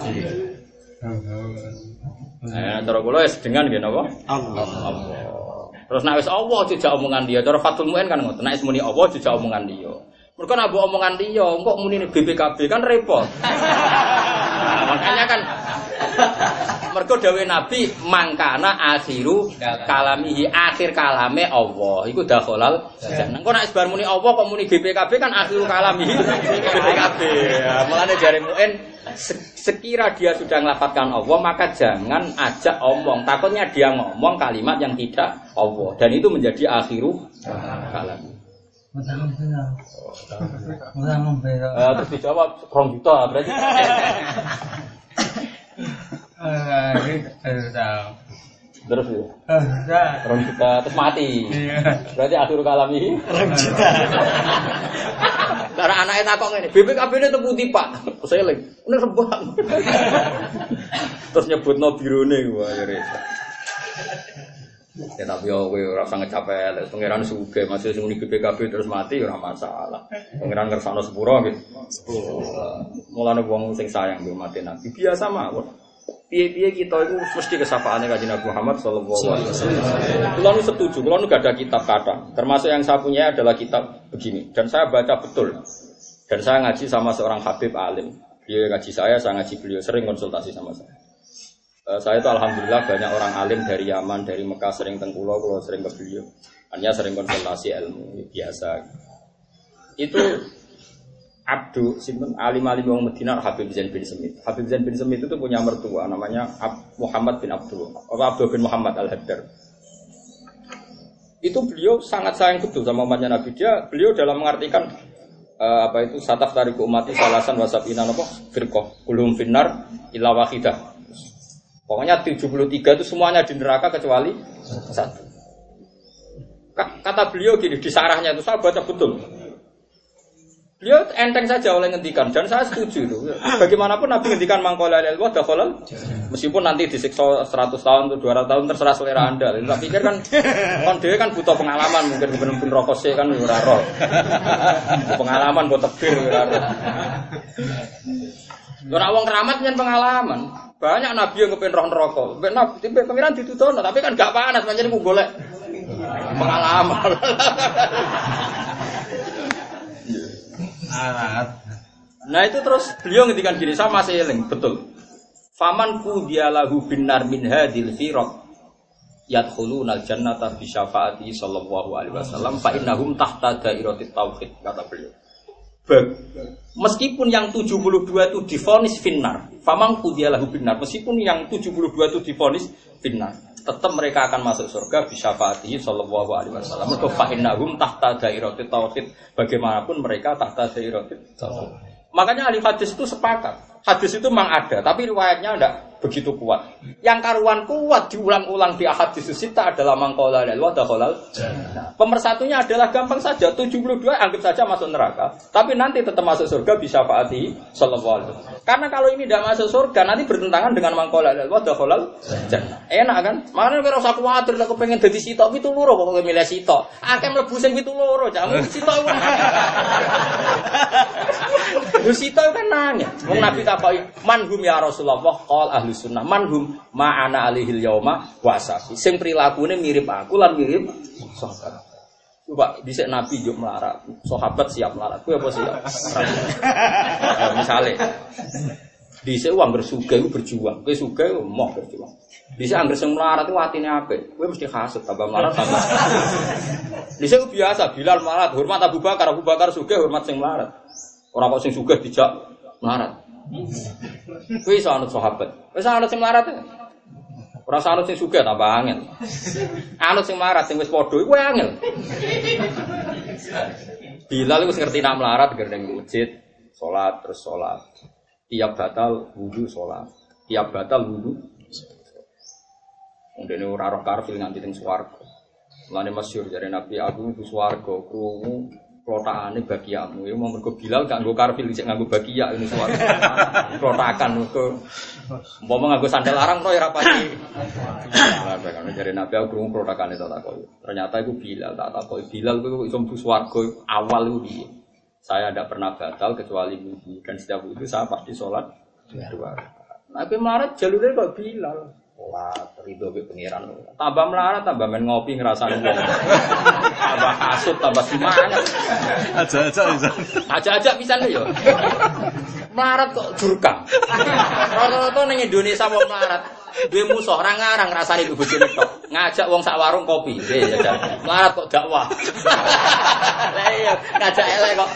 Nah, cara kula wis dengan nggih napa? Allah. Allah. Terus nek wis Allah jejak omongan dia, cara Fathul Mu'in kan ngoten. Nek wis muni Allah jejak omongan dia. Mergo nek mbok omongan dia, engko muni B P K B kan repot. Nah, makanya kan mergo dawuh Nabi mangkana akhiru kalamihi, akhir kalame Allah. Iku dakhalal jannah. Engko nek bar muni Allah kok muni B P K B kan akhiru kalamihi B P K B. Ya, mulane jare Mu'in sekira dia sudah ngelafadzkan Allah maka jangan ajak omong. Takutnya dia ngomong kalimat yang tidak Allah dan itu menjadi akhiru kalam. Uh, terus dijawab rong juta berarti. Terus ya. Rong juta terus mati. Berarti akhiru kalami rong juta. Karena anaknya takok ngene, B P K B-ne temu ndi, Pak? Seling. Ini rebang. Terus nyebutno birone wae ya repot. Ya tapi yo kowe ora usah ngecapel, pangeran sugih masih sing muni B P K B terus mati ora masalah. Pangeran ngersakno sepuro nggih. Sepuro. Mulane wong sing sayang yo mati Nabi biasa mawon. Piye-piye kita itu mesti kesapaane Kanjeng Nabi Muhammad sallallahu alaihi wasallam. Kula nu setuju, kula nu gak ada kitab kata. Termasuk yang saya punya adalah kitab begini dan saya baca betul. Dan saya ngaji sama seorang habib alim. Dia ngaji saya, saya ngaji beliau, sering konsultasi sama saya. Uh, saya itu alhamdulillah banyak orang alim dari Yaman, dari Mekah sering tengkulo, kalau sering ke beliau. Hanya sering konsultasi ilmu biasa. Itu Abdu, sinten alim-alim wong Madinah Habib Zain bin Semit. Habib Zain bin Semit itu punya mertua namanya Muhammad bin Abdul, atau Abdul bin Muhammad Al-Haddar. Itu beliau sangat sayang betul sama umatnya Nabi. Dia beliau dalam mengartikan uh, apa itu sataf tariku umati salasan wasabina napa firqah kulhum finnar illa wahidah. Pokoknya tujuh puluh tiga itu semuanya di neraka kecuali satu. Kata beliau gini di sarahnya itu saya baca betul. Beliau enteng saja oleh ngendikan dan saya setuju itu. Bagaimanapun Nabi ngendikan mangkola ilmu dakhalal meskipun nanti disiksa seratus tahun atau dua ratus tahun terserah selera Anda. Tapi pikir kan kon dhewe kan butuh pengalaman mungkin bener-bener rokok sih kan ora roh. Pengalaman buat tebir ora roh. Ora wong keramat nyen pengalaman. Banyak nabi yang kepen roh neraka. Ben nabi tipe pengiran ditutono, tapi kan gak panas pancen ku golek pengalaman. Nah itu terus beliau ngendikan gini, saya masih eling, betul. Faman qudiyalahu binar min hadil firaq yadkhulunal jannata bi syafaati sallallahu alaihi wasallam fa innahum tahta dairatit tauhid, kata beliau. Meskipun yang tujuh puluh dua itu divonis finnar, faman qudiyalahu binar, meskipun yang tujuh puluh dua itu divonis finnar, tetap mereka akan masuk surga bi syafaati sallallahu alaihi wasallam. Mergo fa innahum tahta dairatit tauhid, bagaimanapun mereka tahta dairatit tauhid. Makanya ahli hadis itu sepakat. Hadis itu memang ada, tapi riwayatnya tidak begitu kuat. Yang karuan kuat diulang-ulang di hadis sita adalah mangkola dan wadakholal. Nah, pemersatunya adalah gampang saja. tujuh puluh dua anggap saja masuk neraka, tapi nanti tetap masuk surga bisa faati sallallahu alaihi wasallam. Karena kalau ini tidak masuk surga, nanti bertentangan dengan mangkola dan wadakholal. Enak kan? Makanya kalau usah khawatir, aku pengen jadi sitok itu loro, kok milih sitok. Akan mlebu sing itu loro, jamu sitok. Lu sitok kan nanya. Wong Nabi takoki, "Manhum ya Rasulullah?" Qol ahli sunnah, "Manhum ma'ana alihil yauma wa ashabi." Sing prilakune mirip aku lan mirip sahabat. Coba dhisik Nabi yo melarat, sahabat siap melarat. Kuwi apa siap? Ya, misale dhisik wong bersuga iku berjuang, kowe sugih moh berjuang. Dhisik anggere sing melarat iku atine apik, kowe mesti hasud tambah melarat tambah. Dhisik biasa Bilal melarat, hormat Abu Bakar, Abu Bakar sugih hormat sing melarat. Ora kok sing sugih dijak melarat. Kuwi iso anut sahabat. Wis anut sing melarat. Ora anut sing sugih tambah angel. Anut sing melarat sing wis padha iku angel. Bilal wis ngerti nak melarat ger ning masjid, salat terus salat. Tiap batal wudu salat. Tiap batal wudu. Ndene ora roh karfil nganti teng swarga. Mulane masyhur jare Nabi aku mlebu swarga krungu klotakane bagiamu. Ya mau mergo Bilal gak nggo karfil isih nganggo bagia ini suara. Klotakan mergo umpama nganggo sandal larang kok ora pati. Lah kan jare Nabi aku krungu klotakane tak takoki. Ternyata iku Bilal, tak takoki Bilal kuwi iso mlebu swarga awal iku piye? Saya tidak pernah batal kecuali wudu dan setiap wudu saya pasti sholat dua rakaat. Nah, tapi melarat jalurnya kok Bilal. Sholat ridho be pengiran. Tambah melarat tambah main ngopi ngerasani wong. Tambah kasut tambah semangat. Aja-aja bisa. Aja-aja bisa yo. Melarat kok jurkam. Rata-rata ning Indonesia wong melarat duwe musuh ora ngarang ngrasani ibu bojone tok. Ngajak wong sak warung kopi. Nggih ya. Melarat kok dakwah. Lah iya, ngajak elek kok.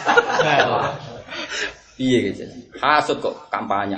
Piye gitu. Hasud kok kampanye.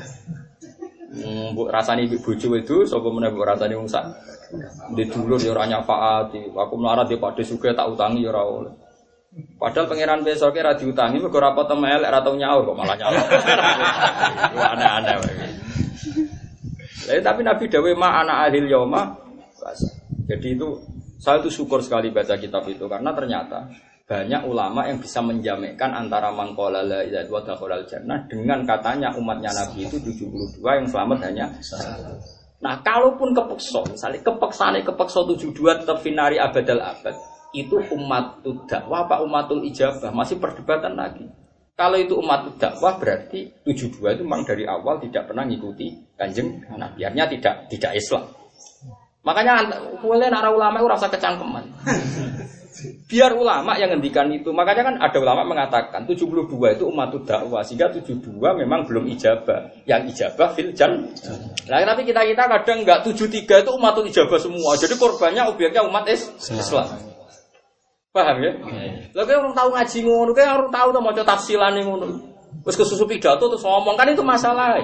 Mbok rasani bojo itu sapa meneh mbok rasani wong sak ndek dulur ya ora nyafaati. Aku melarat di padhe sugih tak utangi ya ora oleh. Padahal pangeran besoke ra diutangi mergo ora potem elek ra tau nyaur kok malah nyaur. Aneh-aneh wae. Lah tapi Nabi dawuh ma ana ahil yauma. Jadi itu saya itu syukur sekali baca kitab itu karena ternyata banyak ulama yang bisa menjamakkan antara mangkola la ilaha illallah wa dakhalal jannah dengan katanya umatnya Nabi itu tujuh puluh dua yang selamat hanya satu. Nah, kalaupun kepeksa, misalnya kepeksane kepeksa tujuh puluh dua tetap finari abadal abad, itu umatul dakwah apa umatul ijabah masih perdebatan lagi. Kalau itu umatul dakwah berarti tujuh puluh dua itu memang dari awal tidak pernah ngikuti Kanjeng Nabi, artinya tidak tidak Islam. Makanya boleh nara ulama itu rasa kecangkeman. Biar ulama yang ngendikan itu. Makanya kan ada ulama mengatakan tujuh puluh dua itu umatul dakwah, sehingga tujuh puluh dua memang belum ijabah. Yang ijabah fil jan. Nah, tapi kita-kita kadang enggak tujuh puluh tiga itu umatul ijabah semua. Jadi korbannya objeknya umat Islam. Paham ya? Lah kowe orang tahu ngaji ngono, kowe orang tahu to maca tafsilane ngono. Wis kesusu pidato terus ngomong kan itu masalah.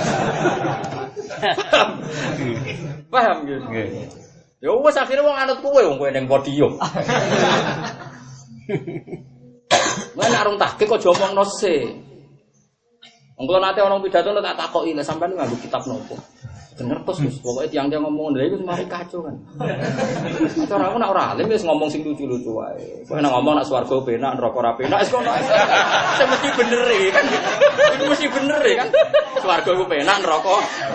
Paham gitu. Ya wis akhire wong anut kowe wong kowe ning podium. Lan arung tahqiq kok omongno se. Wong kula nate ana pidato tak takoki lha sampean nganggo kitab nopo. Ngertos Gus, pokoke tiyang-tiyang ngomong lha iku semare kacau kan. Cara aku nek ora alim wis ngomong sing lucu-lucu wae. Kowe nek ngomong nek swarga penak, neraka ora penak, wis kono. Sing mesti bener e kan. Iku mesti bener e kan. Swarga ku penak, neraka.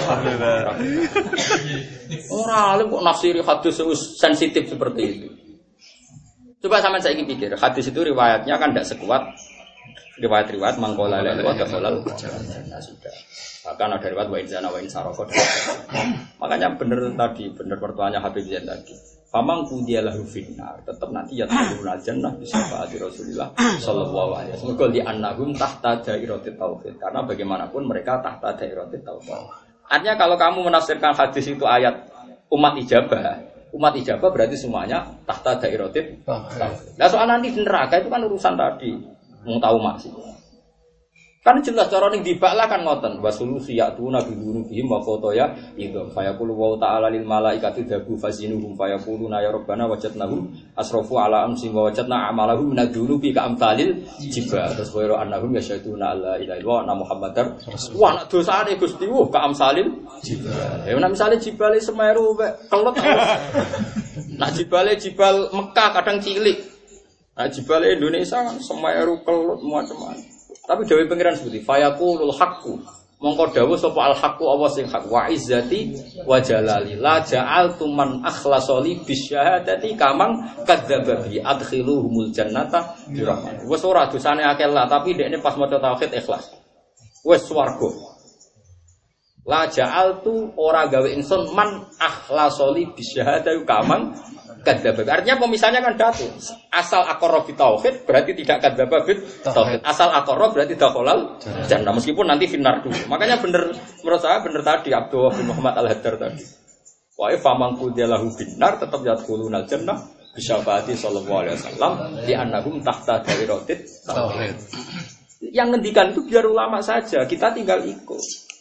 Ora alim kok nafsiri hadis wis sensitif seperti itu. Coba sampean saiki pikir, hadis itu riwayatnya kan tidak sekuat riwayat-riwayat mangkola la ilaha illallah jannah sudah. Bahkan ada riwayat wa inzana wa insaroko. Makanya benar tadi, benar pertuanya Habib Zain tadi. Famang kudiyalahu finnar, tetap nanti ya turun jannah bisa faati Rasulullah sallallahu alaihi wasallam. Qul li annahum tahta dairatit tauhid. Karena bagaimanapun mereka tahta dairatit tauhid. Artinya kalau kamu menafsirkan hadis itu ayat umat ijabah, umat ijabah berarti semuanya tahta dairatit tauhid. Nah soal nanti di neraka itu kan urusan tadi, mau tahu maksud. Kan jelas cara ning dibaklah kan ngoten wasulusi ya'tuna bidunubihim wa fotoya idza fayaqulu wa ta'ala lil malaikati dabu fazinuhum fayaquluna ya rabbana wajadnahum asrafu ala amsi wa wajadna amalahum nadunubi ka amsalil jibal terus wa annahum yasyaduna la ilaha illallah muhammadar wah nek dosane Gusti wuh ka amsalil jibal ya nek misale jibale Semeru kelut nah jibale jibal Mekah kadang cilik nah jibale Indonesia Semeru kelut macam-macam. Tapi dawuh pengiran seperti fayaqulul haqqu mongko dawuh sapa al haqqu Allah sing hak wa izzati wa jalali la ja'altu man akhlasali bisyahadati kamang kadzdzaba bi adkhiluhumul jannata bi rahmat. Wes ora dosane akeh lah tapi dekne pas maca tauhid ikhlas. Wes swarga. La ja'altu ora gawe ingsun man akhlasali bisyahadati kamang kadzdzaba. Artinya pemisahnya kan datu. Asal aqarra bi tauhid berarti tidak kadzdzaba bi tauhid. Asal aqarra berarti dakhalal jannah meskipun nanti finnar dulu. Makanya benar menurut saya benar tadi Abdullah bin Muhammad Al-Haddar tadi. Wa ifamang kudiyalahu binnar tetap yadkhulunal jannah bi syafaati sallallahu alaihi wasallam li annahum tahta dairatit tauhid. Yang ngendikan itu biar ulama saja, kita tinggal ikut.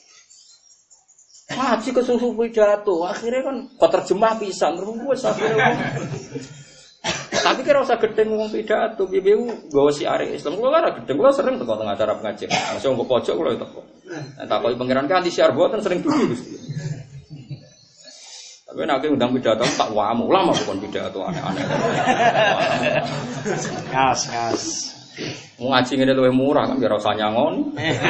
Ngaji ke susu pidato, akhirnya kan kok terjemah pisan, terus akhirnya. Tapi kira usah gedeng ngomong pidato, B B U gawe siare Islam. Kulo ora gedeng, kulo sering teko teng acara pengajian. Masih nggo pojok kulo teko. Nah, takoki pangeran kan di siar boten sering duduk Gusti. Tapi nek undang pidato tak wamu, ulama bukan pidato aneh-aneh. Kas, kas. Mau ngaji ngene luwih murah kan biar usah nyangon.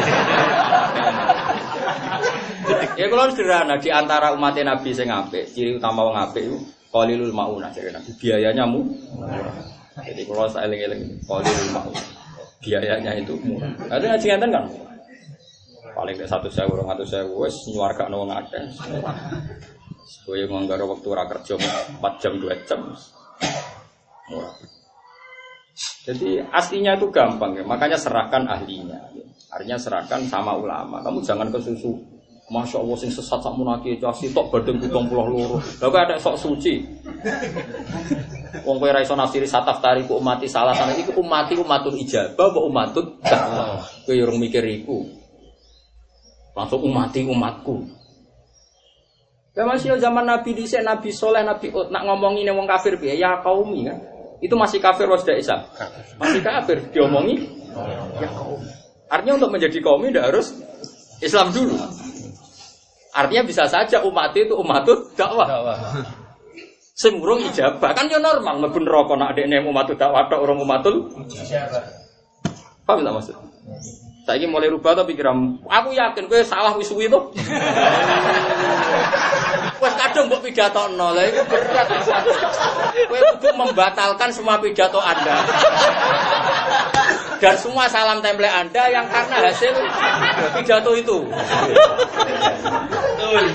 Ya kalau sederhana di antara umat Nabi sing apik, ciri utama wong apik iku qalilul maunah jare Nabi. Biayanya murah. Jadi kalau saya eling-eling qalilul maunah. Biayanya itu murah. Ada ngaji ngenten kan? Paling ke satu sewu, dua ratus sewu wis nyuwargakno wong akeh. Kowe manggaro wektu ora kerja empat jam dua jam. Murah. Jadi aslinya itu gampang ya, makanya serahkan ahlinya. Artinya serahkan sama ulama. Kamu jangan kesusu. Masya Allah sing sesat sak munaki casi tok badeng pitung puluh loro. Lah kok ada sok suci. Wong kowe ra iso nafsiri sataf tariku umati salah sana iku umati umatun ijabah apa umatun dakwah. Kowe urung mikir iku. Langsung umati umatku. Ya masih zaman Nabi dhisik Nabi Saleh Nabi Ut nak ngomongin wong kafir piye ya kaumi kan. Itu masih kafir wis dak Islam. Masih kafir diomongi ya kaum. Artinya untuk menjadi kaum tidak harus Islam dulu. Artinya bisa saja umat itu umatut dakwah. Sing urung ijabah kan yo normal mlebu neraka nek dekne umatut dakwah tok urung umatul ijabah. Paham tak maksud? Saiki mulai rubah to pikiran. Aku yakin kowe salah wis suwi to. Wes kadung mbok pidatokno. Lah iku berat. Kowe kudu membatalkan semua pidato Anda. Dan semua salam template Anda yang karena hasil pidato itu. Betul.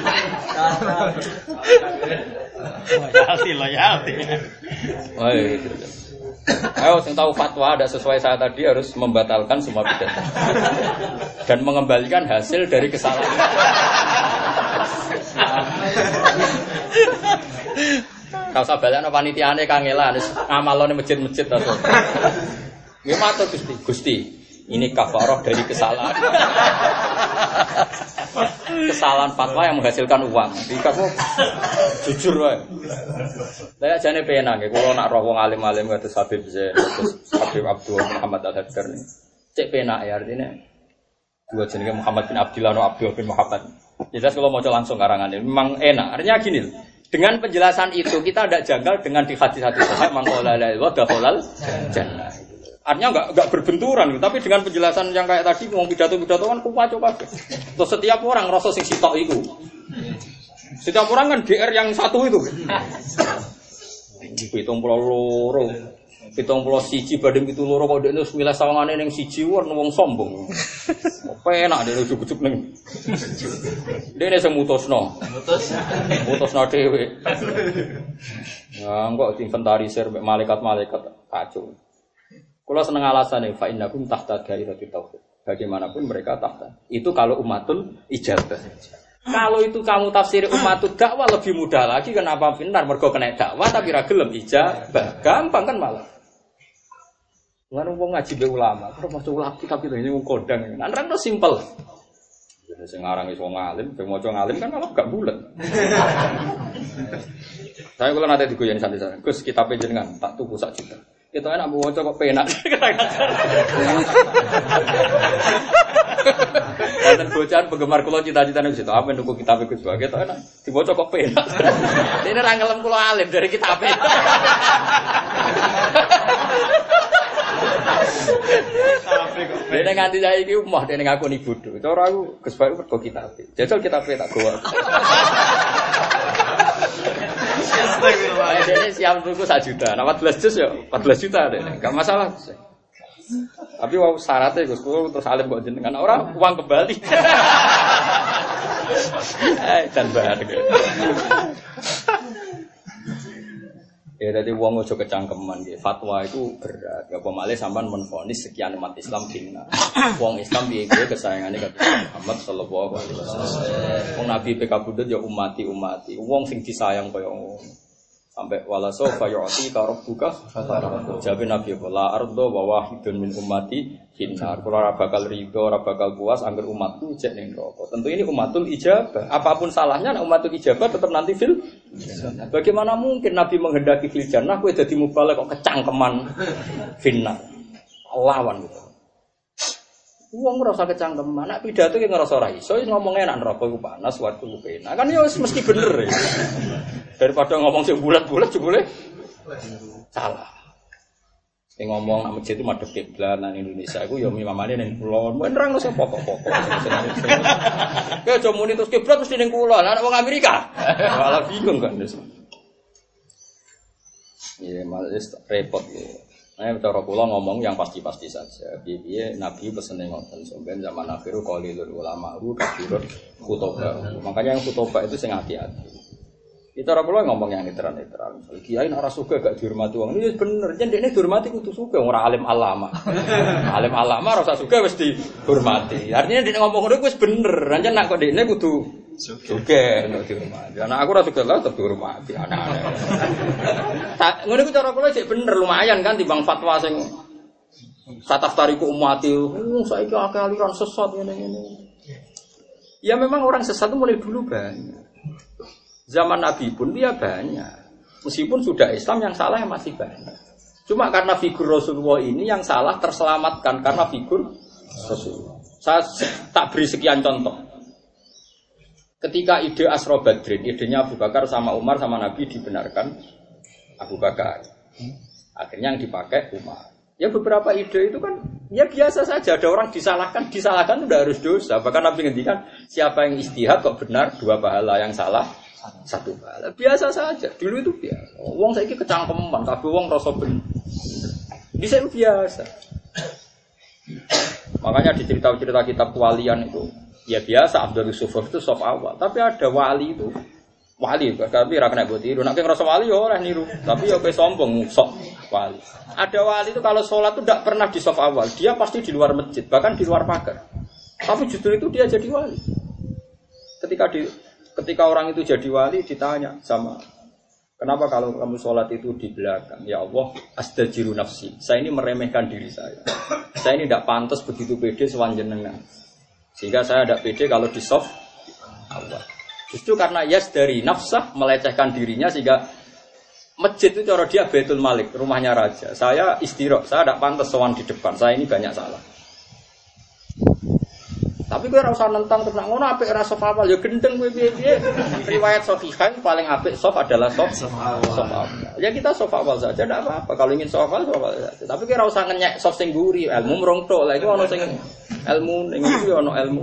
Loyalty, loyalty. Wah, gitu. Ayo, yang tahu fatwa ada sesuai saya tadi harus membatalkan semua pidato dan mengembalikan hasil dari kesalahan. Kau sabalan panitiane kangelan, ngamalone masjid-masjid atau. Nggih matur Gusti. Gusti, ini kafarah dari kesalahan. Kesalahan fatwa yang menghasilkan uang. Jadi kamu jujur wae. Lah jane penak nggih kula nak roh wong alim-alim kados Habib Zain, kados Habib Abdul Muhammad Al-Haddar nih. Cek penak ya artinya. Dua jenenge Muhammad bin Abdullah atau Abdul bin Muhammad. Jelas kalau mau langsung karangannya memang enak. Artinya gini, dengan penjelasan itu kita tidak janggal dengan di hadis-hadis sahih mangkola la ilaha illallah jannah. Artinya enggak enggak berbenturan, tapi dengan penjelasan yang kayak tadi ngomong pidato-pidato kan kupaco kabeh. Terus setiap orang rasa sing sitok iku. Setiap orang kan D R yang satu itu. Hitung pulau loro. pitung puluh siji banding pitung loro kok dekne wis milih sawangane ning siji wong sombong. Penak dene ujug-ujug ning. Dene sing mutusno. Mutus. Mutusno dhewe. Ya kok diinventarisir mek malaikat-malaikat kacau. Kula seneng alasane fa innakum tahta dairatit tauhid. Bagaimanapun mereka tahta. Itu kalau umatul ijabah. Kalau itu kamu tafsir umatul dakwah lebih mudah lagi. Kenapa benar? Mergo kena dakwah tapi ra gelem ijabah. Gampang kan malah. Ngono wong ngaji be ulama, terus maca ulama tapi ini wong kondang. Nang rene simpel. Jadi sing aran iso ngalim, sing maca ngalim kan malah gak bulet. Saya kula nate digoyeni santai-santai. Gus kitab jenengan tak tuku sak juta. Kita enak maca kok penak. Dan bocahan penggemar kula cita-citane wis apa nuku kitab Gus Bae. Kita enak dibaca kok penak. Dene ra ngelem kula alim dari kitab. Dene nganti saiki umah dene ngakoni bodho. Cara aku Gus Bae mergo kitab. Jajal kitabe tak gowo. Astagfirullah. Dene siap tuku sak juta. Nah empat belas juz ya empat belas juta dene. Enggak masalah. Tapi wau syaratnya Gus terus alim kok jenengan ora uang kembali. Eh dan bahar. Ya dadi wong aja kecangkeman nggih. Fatwa itu berat. Ya apa malih sampean menvonis sekian umat Islam dina. Wong Islam piye piye kesayangane karo Muhammad sallallahu alaihi wasallam. Wong Nabi P K Budut ya umati-umati. Wong sing disayang kaya ngono. Sampai wala sofa yu'ti ka rabbuka fatarah. Jabe Nabi la ardo wa wahidun min ummati finnar. Kula ora bakal rido, ora bakal puas angger umatku cek ning neraka. Tentu ini umatul ijabah. Apapun salahnya nek umatul ijabah tetap nanti fil. Bagaimana mungkin Nabi menghendaki fil jannah kowe dadi mubalek kok kecangkeman finnar. Lawan gitu. Wong ora usah kecangkeman, nek pidato ki ngrasa ora iso, wis ngomong enak neraka iku panas, waktu ku penak. Kan ya wis mesti bener ya. Daripada ngomong sing bulat-bulat jebule salah. Sing ngomong nang masjid itu madhep kiblat nang Indonesia iku ya mimamane ning kulon. Men nerang wis pokok-pokok. Kayak aja muni terus kiblat mesti ning kulon, anak wong Amerika. Malah bingung kan. Iya, malah repot ya. Nah, cara kula ngomong yang pasti-pasti saja. Piye Nabi pesene ngoten sampeyan zaman akhiru qalilul ulama ru kathirun khutbah. Makanya yang khutbah itu sing hati-hati. Kita ora kula ngomong yang netral-netral. Misal kiai nek ora suka gak dihormati wong. Ini bener, yen dekne dihormati kudu suka ora alim alama. Alim alama ora usah suka wis dihormati. Artinya dekne ngomong ngono wis bener. Ancen nek kok dekne kudu suka nek dihormati. Anak aku ora suka lah tetep dihormati anak-anak. Tak ngono iku cara kula sik bener lumayan kan timbang fatwa sing sataftariku umati. Oh saiki akeh aliran sesat ngene-ngene. Ya memang orang sesat itu mulai dulu banyak. Zaman Nabi pun dia banyak. Meskipun sudah Islam yang salah yang masih banyak. Cuma karena figur Rasulullah ini yang salah terselamatkan karena figur Rasulullah. Saya tak beri sekian contoh. Ketika ide Asra Badrin, idenya Abu Bakar sama Umar sama Nabi dibenarkan Abu Bakar. Akhirnya yang dipakai Umar. Ya beberapa ide itu kan ya biasa saja. Ada orang disalahkan, disalahkan itu tidak harus dosa. Bahkan Nabi ngendikan siapa yang istihad kok benar dua pahala, yang salah satu pahala. Biasa saja. Dulu itu biasa. Wong saiki kecangkeman, kabeh wong rasa bener. Bisa biasa. Makanya di cerita-cerita kitab kewalian itu ya biasa Abdul Yusuf itu soft awal. Tapi ada wali itu wali, tapi ra kena mbok tiru. Nek ngrasa wali ya ora niru, tapi ya kowe sombong sok wali. Ada wali itu kalau sholat itu tidak pernah di soft awal, dia pasti di luar masjid, bahkan di luar pagar. Tapi justru itu dia jadi wali. Ketika di ketika orang itu jadi wali ditanya sama, kenapa kalau kamu sholat itu di belakang? Ya Allah, asdajiru nafsi. Saya ini meremehkan diri saya. Saya ini tidak pantas begitu pede sewanjenengan. Sehingga saya tidak pede kalau di soft awal. Justru karena yas dari nafsah melecehkan dirinya sehingga masjid itu cara dia Baitul Malik, rumahnya raja. Saya istirahat, saya tidak pantas sowan di depan. Saya ini banyak salah. Tapi gue ora usah nentang terus ngono apik ora sof awal ya gendeng kowe piye-piye. Riwayat Sahihain paling apik sof adalah sof awal. Ya kita sof awal saja ndak apa-apa. Kalau ingin sof awal sof awal saja. Tapi gue ora usah ngenyek sof sing guri, ilmu mrong tok. Lah iku ono sing ilmu ning iki ono ilmu.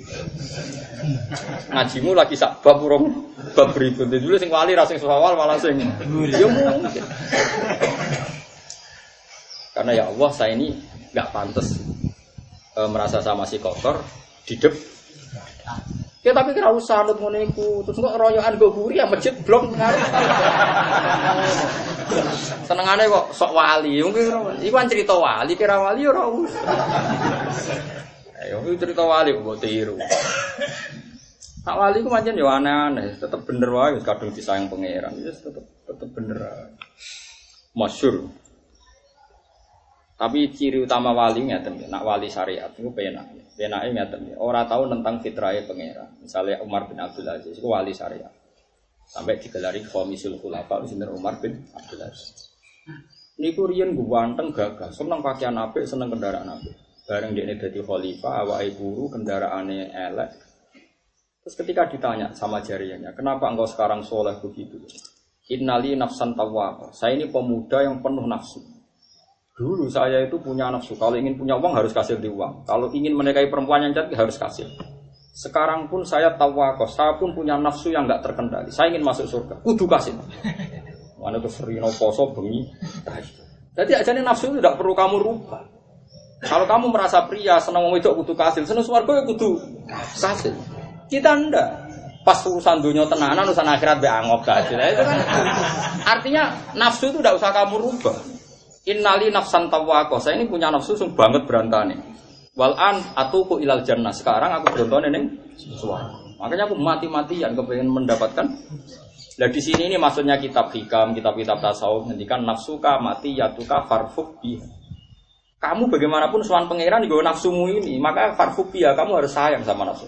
Ngajimu lagi sak bab urung bab berikut. Dulu sing wali ra sing sof awal malah sing guri. Ya mungkin. Karena ya Allah saya ini nggak pantas e, merasa sama si kotor di dep. Ya tapi kira usah nut ngono iku. Terus kok royokan go guri ya masjid blok ngarep. Senengane kok sok wali. Mungkin iku kan cerita wali, kira wali ora usah. Ayo cerita wali kok tiru. Tak wali ku pancen yo aneh-aneh, tetep bener wae wis kadung disayang pangeran. Wis tetep tetep bener. Masyhur. Tapi ciri utama wali ngeten, nak wali syariat iku penak. Penake ngeten, ora tau nentang fitrahe pangeran. Misalnya Umar bin Abdul Aziz iku wali syariat. Sampai digelari Khamisul Khulafa sinten Umar bin Abdul Aziz. Niku riyen ganteng gagah, seneng pakaian apik, seneng kendaraan apik. Bareng dekne dadi khalifah, awake buru, kendaraane elek. Terus ketika ditanya sama jariahnya, kenapa engkau sekarang soleh begitu? Innali nafsan tawwab. Saya ini pemuda yang penuh nafsu. Dulu saya itu punya nafsu. Kalau ingin punya uang harus kasih di uang. Kalau ingin menikahi perempuan yang cantik harus kasih. Sekarang pun saya tawwab. Saya pun punya nafsu yang enggak terkendali. Saya ingin masuk surga. Kudu kasih. Mana tuh serino poso bengi. Jadi ajane nafsu itu tidak perlu kamu rubah. Kalau kamu merasa pria senang wedok kudu kasih, senang swarga ya kudu kasih. Kita ndak. Pas urusan dunia tenanan, urusan akhirat be angop kasih. Nah, itu kan artinya nafsu itu tidak usah kamu rubah. Innali nafsan tawwaqah. Saya ini punya nafsu sing banget berantane. Wal an atuku ilal jannah. Sekarang aku berontone ning swarga. Makanya aku mati-matian kepengen mendapatkan. Nah di sini ini maksudnya kitab hikam, kitab-kitab tasawuf ngendikan nafsuka mati yatuka farfuk biha. Kamu bagaimanapun sowan pangeran nggo nafsumu ini, maka farfuk biha, kamu harus sayang sama nafsu.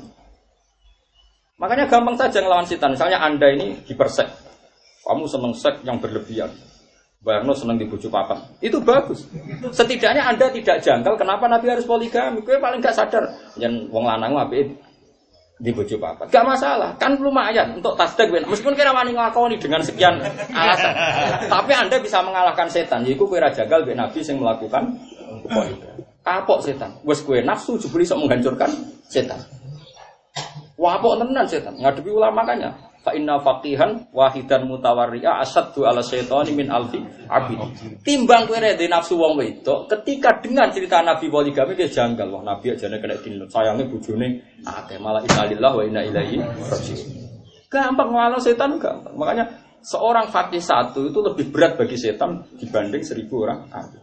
Makanya gampang saja ngelawan setan. Misalnya Anda ini dipersek. Kamu seneng seks yang berlebihan. Bayangno seneng dibujuk papat. Itu bagus. Setidaknya Anda tidak janggal kenapa Nabi harus poligami. Kowe paling gak sadar yen wong lanang apik dibujuk papat. Gak masalah, kan lumayan untuk tasdik. Meskipun kira wani nglakoni dengan sekian alasan. Tapi Anda bisa mengalahkan setan. Yaiku kowe ra janggal mbek Nabi sing melakukan poligami. Kapok setan. Wes kowe nafsu jebul iso menghancurkan setan. Wah, apa tenan setan? Ngadepi ulama makanya. Fa inna faqihan wahidan mutawarri'a asaddu ala syaitani min alfi abid. Timbang kowe rede nafsu wong wedok, ketika dengar cerita Nabi poligami dia janggal. Wah, Nabi ajane kena dinut. Sayange bojone akeh malah innalillah wa inna ilaihi raji'un. Gampang nglawan setan gampang. Makanya seorang faqih satu itu lebih berat bagi setan dibanding seribu orang abid.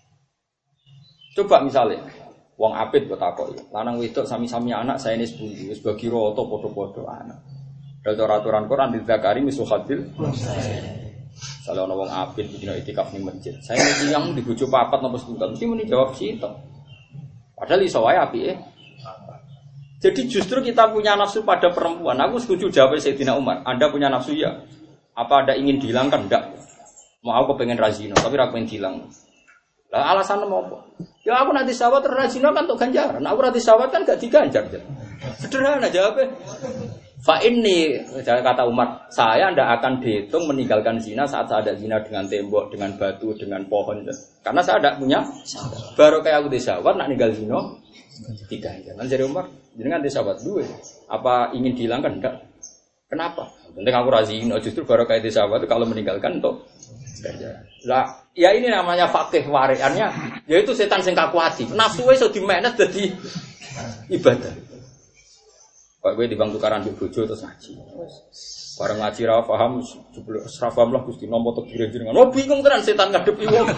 Coba misalnya wong apit kok takoki, lanang wedok sami-sami anak saya ini sepundi, wis bagi rata padha-padha anak. Dalil aturan Quran di zakari misul hadil. Kalau ana wong apit dina itikaf ning masjid, saya iki yang dibojo papat napa setunggal, mesti muni jawab sitok. Padahal iso wae apike. Jadi justru kita punya nafsu pada perempuan. Aku setuju jawab Sayyidina Umar. Anda punya nafsu ya? Apa Anda ingin dihilangkan? Enggak. Mau aku pengen razina, tapi ra pengen hilang. Lah alasannya mau apa? Ya aku nanti sawat rajina kan untuk ganjaran. Aku nanti sawat kan gak diganjar. Sederhana jawabnya. Fa ini kata Umar, saya ndak akan dihitung meninggalkan zina saat saya ada zina dengan tembok, dengan batu, dengan pohon. Karena saya tidak punya. Baru kayak aku di sawat nak ninggal zina diganjar. Kan jadi Umar, jenengan di sawat dua. Apa ingin dihilangkan? Enggak. Kenapa? Penting aku razina. Justru baru kayak di sawat kalau meninggalkan untuk ganjaran. Lah, ya ini namanya fakih wariannya, yaitu setan sing kakuati. Nafsu wis iso dimenet dadi ibadah. Kok kowe dibang tukaran di bojo terus ngaji. Bareng ngaji ra paham, jebul ra paham lah Gusti nampa tekire jenengan. Oh bingung tenan setan ngadepi wong.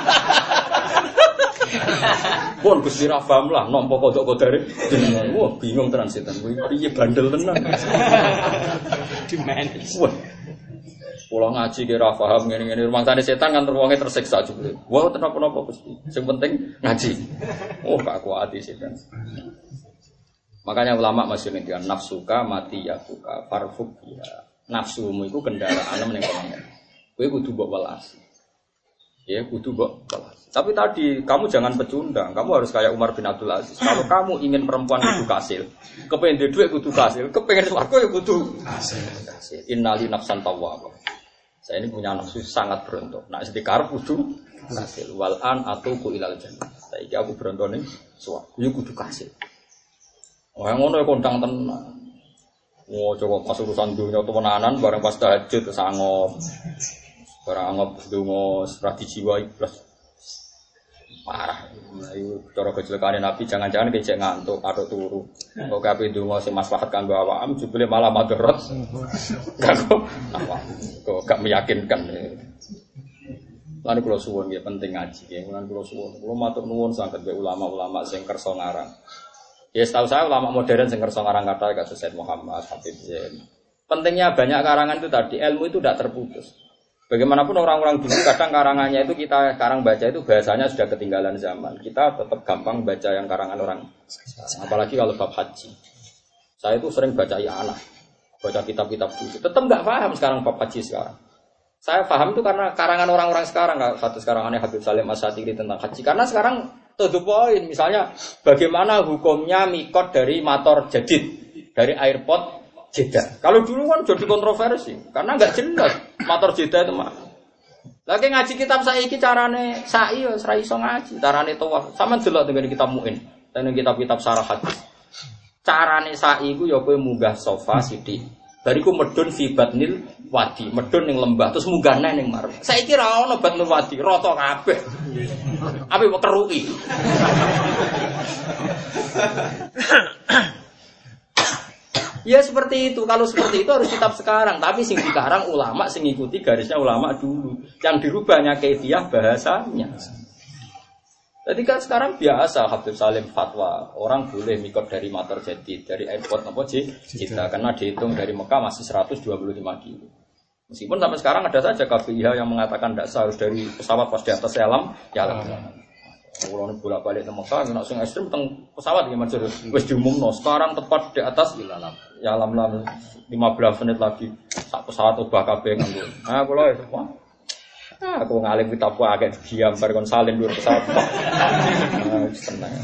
Pun Gusti ra paham lah nampa kodok-kodare jenengan. Wah bingung tenan setan. Kuwi piye bandel tenan. Di manage. Wah. Pulang ngaji kira paham ngene-ngene rumah tane setan kan terwonge tersiksa jebule. Wah tenapa-napa Gusti. Sing penting ngaji. Oh gak kuat setan. Makanya ulama masih ngendikan nafsuka mati yakuka farfuk ya. Nafsumu iku kendaraan meneng pengen. Kowe kudu mbok welas. Ya kudu mbok welas. Tapi tadi kamu jangan pecundang. Kamu harus kayak Umar bin Abdul Aziz. Kalau kamu ingin perempuan kudu kasil, kepengin duwe kudu kasil, kepengin swarga ya kudu kasil. Innali nafsan tawwab. Saya ini punya nafsu sangat berontok. Nah, sedekar kudu kasil. Wal an atuku ilal jannah. Saiki aku berontone swarga. Ya kudu kasil. Oh, yang ngono ya kondang tenan. Oh, coba pas urusan dunia temenanan bareng pas tahajud kesangop. Barang angop donga strategi wae plus. Parah. Ayo cara kecelakaane Nabi jangan-jangan kecek ngantuk atau turu. Kok kabeh ndonga sing maslahat kanggo awakam jebule malah madharat. Kanggo apa? Kok gak meyakinkan. Lan kula suwun nggih penting ngaji nggih. Lan kula suwun. Kula matur nuwun sanget mbek ulama-ulama sing kersa ngarang. Ya setahu saya ulama modern sing kersa ngarang kata kados Said Muhammad, Habib Zain. Pentingnya banyak karangan itu tadi, ilmu itu tidak terputus. Bagaimanapun orang-orang dulu kadang karangannya itu kita sekarang baca itu bahasanya sudah ketinggalan zaman. Kita tetap gampang baca yang karangan orang. Apalagi kalau bab haji. Saya itu sering baca anak, baca kitab-kitab dulu. Tetap nggak paham sekarang bab haji sekarang. Saya paham itu karena karangan orang-orang sekarang. Satu karangannya Habib Salim As-Satiri tentang haji. Karena sekarang to the point, misalnya bagaimana hukumnya mikot dari motor jadid, dari airport Jeddah. Kalau dulu kan jadi kontroversi, karena nggak jelas motor Jeddah itu mah. Lagi ngaji kitab saiki carane sa'i ya ora iso ngaji, carane tawaf. Sama delok dengan kitab Muin, dan kitab-kitab syarah hadis. Carane sa'i iku ya kowe munggah sofa sithik. Bariku medun fi batnil wadi, medun ning lembah terus munggah neh ning marep. Saiki ra ono batnil wadi, rata kabeh. Ape kok keruki. Ya seperti itu. Kalau seperti itu harus kitab sekarang. Tapi sing dikarang ulama sing ngikuti garisnya ulama dulu. Yang dirubahnya kaifiah bahasanya. Jadi kan sekarang biasa Habib Salim fatwa orang boleh mikot dari motor jadid, dari airport apa Jeddah karena dihitung dari Mekah masih seratus dua puluh lima kilo. Meskipun sampai sekarang ada saja K B I H yang mengatakan tidak harus dari pesawat pas di atas alam, ya alam. Kalau nih bolak-balik ke Mekah, nggak langsung ekstrim tentang pesawat gimana sih? Wes diumum no. Sekarang tepat di atas ya alam alam lima belas menit lagi saat pesawat ubah K B nganggur. Nah kalau itu, wah, aku ngalim kita apa agak diam, berkon salin dulu pesawat. Nah, senang.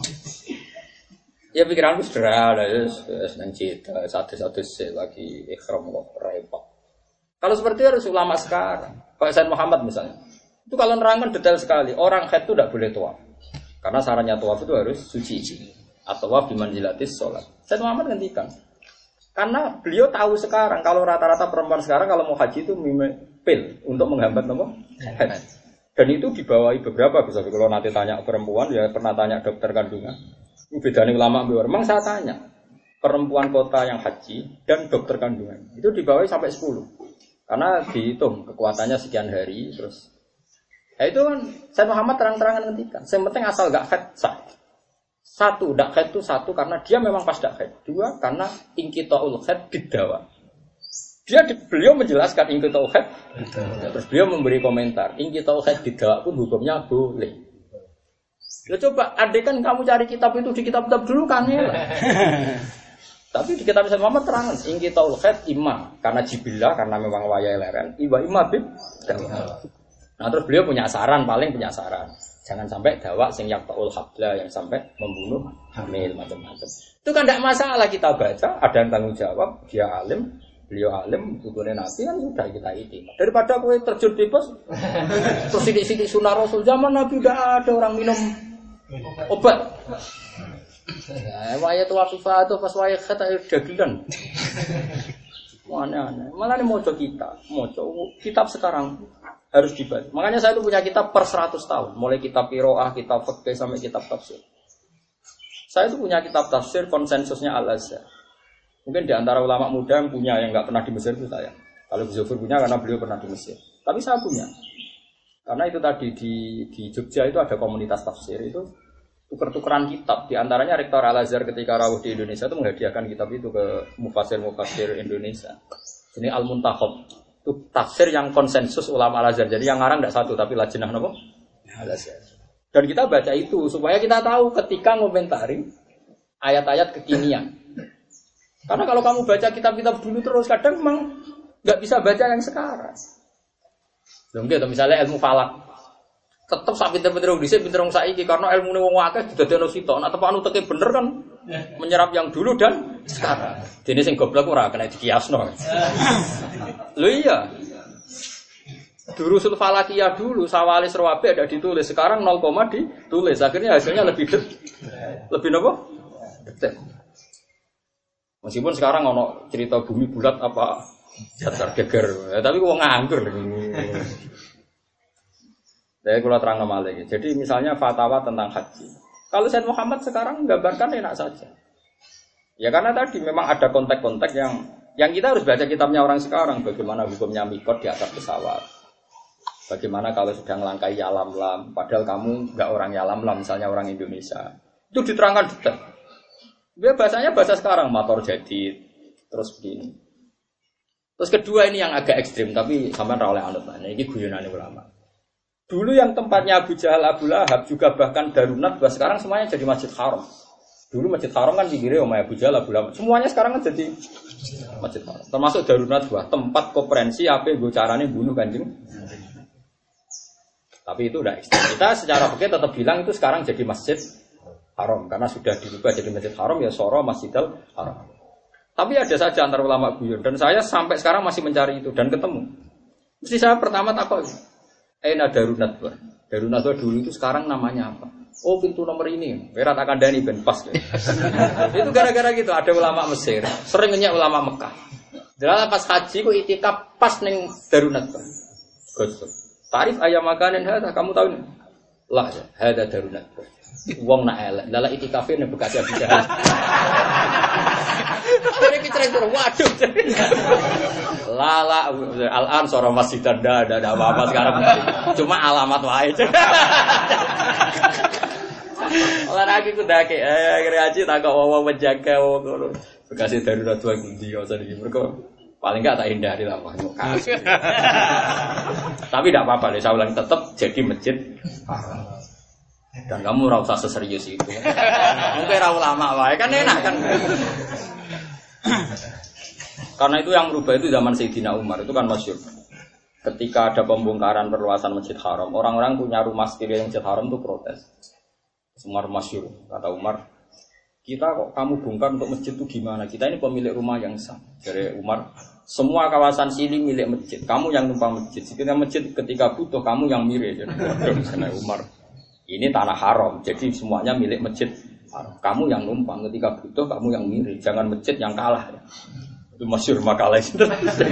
Ya pikiranku sederhana, ya senang cita, satu-satu sih lagi ikhram kok repot. Kalau seperti itu harus ulama sekarang. Pak Said Muhammad misalnya. Itu kalau nerangkan detail sekali, orang haid itu tidak boleh tawaf. Karena syaratnya tawaf itu harus suci. Atau tawaf di manzilatis sholat. Said Muhammad ngendikan. Karena beliau tahu sekarang, kalau rata-rata perempuan sekarang kalau mau haji itu pil untuk menghambat apa? Haid. Dan itu dibawahi beberapa, bisa kalau nanti tanya perempuan, ya pernah tanya dokter kandungan. Ini bedanya ulama biar. Memang saya tanya, perempuan kota yang haji dan dokter kandungan, itu dibawahi sampai sepuluh. Karena dihitung kekuatannya sekian hari, terus ya itu kan Said Muhammad terang-terangan ngendikan. Yang penting asal gak haid sah. Satu, dak haid itu satu karena dia memang pas dak haid. Dua, karena ingkitaul haid bidawa. Dia beliau menjelaskan ingkitaul haid. Terus beliau memberi komentar, ingkitaul haid bidawa pun hukumnya boleh. Ya coba, andai kan kamu cari kitab itu di kitab-kitab dulu kan ya. Tapi di kitab Said Muhammad terangan, ingkitaul haid imma karena jibillah karena memang wayai leren. Iwa imma bid dawa. Nah terus beliau punya saran, paling punya saran. Jangan sampai dawak sing yaqtaul habla yang sampai membunuh hamil macam-macam. Itu kan tidak masalah kita baca, ada yang tanggung jawab, dia alim, beliau alim, bukunya Nabi kan sudah kita iti. Daripada kowe terjun bebas, terus sidik-sidik sunah Rasul zaman Nabi udah ada orang minum obat. Ya, wayat wafifah itu pas wayat kata dagelan. Aneh-aneh. Malah ini mojo kita, mojo kitab sekarang harus dibaca. Makanya saya itu punya kitab per seratus tahun. Mulai kitab Qiraah, kitab Fiqh sampai kitab tafsir. Saya itu punya kitab tafsir konsensusnya Al-Azhar. Mungkin di antara ulama muda yang punya yang nggak pernah di Mesir itu saya. Kalau Gus Zufur punya karena beliau pernah di Mesir. Tapi saya punya. Karena itu tadi di di Jogja itu ada komunitas tafsir itu tuker-tukeran kitab. Di antaranya Rektor Al-Azhar ketika rawuh di Indonesia itu menghadiahkan kitab itu ke mufasir-mufasir Indonesia. Ini Al-Muntakhab. Itu tafsir yang konsensus ulama Al-Azhar. Jadi yang ngarang tidak satu tapi lajnah apa? Al-Azhar. Dan kita baca itu supaya kita tahu ketika ngomentari ayat-ayat kekinian. Karena kalau kamu baca kitab-kitab dulu terus kadang memang nggak bisa baca yang sekarang. Belum gitu misalnya ilmu falak. Tetap sak pinter-pinter wong dhisik pinter wong saiki karena ilmune wong akeh didadekno sitok. Nek tepakno teke bener kan menyerap yang dulu dan sekarang. Dene sing goblok ora kena dikiasno. Lho iya. Durusul falakiyah dulu Sawalis Rawabi ada ditulis, sekarang nol, ditulis. Akhirnya hasilnya lebih det, lebih apa? Detail. Meskipun sekarang ono cerita bumi bulat apa datar geger, ya, tapi wong nganggur. Saya kalau terang nama lagi. Jadi misalnya fatwa tentang haji. Kalau Said Muhammad sekarang menggambarkan enak saja. Ya karena tadi memang ada konteks-konteks yang yang kita harus baca kitabnya orang sekarang. Bagaimana hukumnya mikot di atas pesawat. Bagaimana kalau sedang langkai yalam lam. Padahal kamu nggak orang yalam lam, misalnya orang Indonesia. Itu diterangkan detail. Dia bahasanya bahasa sekarang, motor jadi terus begini. Terus kedua ini yang agak ekstrim, tapi sampai oleh anut. Ini guyonan ulama. Dulu yang tempatnya Abu Jahal, Abu Lahab juga bahkan Darunat, bahwa sekarang semuanya jadi Masjid Haram. Dulu Masjid Haram kan pinggirnya Umay Abu Jahal, Abu Lahab. Semuanya sekarang kan jadi Masjid Haram. Termasuk Darunat, bahwa tempat konferensi apa gue caranya bunuh Kanjeng. Tapi itu udah ekstrim. Kita secara fikih tetap bilang itu sekarang jadi Masjid Haram karena sudah dirubah jadi Masjid Haram ya Soro Masjidil Haram. Tapi ada saja antara ulama guyon dan saya sampai sekarang masih mencari itu dan ketemu. Mesti saya pertama takut. Aina Darunat, Darunat dulu itu sekarang namanya apa? Oh pintu nomor ini, berat akan dani ben pas. Itu gara-gara gitu ada ulama Mesir, sering nanya ulama Mekah. Dalam pas haji kok itikaf pas neng Darunat. Gosok. Tarif ayam makanan hada, kamu tahu nih? Lah, hada Darunat. Wong nak elek, lala itikafin yang bekas Abu Jahal. Ini kecil-kecil, waduh. Lala, al-an seorang masjid ada, ada apa-apa sekarang. Cuma alamat wae. Olahraga ku dake, eh kreasi tak kok wawa menjaga wong. Bekas Darunat dua gundi usah iki. Mergo paling enggak tak hindari lah Pak. Tapi tidak apa-apa deh, saya ulang tetap jadi masjid. Dan kamu ora usah seserius itu. Mungkin ra ulama wae kan enak kan. Karena itu yang merubah itu zaman Sayyidina Umar itu kan masyhur. Ketika ada pembongkaran perluasan Masjid Haram, orang-orang punya rumah sekeliling Masjid Haram itu protes. Umar masyhur, kata Umar, kita kok kamu bongkar untuk masjid itu gimana? Kita ini pemilik rumah yang sah. Dari Umar, semua kawasan sini milik masjid. Kamu yang numpang masjid. Ketika masjid ketika butuh kamu yang mirip. Jadi Umar, ini tanah haram. Jadi semuanya milik masjid. Kamu yang numpang ketika butuh kamu yang mirip. Jangan masjid yang kalah. Itu masyhur makalah itu.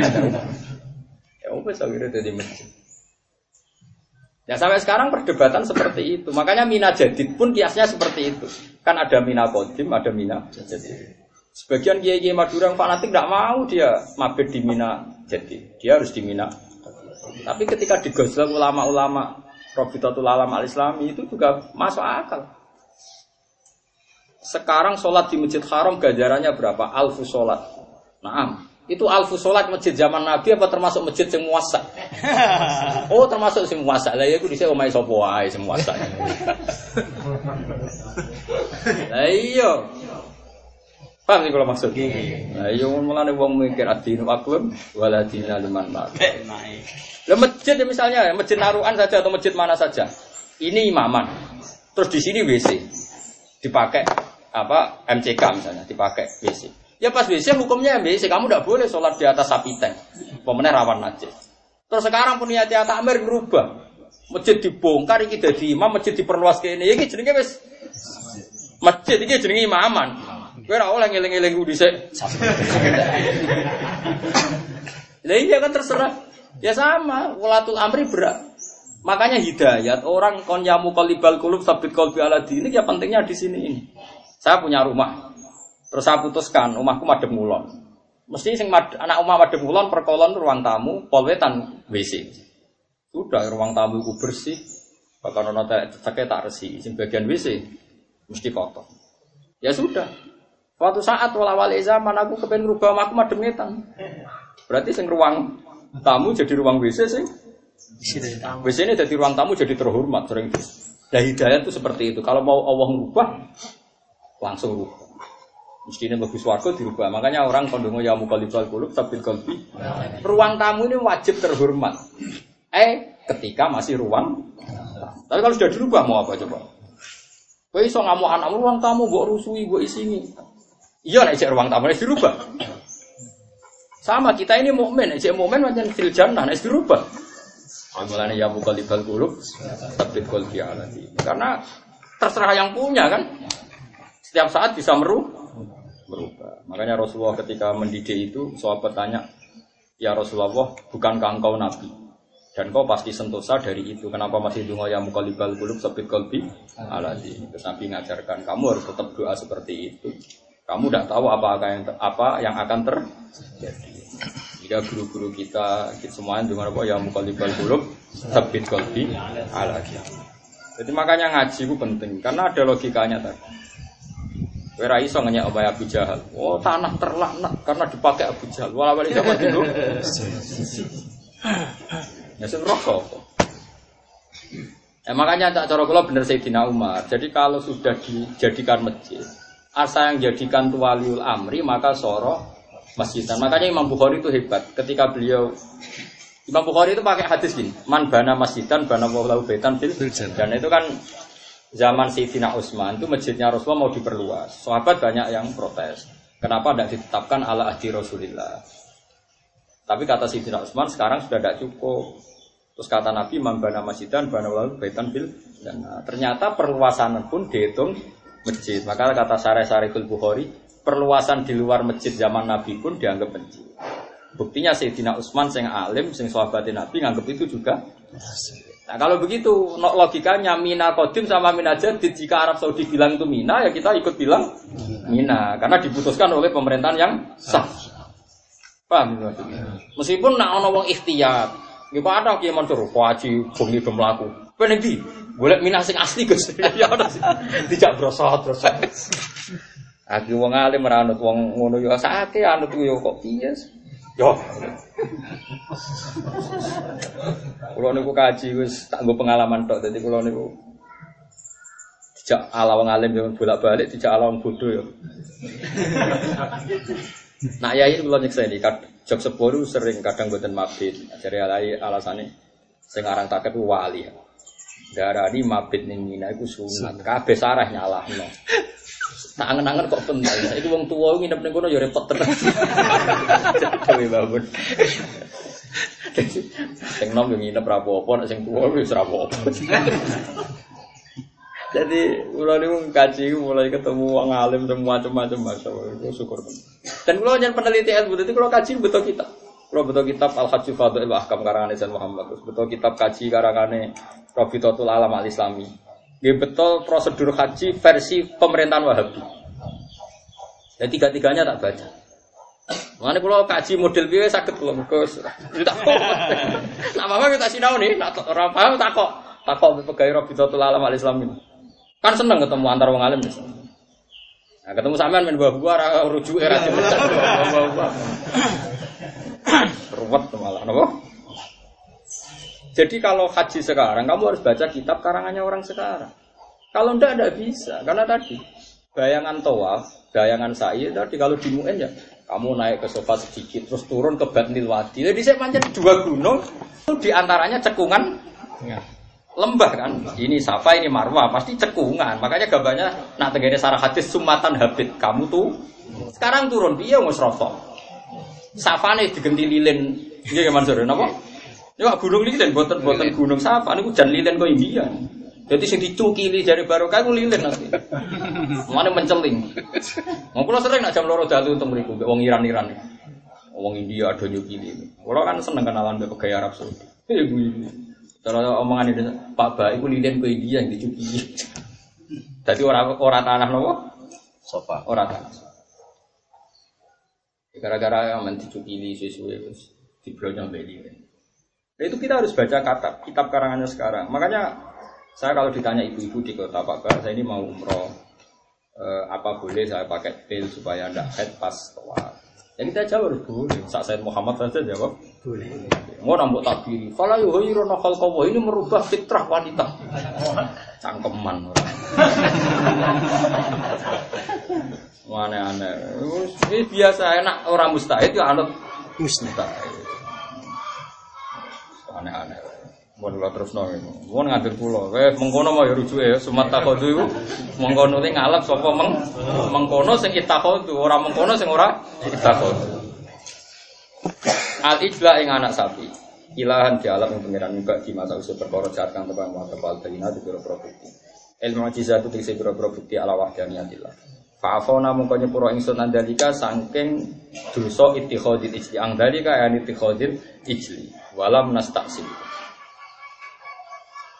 Ya wes akhirnya jadi masjid. Ya sampai sekarang perdebatan seperti itu. Makanya Mina Jadid pun kiasnya seperti itu. Kan ada Mina Qadim, ada Mina Jadid. Sebagian kiai-kiai Madura yang fanatik tidak mau dia mabed di Mina Jadid. Dia harus di Mina. Tapi ketika digosok ulama-ulama Rabitatul Alam Al-Islami itu juga masuk akal. Sekarang sholat di Masjid Haram ganjarannya berapa? Alfu sholat. Naam. Itu alfu sholat masjid zaman Nabi apa termasuk masjid yang muasa? Oh termasuk yang muasa. Lah ya aku disini omai sopo wae sing muasa. Lah iya. Paham sih kalau maksud? Lah iya mulane wong mikir adine waklum waladina liman mak. Lah masjid misalnya masjid Naruan saja atau masjid mana saja. Ini imaman. Terus di sini W C. Dipakai apa M C K misalnya, dipakai W C. Ya pas W C hukumnya W C, kamu tidak boleh sholat di atas sapi tank. Pemenang rawan najis. Terus sekarang punya tiap takmir berubah. Masjid dibongkar iki dadi imam, masjid diperluas kene. Iki jenenge wis masjid iki jenenge imaman. Kowe ora oleh ngeling-eling ku dhisik. Lah iya kan terserah. Ya sama, walatul amri berat. Makanya hidayat orang konyamu qalibal qulub sabit qalbi ala dini ya pentingnya di sini ini. Saya punya rumah. Terus saya putuskan, rumahku madhep ngulon. Mesti sing mad, anak omah madhep ngulon perkolon ruang tamu, polwetan W C. Sudah ruang tamu ku bersih. Bahkan ono ceke tak resi, sing bagian W C mesti kotor. Ya sudah. Suatu saat wala-wala zaman aku kepen rubah omahku madhep ngetan. Berarti sing ruang tamu jadi ruang W C sing W C ini jadi ruang tamu jadi terhormat sering. Nah hidayah itu seperti itu. Kalau mau Allah merubah langsung rubah. Mestinya bagus warga dirubah. Makanya orang kondongo ya mukalibal qulub sabil qalbi. Ruang tamu ini wajib terhormat. Eh, ketika masih ruang. Tapi kalau sudah dirubah mau apa coba? Kowe iso ngamuk anak ruang tamu mbok rusui, mbok isini. Iya nek cek ruang tamu nek dirubah. Sama kita ini mukmin, nek mukmin pancen fil jannah nek dirubah. Mulane ya mukalibal qulub sabil qalbi alati. Karena terserah yang punya kan. Setiap saat bisa merubah. berubah. Makanya Rasulullah ketika mendidik itu, sahabat tanya, ya Rasulullah, bukankah engkau nabi? Dan kau pasti sentosa dari itu. Kenapa masih dungo ya muqallibal qulub sabit qalbi ala dinik. Terus Nabi ngajarkan kamu harus tetap doa seperti itu. Kamu tidak tahu apa yang apa yang akan terjadi. Jika guru-guru kita, kita semuanya dengan apa ya muqallibal qulub sabit qalbi ala dinik. Jadi makanya ngaji itu penting karena ada logikanya tadi. Wera iso ngenyek omahe Abu Jahal. Oh, tanah terlaknat karena dipakai Abu Jahal. Wala wali zaman dulu. Ya sing rokok. Eh makanya tak cara kula bener Sayyidina Umar. Jadi kalau sudah dijadikan masjid, asa yang jadikan waliul amri maka soro masjidan. Makanya Imam Bukhari itu hebat. Ketika beliau Imam Bukhari itu pakai hadis gini, man bana masjidan bana wallahu baitan fil dan itu kan zaman Sayyidina Utsman itu masjidnya Rasulullah mau diperluas. Sahabat banyak yang protes. Kenapa tidak ditetapkan ala ahdi Rasulillah? Tapi kata Sayyidina Utsman sekarang sudah tidak cukup. Terus kata Nabi man bana masjidan bana wallahu baitan fil dan ternyata perluasan pun dihitung masjid. Maka kata Syarih-Syarihul Bukhari, perluasan di luar masjid zaman Nabi pun dianggap masjid. Buktinya Sayyidina Utsman sing alim, sing sahabatin Nabi nganggap itu juga. Nah kalau begitu logikanya Mina Qadim sama Mina Jadid, jika Arab Saudi bilang itu Mina ya kita ikut bilang Mina karena diputuskan oleh pemerintahan yang sah. Paham maksudnya? Meskipun nak ana wong ikhtiyar, nggih Pak ada kiye mansur waji bengi do mlaku. Ben ndi? Golek Mina sing asli Gus. Ya ora sih. Tidak brosot-brosot. Aku wong alim ora anut wong ngono ya sakake anut yo kok piye. Yo. Kulo niku kaji wis tak nggo pengalaman tok. Dadi kulo niku dijak ala wong alim yo bolak-balik, dijak ala wong bodho yo. Nah yai kulo nyekseni jog sepuru sering kadang mboten mabit. Ajare alai alasane sing aran taket wali. Darani mabit ning Mina iku sunat. Kabeh sarah nyalahno. Tak angen-angen kok penting. Saiki wong tuwa nginep ning kono ya repot tenan. Dewe bangun. Sing nom yo nginep ra apa-apa, nek sing tuwa wis ra apa-apa. Jadi kula niku kaji mulai ketemu wong alim macam-macam masyaallah. Syukur. Dan kula nyen peneliti ilmu, dadi kula kaji betul kitab. Kula betul kitab Al-Hajj Fadhil wa Ahkam karangane Sayyid Muhammad. Terus betul kitab kaji karangane Rabitatul Alam Al-Islami. Nggih betul prosedur haji versi pemerintahan Wahabi. Ya tiga-tiganya tak baca. Mane kula kaji model piye saged kula mergo tak kok. Nak mama kita sinau nih, nak ora paham tak kok. Tak kok pegawai Rabitatul Alam Al-Islami. Kan seneng ketemu antar wong alim. Nah, ketemu sampean men buah-buah rujuke ra jelas. Ruwet malah napa? Jadi kalau haji sekarang, kamu harus baca kitab karangannya orang sekarang. Kalau enggak, enggak bisa. Karena tadi, bayangan tawaf, bayangan sa'i, tadi kalau di Mu'in ya, kamu naik ke sofa sedikit, terus turun ke Batnil Wadi. Jadi saya panjang dua gunung, itu diantaranya cekungan ya. Lembah kan. Ini Safa, ini Marwah, pasti cekungan. Makanya gambarnya, nak tegene sarah hadis, sumatan habit. Kamu tuh, sekarang turun, iya ngus-rofok. Safa nih digenti lilin. Iya gimana sore, kenapa? Ya gunung lilin, boten-boten gunung Safa niku jan lilin kok India. Jadi sing dicukili jare barokah ku lilin nanti. Mane menceling. Wong kula sering nak jam loro dalu untuk mriku wong Iran-Iran. Wong India ada nyukili. Kula kan seneng kenalan mbek pegawai Arab Saudi. Eh kuwi. Cara omongan itu Pak Ba iku lilin kok India yang dicukili. Dadi ora ora tanah nopo? Sofa. Ora tanah. Gara-gara aman dicukili suwe-suwe wis diblonyo mbek lilin. Nah, itu kita harus baca kitab, kitab karangannya sekarang. Makanya saya kalau ditanya ibu-ibu di kota Pak Bar, saya ini mau umroh, eh, apa boleh saya pakai pil supaya tidak head pas tawaf? Ya kita jawab harus boleh. Saat Sayyid Muhammad saja jawab boleh. Mau nambah takbiri. Fala yuhayyiruna khalqahu, ini merubah fitrah wanita. Cangkeman orang. Aneh-aneh. Ini biasa enak orang mustahid ya anut mustahid. Aneh-aneh. Mun kula terusno niku. Mun ngatur kula, wis mengkono mau ya rujuke ya sumat takhadhu iku. Mengkono te ngalap sapa meng mengkono sing itakhadhu, ora mengkono sing ora itakhadhu. Al-ijla ing anak sapi. Ilahan di alam yang pengiran juga di masa usia perkara jahat kang tebang wa tebal bayina di biro bukti. Ilmu mujizat itu dikse biro bukti ala wahdaniyatillah. Fa'afona mengko nyepuro ingsun andalika saking dosa ittikhadil ijli. Andalika ya ittikhadil ijli. Walam nastaqsim.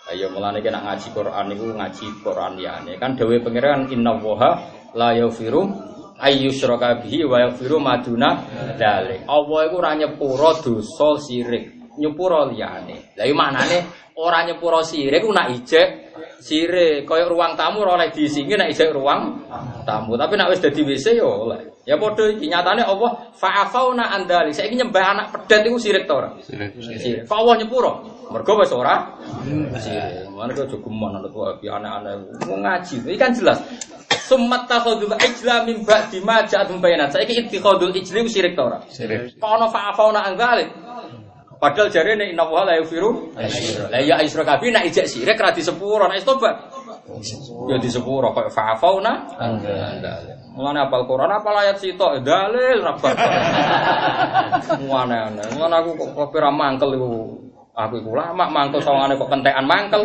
Ayo mulane kena ngaji Quran niku ngaji Quran liyane. Kan dawuhe pangeran innallaha la yaghfiru ayyusyraka bihi wa yaghfiru maduna dzalik. Allah iku ora nyepuro dosa sirik, nyepuro liyane. Lah iki maknane ora nyepuro sirik ku nak ijek sirik, kaya ruang tamu ora oleh diisingi nek ijek ruang tamu. Tapi nek wis dadi W C ya oleh. Ya padha iki nyatane Allah fa'afauna andali. Saiki nyembah anak pedet iku sirik ta ora? Sirik. Sirik. Fa Allah nyepuro. Mergo wis ora sirik. Mane kok jogeman ana tuwa api anak-anak ngaji. Iki kan jelas. Summat takhudul ijla min ba'di ma ja'atum bayinat. Saiki ittikhadul ijli ku sirik ta ora? Sirik. Kok ana fa'afauna andali. Padahal jarene inna wa la yaghfiru. La ya isyraka bi nek ijek sirik ra disepuro nek tobat. Ya disepuro kok fa'afauna andali. Mulane apal Quran apal ayat sitok dalil rabat. Muane-ane. Mulane aku kok kopi ra mangkel iku. Aku iku lama mangkel sawangane kok kentekan mangkel.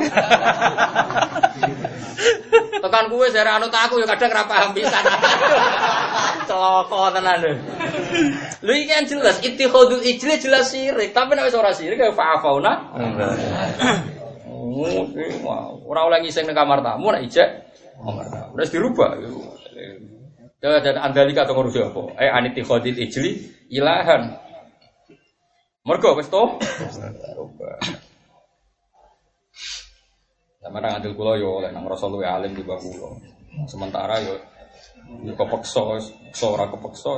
Tekan kuwe jare anut aku ya kadang ra paham pisan. Celaka tenan lho. Lho iki kan jelas ittikhadul ijli jelas sirik, tapi nek wis ora sirik ya fa'afauna. Ora oleh ngising ning kamar tamu nek ijek kamar tamu. Wis dirubah. Ya dan andalika to ngurusi apa? Eh anittikhadil ijli ilahan. Mergo wis to? Sama nang adil kula yo oleh nang rasa luwe alim di bangku kula. Sementara yo yo kepeksa, kepeksa ora kepeksa.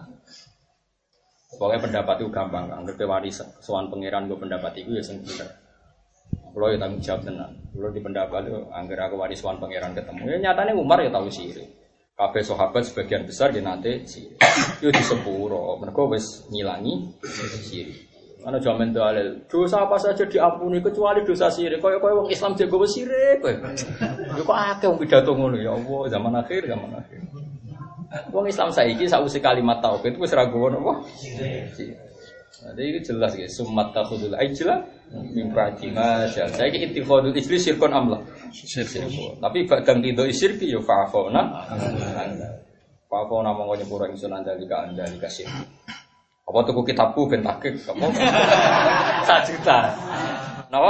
Pokoke pendapat itu gampang, Kang. Nek wani sowan pangeran go pendapat iku ya sing bener. Kula yo tanggung jawab tenan. Kula di pendapat yo angger aku wani sowan pangeran ketemu. Ya nyatane Umar ya tau sirik. Kabeh sahabat sebagian besar ya nate sirik. Yo disepuro, mergo wis ngilangi sirik. Ana jaman dalil, dosa apa saja diampuni kecuali dosa sirik. Kaya-kaya wong Islam jago wis sirik kowe. Yo kok akeh wong pidato ngono ya Allah, zaman akhir, zaman akhir. Wong Islam saiki sakwise kalimat tauhid wis ra gowo napa? Sirik. Nah, iki jelas iki summat takhudul ijla min ba'di ma syal. Saiki ittikhadul ijli syirkun amla. Syirk. Tapi badang tido syirki ya fa'afuna. Fa'afuna monggo nyepuro ingsun andalika andalika syirk. Apa tuku kitabku ben takik apa? satu juta. Napa?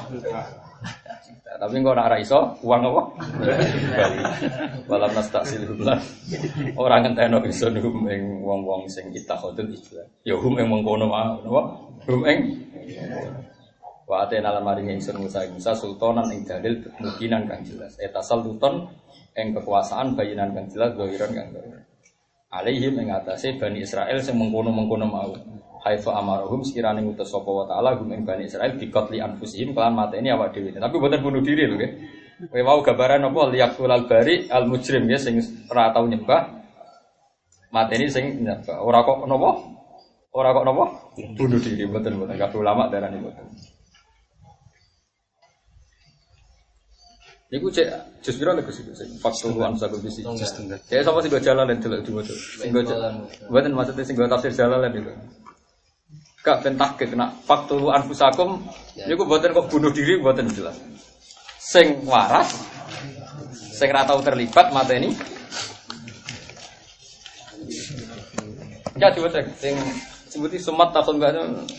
Tapi engko nek ora iso, uang apa? Bali. Walam nastaksil billah. Ora ngenteno iso hum ing wong-wong sing kita khotul ijlah. Ya hum ing mengkono wae, napa? Hum ing wa atena lan maring ingsun Musa Musa sultanan ing dalil mukinan kang jelas. Etasal sultan ing kekuasaan bayinan kang jelas zahiran kang jelas. Alaihim ing atase Bani Israil sing mengkono-mengkono mau. Haifa amarahum sekirane ngutus sapa wa taala gum ing Bani Israil biqatli anfusihim kelan mateni awak dhewe. Tapi boten bunuh diri lho nggih. Kowe wau gambaran apa liyaqulal bari al mujrim ya sing ora tau nyembah mateni sing nyembah. Ora kok napa? Ora kok napa? Bunuh diri boten boten kabeh ulama darani boten. Iku cek jus pira lek sing faktor wan sakul bisi. Ya sapa sing go jalan lan delok diwaca. Sing go jalan. Mboten maksudnya sing go tafsir jalan lan itu. Kak ben tahqiq nak faktor anfusakum niku mboten kok bunuh diri mboten jelas. Sing waras sing ra tau terlibat mateni. Ya diwaca sing sebuti sumat takon gak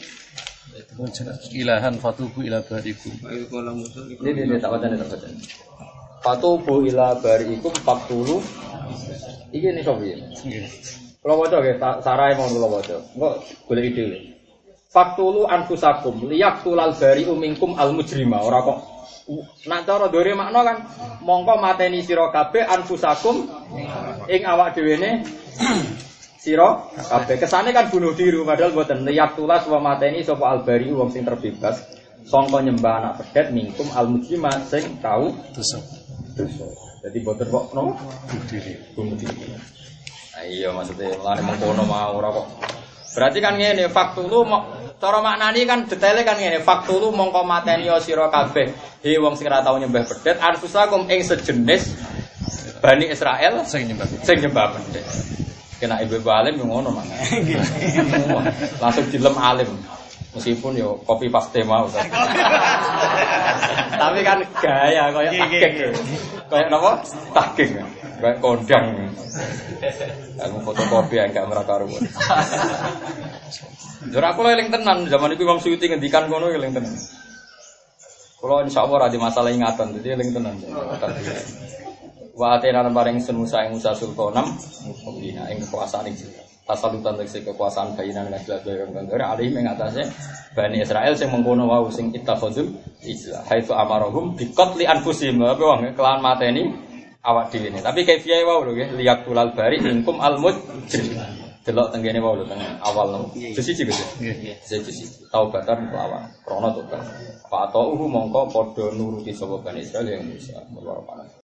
ilahan fatubu ila barikum. Ini ini tak baca tak baca. Fatubu ila barikum faktulu. Iki nih sobi. Kalau baca ke sarai mau kalau baca. Enggak boleh ide. Faktulu anfusakum liyaqtulal bari'u minkum al mujrima. Ora kok nak cara dore makna kan mongko mateni sira kabeh anfusakum ing awak dhewene sira kabeh kesane kan bunuh diri padahal mboten liyak tulas wa mateni sapa albari wong sing terbebas sangka nyembah anak pedet mingkum almujrima sing tau dosa. Dosa. Dadi mboten kok nopo bunuh diri, bunuh diri. Ah iya maksudnya lane mengkono mau ora kok. Berarti kan ngene faktulu cara maknani kan detaile kan ngene faktulu mongko mateni sira kabeh he wong sing ora tau nyembah pedet anfusakum ing sejenis Bani Israel sing nyembah sing nyembah pedet. Kena ibu-ibu alim yang ngono mana? Langsung dilem alim, meskipun yo kopi paste mau. Tapi kan gaya kayak takik, kayak apa? Takik, kayak kondang. Aku fotokopi enggak merakaruan. Jujur aku eling tenan zaman itu Imam Suyuti ngendikan ngono eling tenan. Kalau insyaallah ora di masalah ingatan dadi eling tenan. Wa atena bareng sun Musa ing Musa sultanam mukmina ing kekuasaan iki. Tasalutan tegese kekuasaan bayinan lan jelas-jelas kang alih ing atase Bani Israil sing mengkono wau sing ittakhadzul ijlah haitsu amarahum biqatli anfusihim apa wong kelawan mateni awak dhewe ne. Tapi kaifiyae wau lho nggih liyak tulal bari ingkum almujrim. Delok tenggene wau lho teng awal lho. Jus siji Gus. Nggih. Jus siji. Taubatan lawan krana tobat. Fa ta'uhu mongko padha nuruti sapa Bani Israil yang Musa.